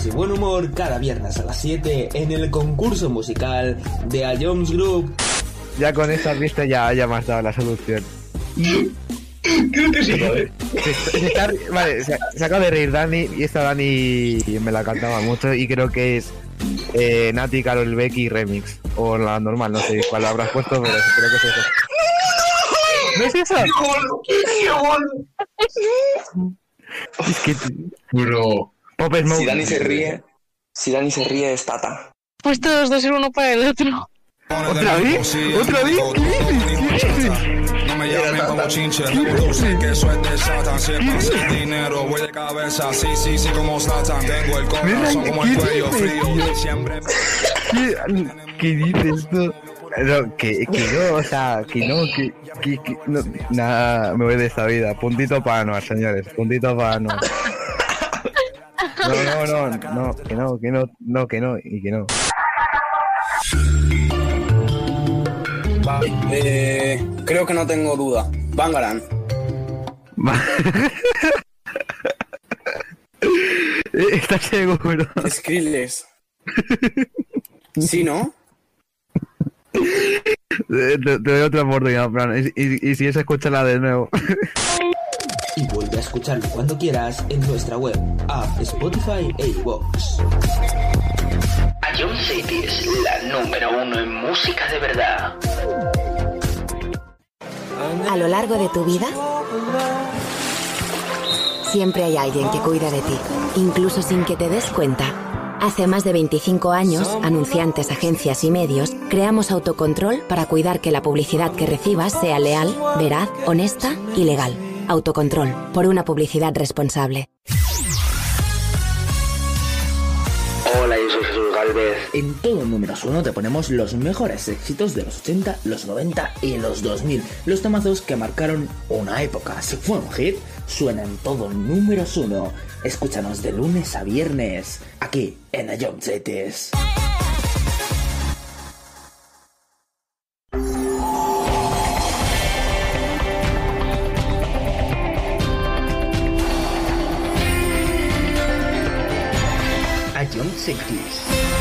y buen humor cada viernes a las 7 en el concurso musical de A Jones Group. Ya con esta pista ya me has dado la solución. Creo que sí, ¿vale? Vale, se acaba de reír Dani y esta Dani me la cantaba mucho y creo que es Nati, Karol Becky remix o la normal, no sé cuál habrás puesto, pero creo que es eso. ¿No es eso? ¡Qué gol! Es que Bro. Pop Smoke. Si Dani se ríe es Tata. Pues todos dos ser uno para el otro. ¿Otra vez? ¿Otra vez? ¿Qué dices? No me llamen como chinche, sé que eso es de Satan. Si es pasa el dinero, voy de cabeza. Sí, como Satan. Tengo el corazón como el cuello frío. Siempre. ¿Qué dices tú? No, que no, o sea, que no, nada, me voy de esta vida. Puntito para Anuar, señores, puntito para Anuar. No, que no, y que no. Vale, creo que no tengo duda. Bangarang. ¿Estás seguro? Skrillex. ¿Sí, no? Te doy otra oportunidad, Fran. Y si es, escúchala de nuevo. Y vuelve a escucharlo cuando quieras en nuestra web, app, Spotify e iVoox. A John City es la número 1 en música de verdad. A lo largo de tu vida, siempre hay alguien que cuida de ti, incluso sin que te des cuenta. Hace más de 25 años, anunciantes, agencias y medios, creamos Autocontrol para cuidar que la publicidad que recibas sea leal, veraz, honesta y legal. Autocontrol, por una publicidad responsable. Hola, yo soy Jesús Galvez. En todo Números 1 te ponemos los mejores éxitos de los 80, los 90 y los 2000. Los temazos que marcaron una época. Si fue un hit, suena en todo Números 1. Escúchanos de lunes a viernes, aquí en A John Cities. A John Cities.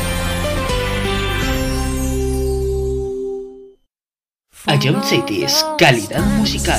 A John Cities, calidad musical.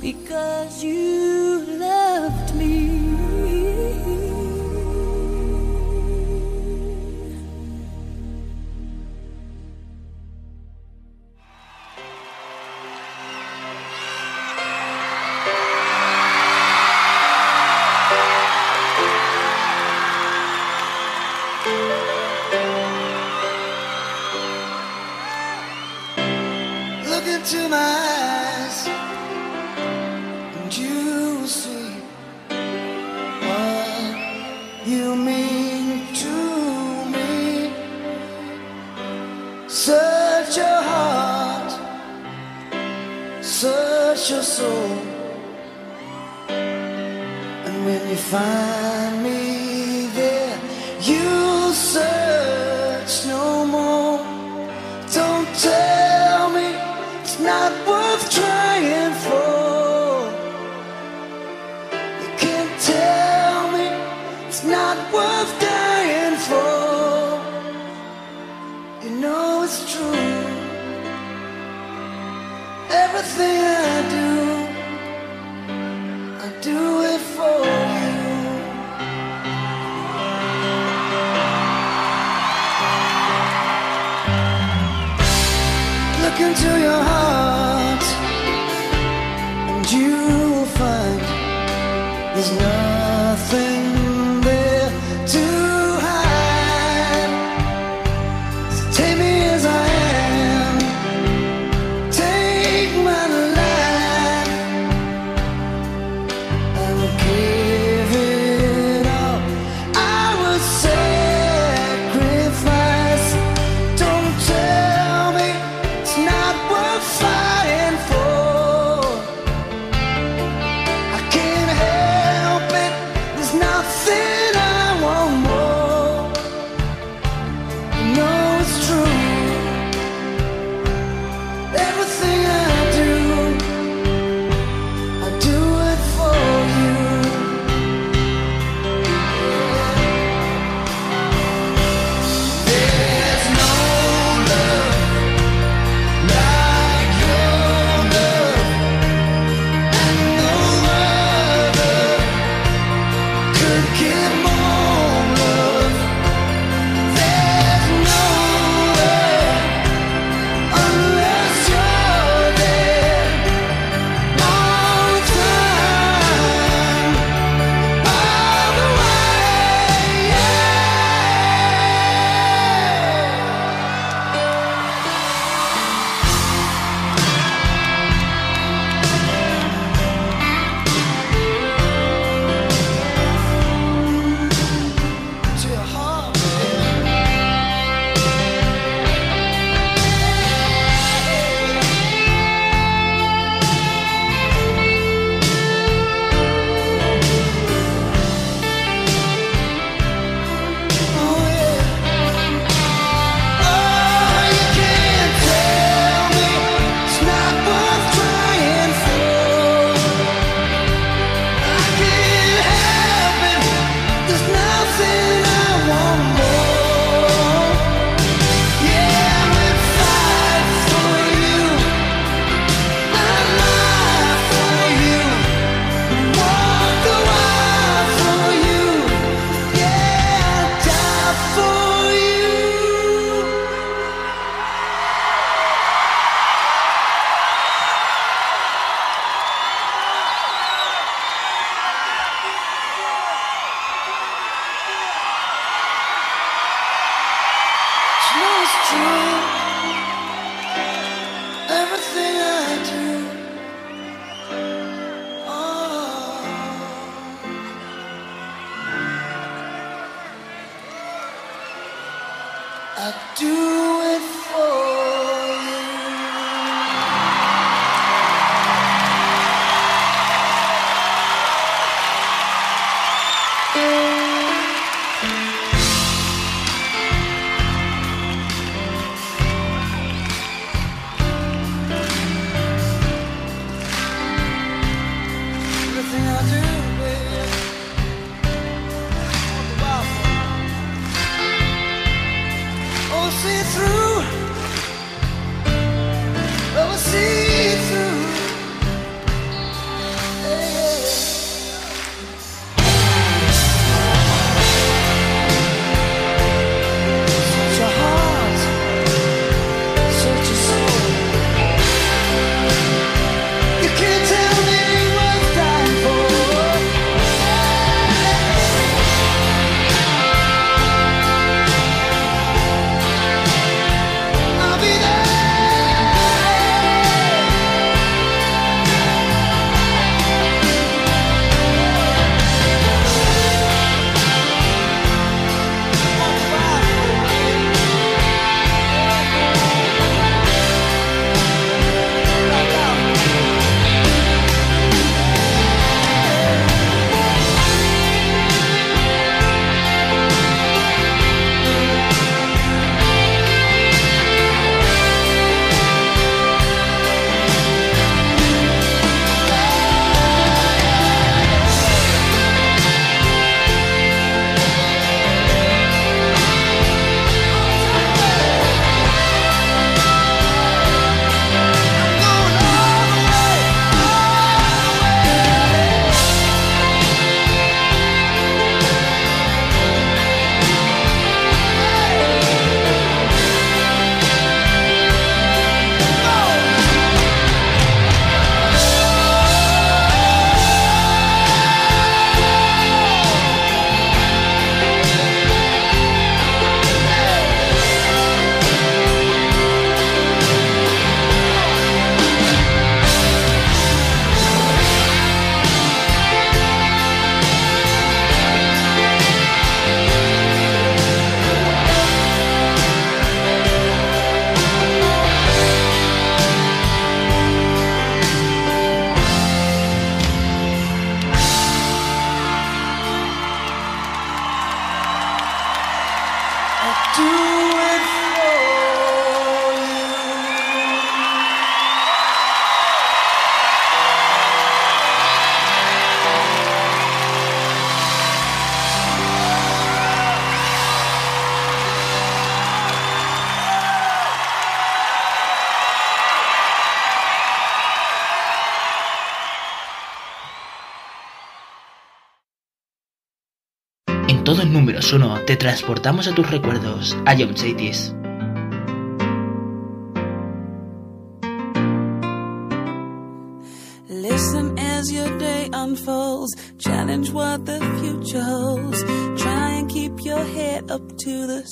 because you loved me. Look into my eyes and you will see what you mean to me. Search your heart, search your soul, and when you find me there, you'll search no more. Don't tell me it's not worth trying for. You can't tell me it's not worth dying for. You know it's true. Everything I do it for you. Look into your heart and you'll find there's nothing there to hide. So take me as I am, take my life, I will give it all. I will sacrifice. Don't tell me it's not worth fighting for. I can't help it, there's nothing I want more. You know it's true. Everything I do it for you. There's no love like your love, and no other could give more love. There's no way unless you're there all the time, all the way. To your heart, oh yeah. Oh, you can't tell me it's not worth trying for. I can't help it, there's nothing I want more. Yeah, I would fight for you, I'd lie for you, walk the wild for you. Yeah, I'd die for you. You know it's true. Everything I do, oh, I do it for you. Everything I do, baby, all the while for you. Oh, see through, oh, see through. todo números 1 te transportamos a tus recuerdos, a Young Cities. Listen as your day unfolds, challenge what the future holds, try and keep your head up to the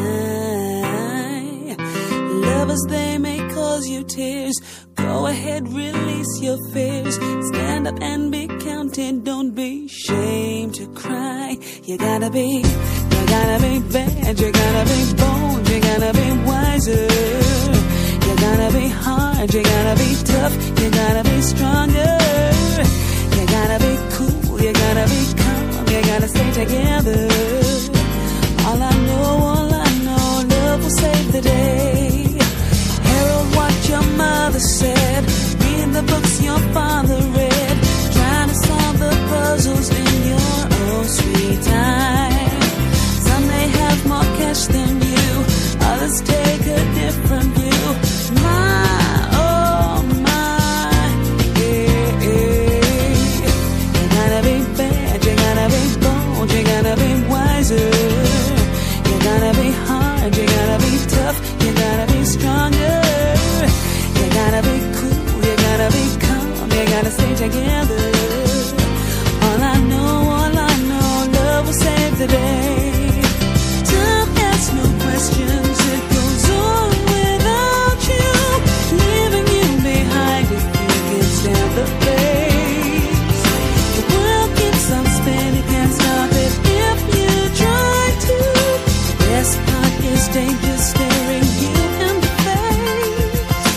sky. Lovers, they may cause you tears, go ahead, release your fears, stand up and be counted, don't be ashamed to cry. You gotta be bad, you gotta be bold, you gotta be wiser. You gotta be hard, you gotta be tough, you gotta be stronger. You gotta be cool, you gotta be calm, you gotta stay together. All I know, love will save the day. Herald what your mother said, read the books your father read, trying to solve the puzzles in your own sweet time. Some may have more cash than you, others take a different view. My, oh my, yeah, yeah. You gotta be bad, you gotta be bold, you gotta be wiser. You gotta be hard, you gotta be tough, you gotta be stronger. You gotta be cool, you gotta be calm, you gotta stay together. All I know, love will save the day. Time asks no questions, it goes on without you, leaving you behind if you can stand the pace. The world keeps on spinning, can't stop it if you try to. The best part is danger staring you in the face.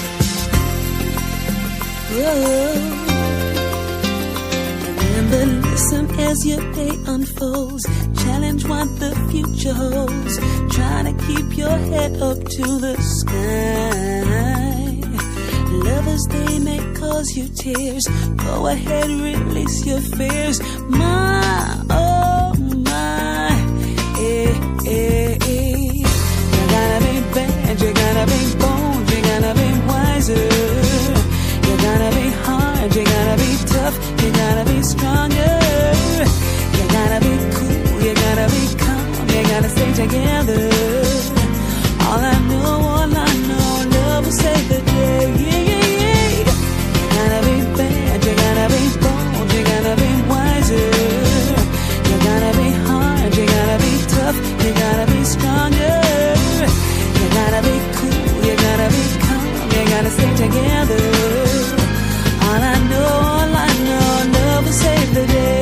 Whoa. Remember, listen as your day unfolds, challenge what the future holds, try to keep your head up to the sky. Lovers, they may cause you tears, go ahead, release your fears. My, oh my, eh, eh, eh. You gotta be bad, you gotta be bold, you gotta be wiser. You gotta be hard, you gotta be tough, you gotta be stronger. You gotta be cool, you gotta be calm, you gotta stay together. All I know, love will save the day. Yeah, yeah, yeah. You gotta be bad, you gotta be bold, you gotta be wiser. You gotta be hard, you gotta be tough, you gotta be stronger. You gotta be cool, you gotta be calm, you gotta stay together. All I know, love will save the day.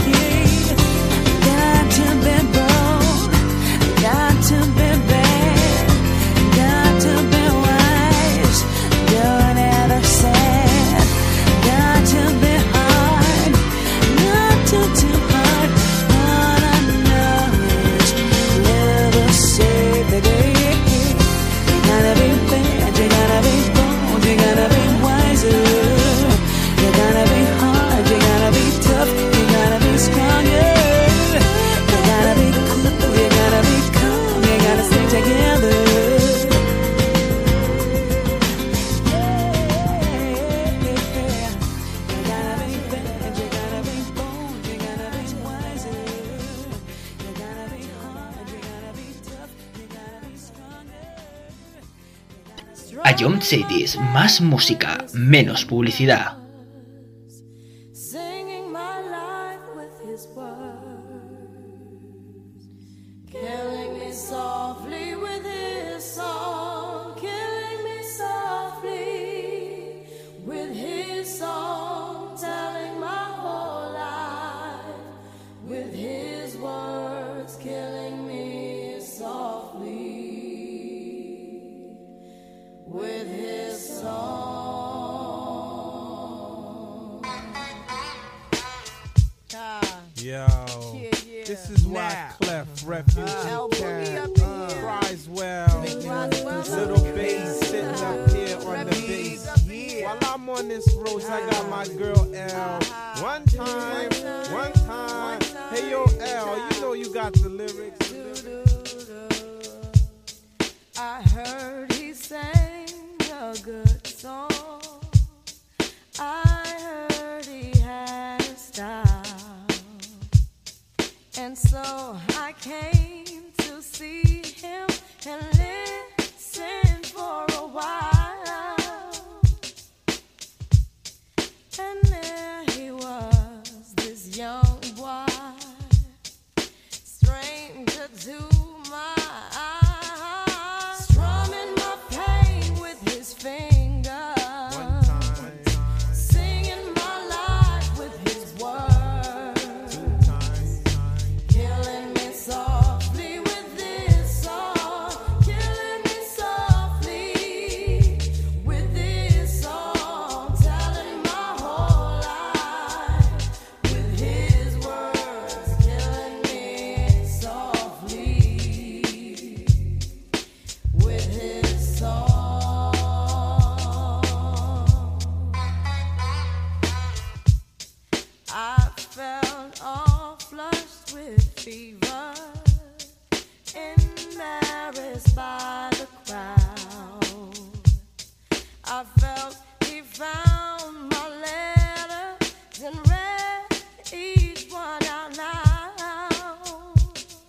Got to be bold, got to be bad, got to be wise, don't ever sad. Got to be hard, not too hard. All I know is love will save the day. You gotta be bad, you gotta be bold, you gotta be wiser. You gotta be hard, you gotta be tough, you gotta be stronger. You gotta be cool, you gotta be calm, you gotta stay together. You gotta be bad, you gotta be bold, you gotta be wiser. You gotta be hard, you gotta be tough, you gotta be stronger. A Young Cities, más música, menos publicidad. Singing my life with his words, killing me softly with his song, killing me softly with his song, telling my whole life with his words, killing me softly with his song. Yo, this is why Clef, Refuge, Criswell, Little Bass sitting up here on the bass. While I'm on this road, I got my girl L. One time. Hey yo L, you know you got the lyrics. I heard he sang a good song. I heard he had a style. And so I came to see him and listen for a while. And there he was, this young boy, stranger to my eyes, strumming my pain with his fingers, singing my life with his words, killing me softly with this song, killing me softly with this song, telling my whole life with his words, killing me softly with his song. I felt all flushed with fever, embarrassed by the crowd. I felt he found my letters and read each one out loud.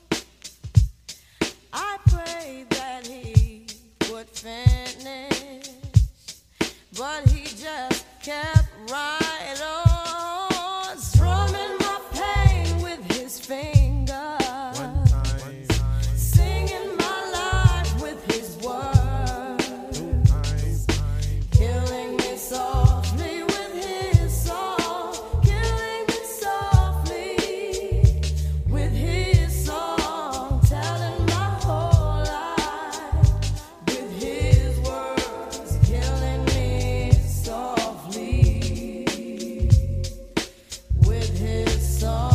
I prayed that he would finish, but he just kept right on, strumming my pain with his fingers, singing my life with his words, killing me softly with his song, killing me softly with his song, telling my whole life with his words, killing me softly with his song.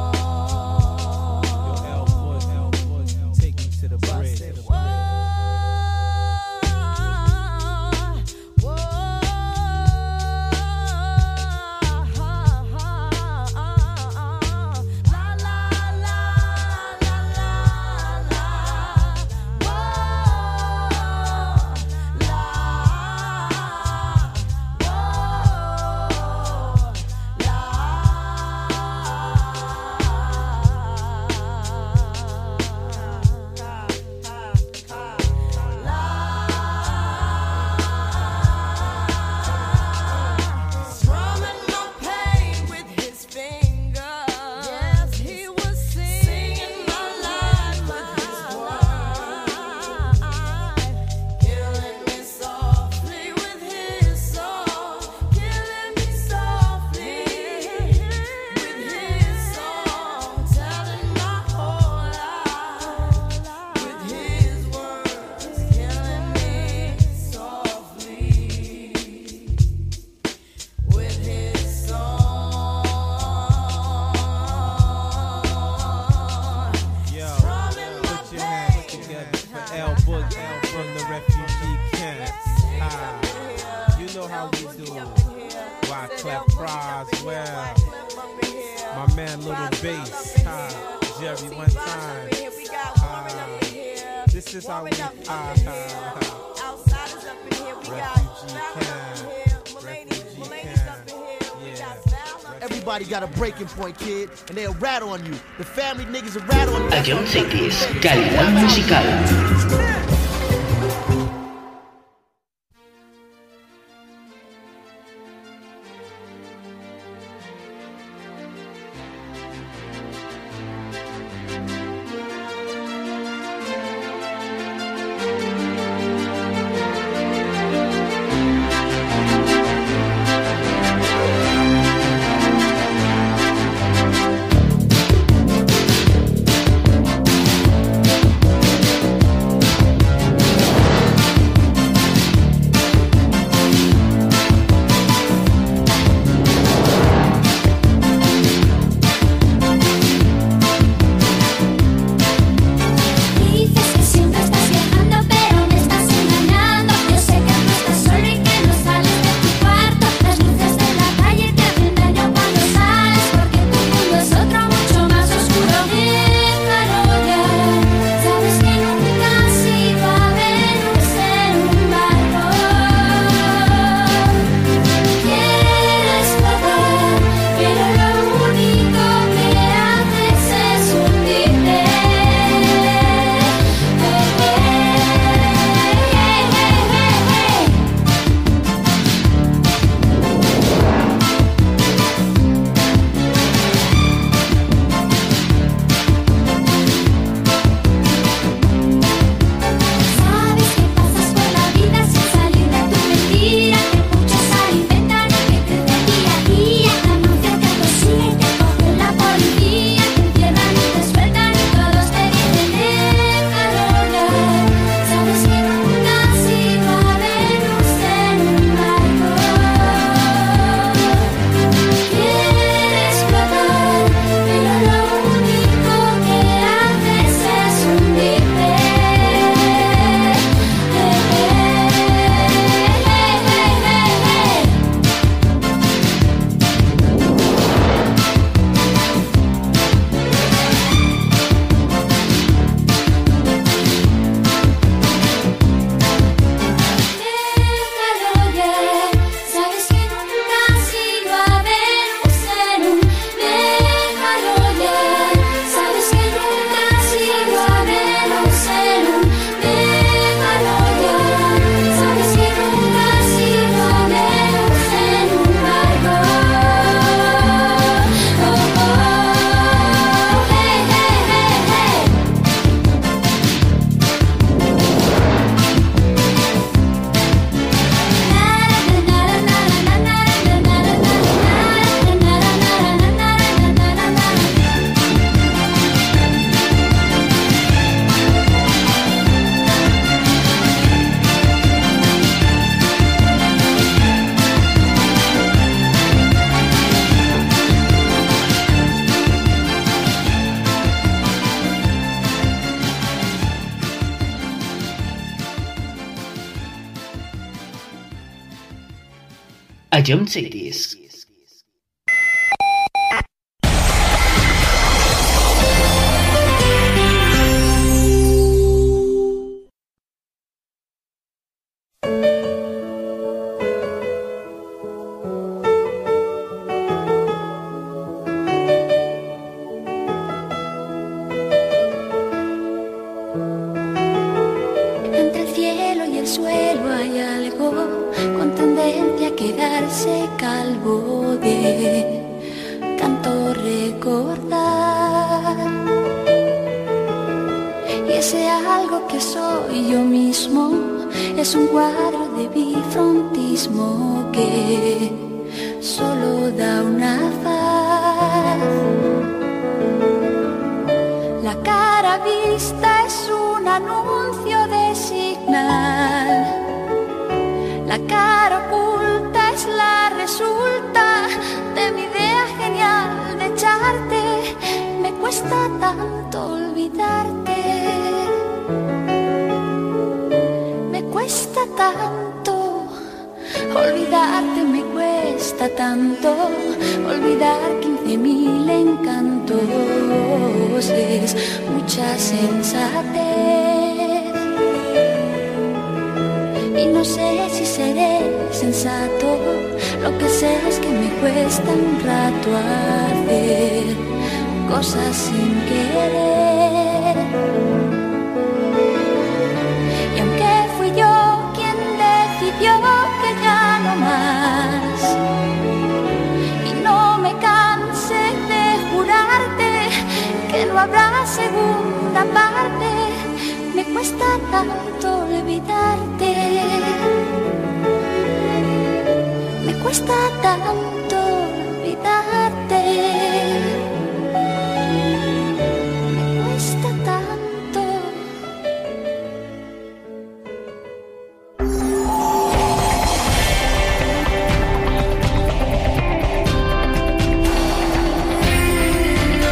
Take me to the bridge. Strumming my pain with his fingers. Yes, he was singing my life with his words, killing me softly with his song, killing me softly with his song, telling my whole life with his words, killing me softly with his song. Yo, Strumming my put your hands pain. together for L Boogie from the refugee camp. You know how we do. Wyclef Croswell, my man Little Bass, Jerry one time. This is how we Outsiders up in here, we got Refugee Val camp. up in here, Refugee Mulaney's camp. up in here, we Yeah. got Val up in here. Everybody got a breaking point, kid, and they'll rattle on you. The family niggas will rattle on you. Ion Cities, calidad musical. a Jump Cities. Es un cuadro de bifrontismo que solo da una faz. La cara vista es un anuncio de señal. La cara oculta es la resulta de mi idea genial de echarte. Me cuesta tanto olvidarte. Cuesta tanto olvidarte, me cuesta tanto olvidar 15.000 encantos. Es mucha sensatez y no sé si seré sensato. Lo que sé es que me cuesta un rato hacer cosas sin querer. Yo que ya no más y no me canse de jurarte que no habrá segunda parte. Me cuesta tanto olvidarte, me cuesta tanto